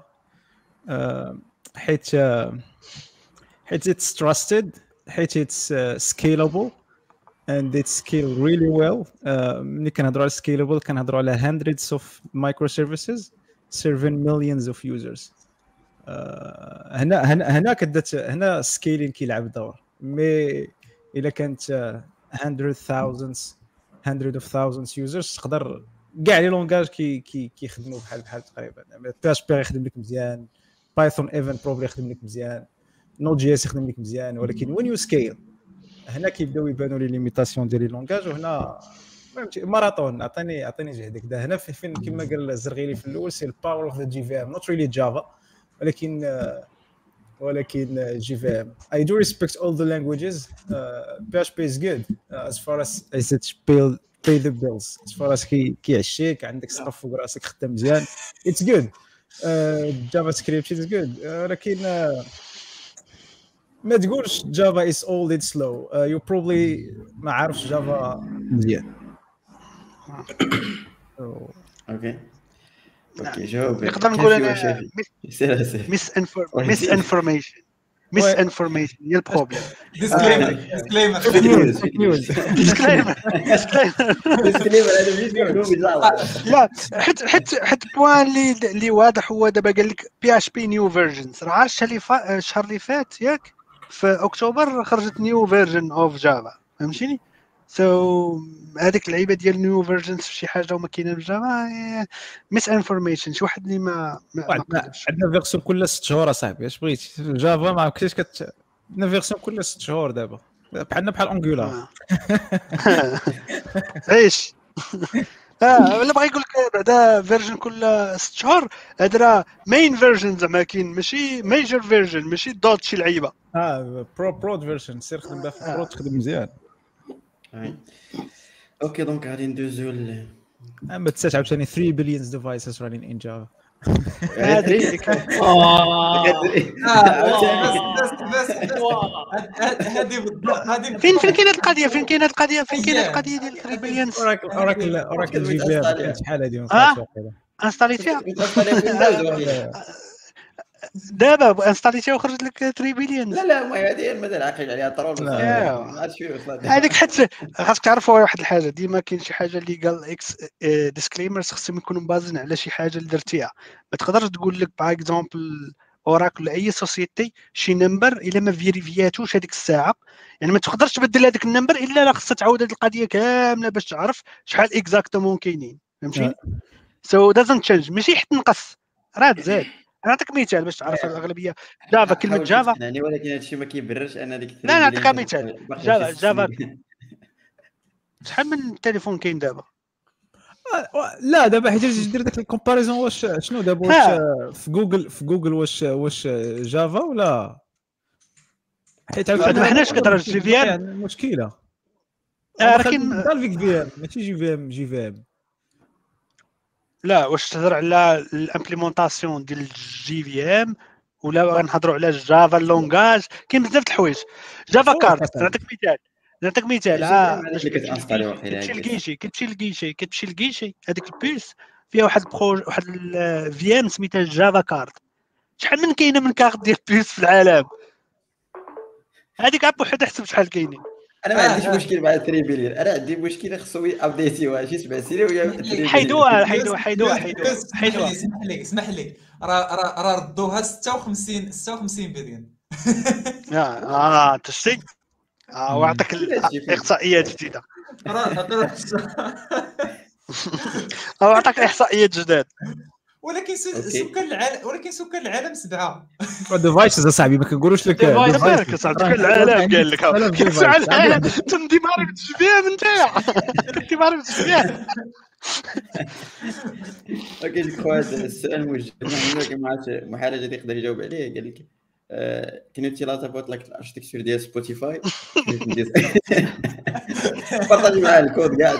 حيت حيت it's trusted، حيت it's uh, scalable and it's scale really well. uh, ملي كنهضروا على scalable كنهضروا على hundreds of microservices serving millions of users. uh, هنا هنا هنا كدات هنا scaling كيلعب دور. مي الا كانت uh, hundred thousands hundred of thousands users تقدر كاع لي لونغاج كي كي كيخدموا بحال بحال تقريبا. بي اتش بي يخدم لك مزيان، بايثون ايفن بروبلي يخدم لك مزيان، نود جي اس يخدم لك مزيان. ولكن وين يو سكيل هنا كيبداو يبانوا لي ليميتاسيون ديال لي لونغاج. وهنا فهمتي ماراثون. عطيني عطيني جهدك ده هنا فين كما قال الزرغيلي في الاول، سي الباور اوف ذا جي في ام، نوت ريلي جافا ولكن ولكن جي في ام. I do respect all the languages. uh, P H P is good uh, as far as as it pay pay the bills. as far as كي كيعشيك عندك سقف فوق راسك خدام مزيان it's good. جافا سكريبت is good. ولكن uh, ما تقولش جافا is old it's slow. uh, you probably ما عارفش جافا مزيان. اوكي اوكي جاوب. نقدر نقول انا ميس ميس انفورميشن ميس انفورميشن هي البروبليم. ديسكليمر ديسكليمر ديسكليمر ديسكليمر لا حيت حيت حيت بوان اللي اللي واضح هو دابا قال لك بي اتش بي نيو فيرجنز. راه الشهر اللي فات الشهر اللي فات ياك في اكتوبر خرجت نيو فيرجن اوف جافا، فهمتيني؟ سو هذيك اللعيبه ديال نيو فيرجنز في شي حاجه وما كاينه في جافا ميس انفورميشن. شي واحد اللي ما ما قادرش. عندنا فيرسيون كل ست شهور اصاحبي، اش بغيتي جافا ما عرفتيش كت عندنا فيرسيون كل ست شهور دابا بحالنا بحال انجولار. عيش اه ولا بغا يقول لك بعدا فيرجن كل ست شهور. هذا راه مين فيرجن زعما كاين، ماشي ميجر فيرجن، ماشي دوت شي لعيبه. اه برو برو فيرجن سير خدم بها في برو تخدم مزيان. اوكي دونك غادي ندوزو ل اما تسعة عاوتاني three billion devices running in Java. هذيك هذه بالضبط. هذه فين فين كاينه القضيه فين كاينه القضيه فين كاينه القضيه ديال three billion. اوراكل اوراكل اوراكل جي بي ام شحال هذه اه انستاليتيها. دابا انستاليتي وخرجت لك ثلاثة بليون. لا لا ما هذه المدى العقل عليها طرول لا. ما عرفتش فيه وصلت هذيك حتى خاصك تعرفوا واحد الحاجه، ديما كاين شي حاجه اللي قال اكس ديسكليمرز خصهم يكونوا بازين على شي حاجه اللي درتيها. ما تقدرش تقول لك باغ اكزومبل اوراكل ولا اي سوسيتي شي نمبر الا ما فيريفياتوش هذيك الساعه، يعني ما تقدرش تبدل هذاك النمبر الا لا خصها تعاود هذه القضيه كامله باش تعرف شحال اكزاكتومون كاينين. فهمتي؟ سو دازنت تشينج، ماشي حتى نقص راه تزاد. نعطيك مثال باش تعرف الاغلبيه جافا، كلمه جافا. يعني ولكن هذا الشيء ما كيبررش ان ديك لا نعطيك مثال، جافا جافا شحال من التليفون كاين دابا؟ لا دابا حيت تجي دير داك الكومباريزون واش شنو دابا واش في جوجل في جوجل واش واش جافا ولا حيت ما حناش كنهضر جي في ام المشكله لكن دار فيك في ام ماشي جي في ام جي في ام. لا واش تهضر على الامبليمونطاسيون ديال الجي في ام ولا غنهضروا على جافا اللونغاج؟ كاين بزاف د الحوايج. جافا كارت نعطيك مثال نعطيك مثال اه باش كتمشي لكيشي كتمشي لكيشي كتمشي لكيشي هذيك البيس فيها واحد البروج واحد الفي ام سميتها جافا كارت. شحال من كاينه من كارت ديال بيس في العالم؟ هذيك عاد بوحدها حسب شحال كاينين. انا ما عنديش مشكل مع ثلاثة بليون، انا عندي مشكل خصو ابديتيوها شي سبع سنين ويا حيدوها حيدوها حيدوها حيدوها حيدوها. اسمح لي اسمح لي راه راه راه ردوها ستة وخمسين ستة وخمسين بليون. اه انت شتي اه واعطيك الاحصائيات جديده. راه اعطاك احصائيات جداد. ولكن سكان العالم ولكن سكان العالم سبعه. ديفايسز اصاحبي ما كنقولوش لك ديفايس كتعطيك العالم قال لك كتسمع العالم تندي ماري بالتشبيه نتايا تندي ماري بالتشبيه. اوكي جو كخوا السؤال موجه ما عرفتش محرج اللي يقدر يجاوب عليه. قال لك كان يو تيل اباوت لايك الاركتيكتور ديال سبوتيفاي بارطاجي معاه الكود كاع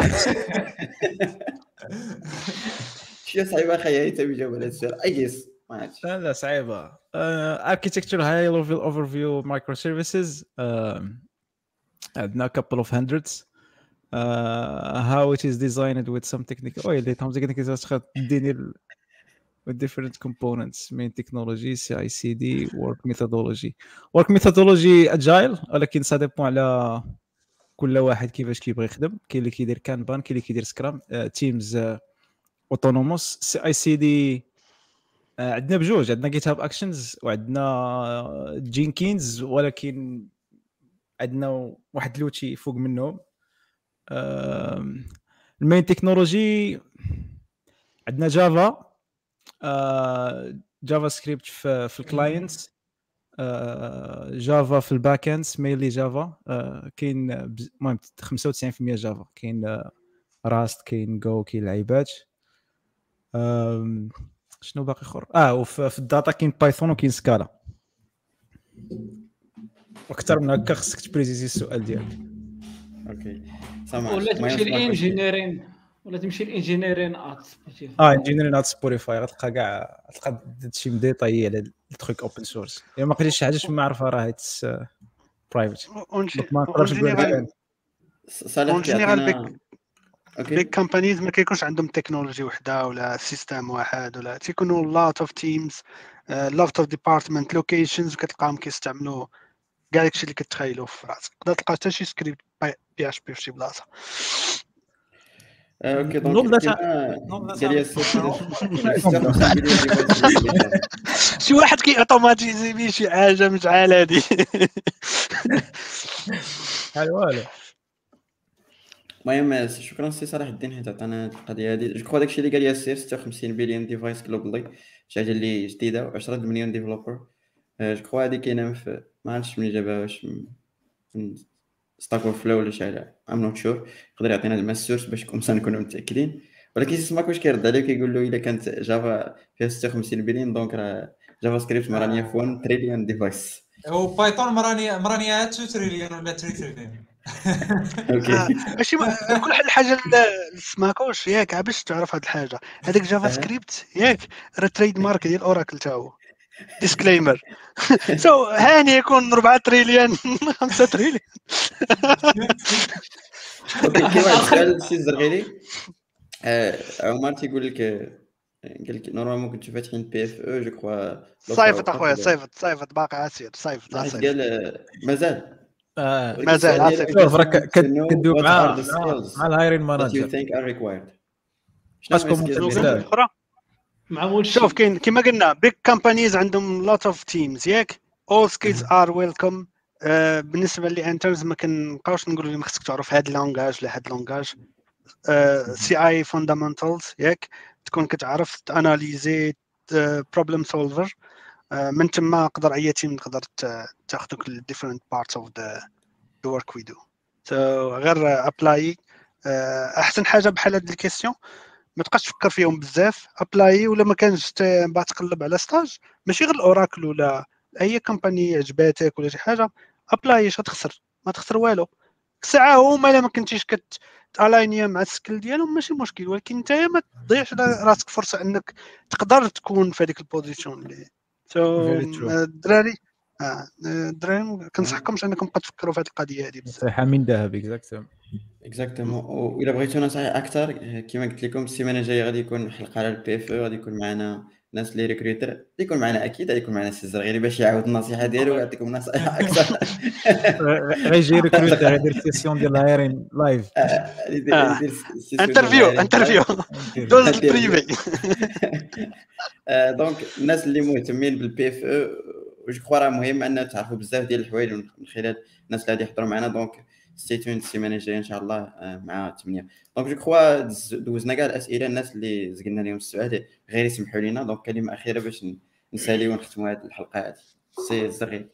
شي صعيبه اخي حتى يجاوب على هذا السؤال اي جيس ما عرفتش. لا لا صعيبه. architecture high level overview microservices عندنا couple of hundreds uh, how it is designed with some technical oh اللي تهم technical تخد ديني with different components main technology C I C D work methodology work methodology agile ولكن ça dépend على كل واحد كيفاش كيبغي يخدم. كاين اللي كيدير كانبان كاين اللي كيدير سكرام تيمز اوتونوموس. سي اي سي دي عندنا بجوج، عندنا جيت هاب اكشنز وعندنا جينكينز ولكن عندنا واحد لوتي فوق منهم. المين تكنولوجي عندنا جافا جافا سكريبت في, في الكلاينتس جافا في الباك اند مينلي جافا كاين المهم خمسة وتسعين بالمئة جافا كاين راست كاين جو كاين لعيبات. شنو باقي اخر اه وفي الداتا كاين بايثون وكاين سكالا. اكثر من هكا خصك تبريزيزي السؤال ديالك. اوكي ولا تمشي للانجينيرين ولا تمشي للانجينيرين ات سبوتيفاي. اه انجينيرين ات سبوتيفاي غتلقى كاع تلقى شي ديتاي على التروك اوبن سورس. الا ما قريتش شي حاجه ما عرفها راه هيتس برايفت ما نقدرش نقول صالح. بيك كامبانيز ما كيكونش عندهم تكنولوجي وحده ولا سيستم واحد ولا تيكونوا لوت اوف تيمز لوت اوف ديبارتمنت لوكيشنز وكتلقاهم كيستعملوا كاع داكشي اللي كتخيلوا في راسك. تقدر تلقى حتى شي سكريبت بي اش بي في شي بلاصه. اوكي دونك قال لي شي واحد كي اوتوماتيزي بيه شي حاجه مش عال هادي حال والو. المهم شكرا سي صلاح الدين حيت عطانا هذه القضيه هذه. جو كخوا داكشي اللي قال ياسير ستة وخمسين بليون ديفايس جلوبالي شي حاجه اللي جديده و10 مليون ديفلوبر. جو كخوا هذه كاينه في ما عرفتش من جابها واش من ستاك اوف فلو ولا شي حاجه ام نوت شور. يقدر يعطينا الماء السورس باش نكونوا متاكدين. ولكن سماك واش كيرد عليه كيقول له الا كانت جافا فيها ستة وخمسين بليون دونك راه جافا سكريبت مرانيه في واحد تريليون ديفايس او بايثون مرانيه مرانيه اثنين تريليون ولا ثلاثة تريليون. اوكي ماشي كل واحد الحاجه سماكوش ياك باش تعرف هاد الحاجه. هذاك جافا سكريبت ياك راه تريد مارك ديال اوراكل تا هو ديسكليمر. سو هاني يكون أربعة تريليون خمسة تريليون. اوكي كي واحد السؤال سي الزرغيلي عمر تيقول لك قال لك نورمالمون كنتو فاتحين بي اف او جو كخوا صيفط اخويا صيفط صيفط باقي عسير صيفط حيت عسير قال آه، مازال آه. ولكن مازال السؤال ديالو عسير. شوف راك to know كدوي what مع are the مع skills مع الهايرين that you مانجر think are required. شنو هما خاصكم السكيلز ممكن اللي شنو قلت بزاف. الاخرى؟ مع وش شوف كاين كما قلنا بيج كامبانيز عندهم لوت اوف تيمز ياك all skills are welcome. آه بالنسبه لي انترز ما كنبقاوش نقولوا لهم خصك تعرف هاد اللونغاج ولا هاد اللونغاج. سي اي فاندامنتالز ياك تكون كتعرف تاناليزي بروبلم سولفر. من تما نقدر اي تيم تقدر تاخذوك ل different parts of the the work we do. so غير ابلاي. احسن حاجه بحال هاد الكيسيون ما تبقاش تفكر فيهم بزاف ابلاي ولا ما كانش بعد تقلب على ستاج ماشي غير الاوراكل ولا اي كومباني عجباتك ولا شي حاجه ابلاي. اش غتخسر؟ ما تخسر والو. ساعه هما الا ما كنتيش كتالينيا مع السكيل ديالهم ماشي مشكل ولكن انت ما تضيعش راسك فرصه انك تقدر تكون في هذيك البوزيشن اللي سو الدراري اه الدراري ما كنصحكمش انكم تبقاو تفكروا في هذه القضيه هذه بزاف. نصيحه من ذهب اكزاكتومون اكزاكتومون. والا بغيتو نصائح اكثر كما قلت لكم السيمانه الجايه غادي يكون حلقه على البي اف او غادي يكون معنا ناس اللي ريكروتر غادي يكون معنا اكيد غادي يكون معنا سي الزرغيري باش يعاود النصيحه ديالو ويعطيكم نصائح اكثر. غيجي ريكروتر غيدير سيسيون ديال الهايرين لايف انترفيو انترفيو دوز بريفي. دونك الناس اللي مهتمين بالبي اف او جو كخوا راه مهم ان تعرفوا بزاف ديال الحوايج من خلال الناس اللي غادي يحضروا معنا. دونك ستي تون السيمانه الجايه ان شاء الله مع ثمانية. دونك جو كخوا دوزنا كاع الاسئله الناس اللي زقلنا لهم السؤال غير يسمحوا لنا. دونك كلمه اخيره باش نساليو ونختموا هذه الحلقه هذه. سي الزغير.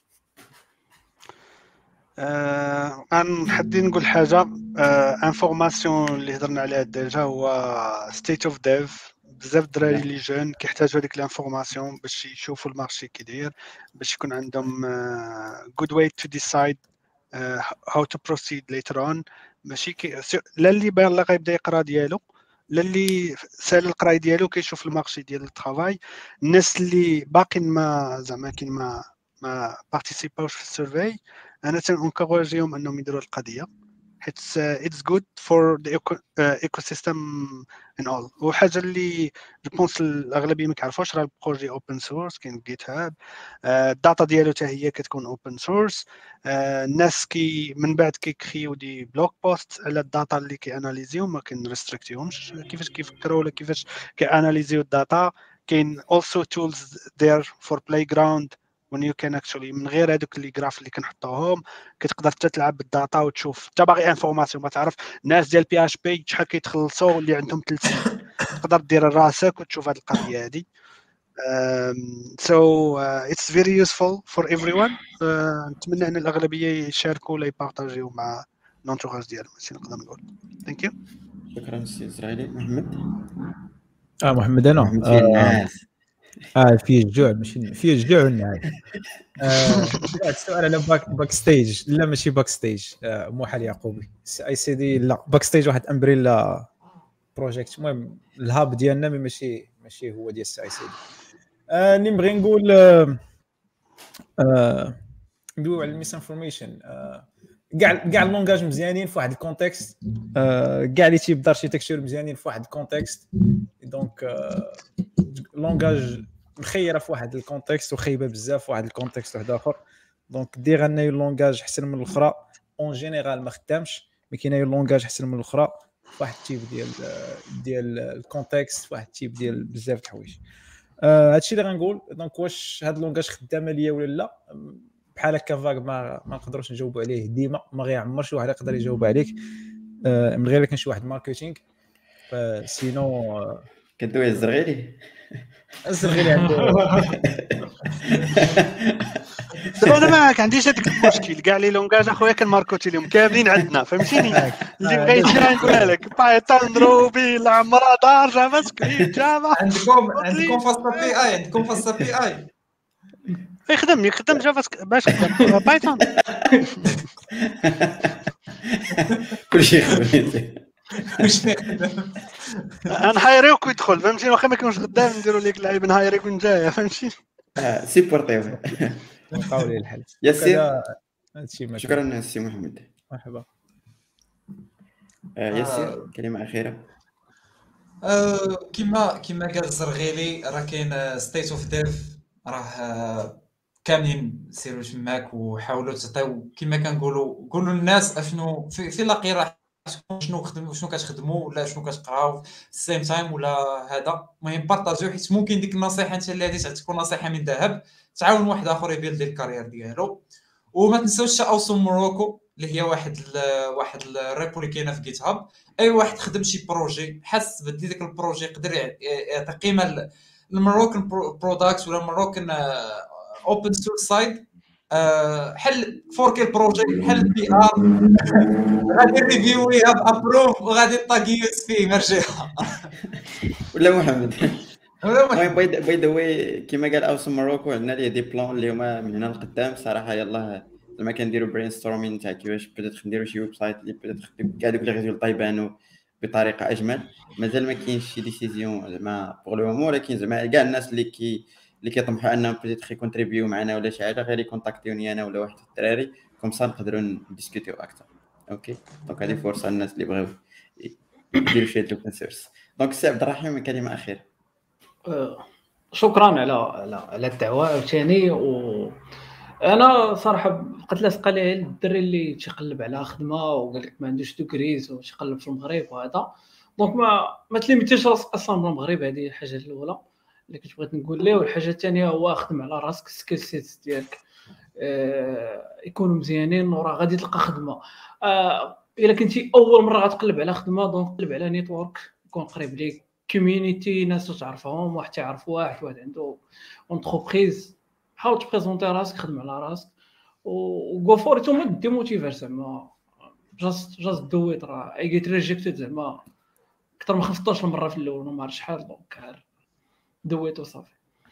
آه انا حدي نقول حاجه انفورماسيون اللي هضرنا عليها ديجا هو ستيت اوف ديف. بزاف الدراري اللي جون كيحتاجوا هذيك الانفورماسيون باش يشوفوا المارشي كي داير باش يكون عندهم good way to decide uh, how to proceed later on. ماشي كي لا اللي باغي غيبدا يقرا ديالو لا اللي سال القراي ديالو كيشوف المارشي ديال الترافاي. الناس اللي باقيين ما زعما كاين ما ما بارتيسيباوش في السيرفي انا تنكوراجيهم انهم يديروا القضيه حيت اتس جود فور ذا ايكو سيستم ان اول. وحاجه اللي جو بونس الاغلبيه ما كيعرفوش راه البروجي اوبن سورس كاين جيت هاب. الداتا ديالو حتى هي كتكون اوبن سورس. الناس كي من بعد كيكريو دي بلوك بوست على الداتا اللي كياناليزيو ما كنريستريكتيهمش كيفاش كيفكروا ولا كيفاش كياناليزيو الداتا. كاين also tools there for playground when you can actually من غير هذوك اللي جراف اللي كنحطوهم كتقدر حتى تلعب بالداتا وتشوف انت باغي انفورماسيون ما تعرف الناس ديال بي اش بي شحال كيتخلصوا اللي عندهم ثلاث سنين تقدر دير راسك وتشوف هذه القضيه هذه. so uh, it's very useful for everyone. uh, نتمنى ان الاغلبيه يشاركوا ولا يبارطاجيو مع لونتوراج ديالهم. ماشي نقدر نقول ثانك يو. شكرا سي اسرائيلي. محمد اه محمد انا محمد في الناس اه فيه الجوع ماشي فيه الجوع والنعاس. آه السؤال على باك باك ستيج لا ماشي باك ستيج. آه موحل يعقوبي اي سي دي لا باك ستيج واحد امبريلا بروجيكت. المهم الهاب ديالنا ماشي ماشي هو ديال السي اي سي دي. آه اللي نبغي نقول آه آه ندويو على الميس انفورميشن. آه كاع كاع اللونغاج مزيانين في واحد الكونتكست. آه كاع اللي تيبدا اركيتكتور مزيانين في واحد الكونتكست. دونك آه لونغاج مخيره في واحد الكونتكست وخايبه بزاف في واحد الكونتكست واحد اخر. دونك دير ان لونغاج احسن من الاخرى اون جينيرال ما خدامش مي كاين لونغاج احسن من الاخرى في واحد التيب ديال ديال الكونتكست في واحد التيب ديال بزاف د الحوايج. آه هادشي اللي غنقول. دونك واش هاد اللونغاج خدامه ليا ولا لا بحال هكا فاك ما ما نقدروش نجاوبوا عليه ديما. ما غيعمر شي واحد يقدر يجاوب عليك آه من غير كان شي واحد ماركتينغ. سينو آه كدوي الزرغيري الزرغيري عنده دابا انا ما عنديش هذاك المشكل كاع لي لونغاج اخويا كنماركوتي لهم كاملين عندنا فهمتيني. اللي بغيت نقولها لك بايثون روبي العمرة دار جافا سكريبت جافا عندكم عندكم فاصله بي اي عندكم فاصله بي اي يخدم يخدم جافا باش يخدم بايثون كلشي يخدم نهايريوك ويدخل فهمتي واخا ما كانوش خدام نديروا لك لعيب نهايريك ونجايه فهمتي. اه سيبورتيو نلقاو ليه الحل. ياسير هادشي شكرا سي محمد. مرحبا. آه ياسير كلمه اخيره. آه، كيما كيما قال الزرغيلي راه كاين ستيت اوف ديف، راه آه، كاملين سيروا تماك وحاولوا تعطيو كيما كنقولوا قولوا للناس اشنو في, في لاقي راه شنو خدموا شنو كتخدموا ولا شنو كتقراو السيم تايم ولا هذا. المهم بارطاجيو، حيت ممكن ديك النصيحه انت اللي غادي تكون نصيحه من ذهب تعاون واحد اخر يبيلدي الكارير ديالو. وما تنساوش اوسم موروكو اللي هي واحد ال واحد الريبو اللي كاينه في جيت هاب. اي واحد خدم شي بروجي حس بدي داك البروجي يقدر يعطي قيمه للمروكن برودكت ولا المروكن اوبن سورس سايد، حل فور كي البروجي حل بي ار غادي ريفيوي ابروف وغادي طاغيوس فيه مرجعها ولا محمد. ولا المهم محمد. باي ذا واي كيما قال اوسم مروكو عندنا ليه دي بلان اللي هما من هنا لقدام صراحه. يلاه زعما كنديروا برين ستورمين تاع كيفاش بدات نديروا شي ويب سايت اللي بدات كاع دوك لي ريزولطا يبانوا بطريقه اجمل. مازال ما كاينش شي ديسيزيون زعما بوغ لو مومون، ولكن زعما كاع الناس اللي كي اللي كيطمحوا انهم بدات يكونتريبيو معنا ولا شي حاجه غير يكونتاكتيوني انا ولا واحد الدراري كوم سا نقدروا نديسكوتيو اكثر. اوكي دونك هذه فرصه للناس اللي بغاو يديروا شي اوبن سورس. دونك سي عبد الرحيم كلمه اخيره. آه، شكرا على على على الدعوه عاوتاني. و انا صراحه بقيت لاصقه ليه الدري اللي تيقلب على خدمه وقال لك ما عندوش دوكريز وتيقلب في المغرب وهذا. دونك ما ما تليميتيش راسك اصلا بالمغرب، هذه الحاجه الاولى اللي كنت بغيت نقول ليه. والحاجه الثانيه هو خدم على راسك، السكيل سيت ديالك آه يكونوا مزيانين وراه غادي تلقى خدمه. آه الا كنتي اول مره غتقلب على خدمه دونك قلب على نيتورك يكون قريب ليك، كوميونيتي ناس تعرفهم، واحد تعرف واحد واحد عنده اونتربريز، حاول تبريزونتي راسك، خدم على راسك و فور ات. وما ديموتيفير زعما جاست جاست دو ات. راه اي جيت ريجكتد زعما اكثر من خمسطاش مره في الاول وما عرف شحال. دونك دو ات وصافي.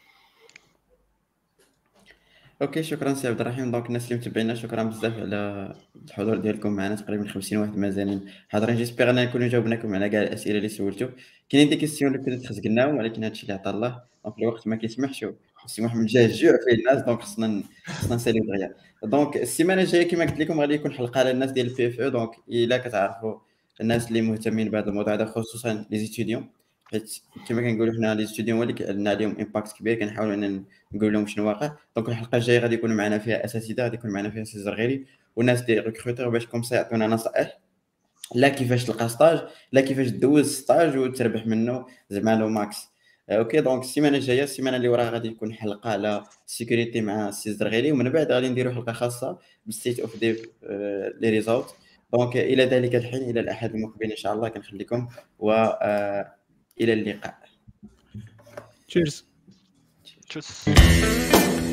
اوكي شكرا سي عبد الرحيم. دونك الناس اللي متابعينا شكرا بزاف على الحضور ديالكم معنا، تقريبا خمسين واحد مازالين حاضرين. جيسبيغ ان نكونوا جاوبناكم على كاع الاسئله اللي سولتو. كاينين دي كيسيون اللي بدات خزقناهم ولكن هادشي اللي عطا الله، دونك الوقت ما كيسمحش. سي محمد جا الجوع فيه الناس، دونك خصنا خصنا نساليو. دونك السيمانه الجايه كما قلت لكم غادي يكون حلقه على الناس ديال البي اف او. دونك الا كتعرفوا الناس اللي مهتمين بهذا الموضوع هذا خصوصا لي زيتيديون، حيت كما كنقولوا حنا لي ستوديون اللي عندنا عليهم امباكت كبير كنحاولوا ان نقول لهم شنو واقع. دونك الحلقه الجايه غادي يكونوا معنا فيها اساتذه، غادي يكون معنا فيها سي زرغيري وناس دي ريكروتور باش كوم سا يعطونا نصائح لا كيفاش تلقى ستاج لا كيفاش دوز ستاج وتربح منه زعما لو ماكس. اوكي دونك السيمانه الجايه السيمانه اللي وراها غادي يكون حلقه على سيكوريتي مع سي زرغيري، ومن بعد غادي نديروا حلقه خاصه بالستيت اوف ديف لي ريزولت. دونك الى ذلك الحين الى الاحد المقبل ان شاء الله كنخليكم و الى اللقاء. تشيرز. تشوس.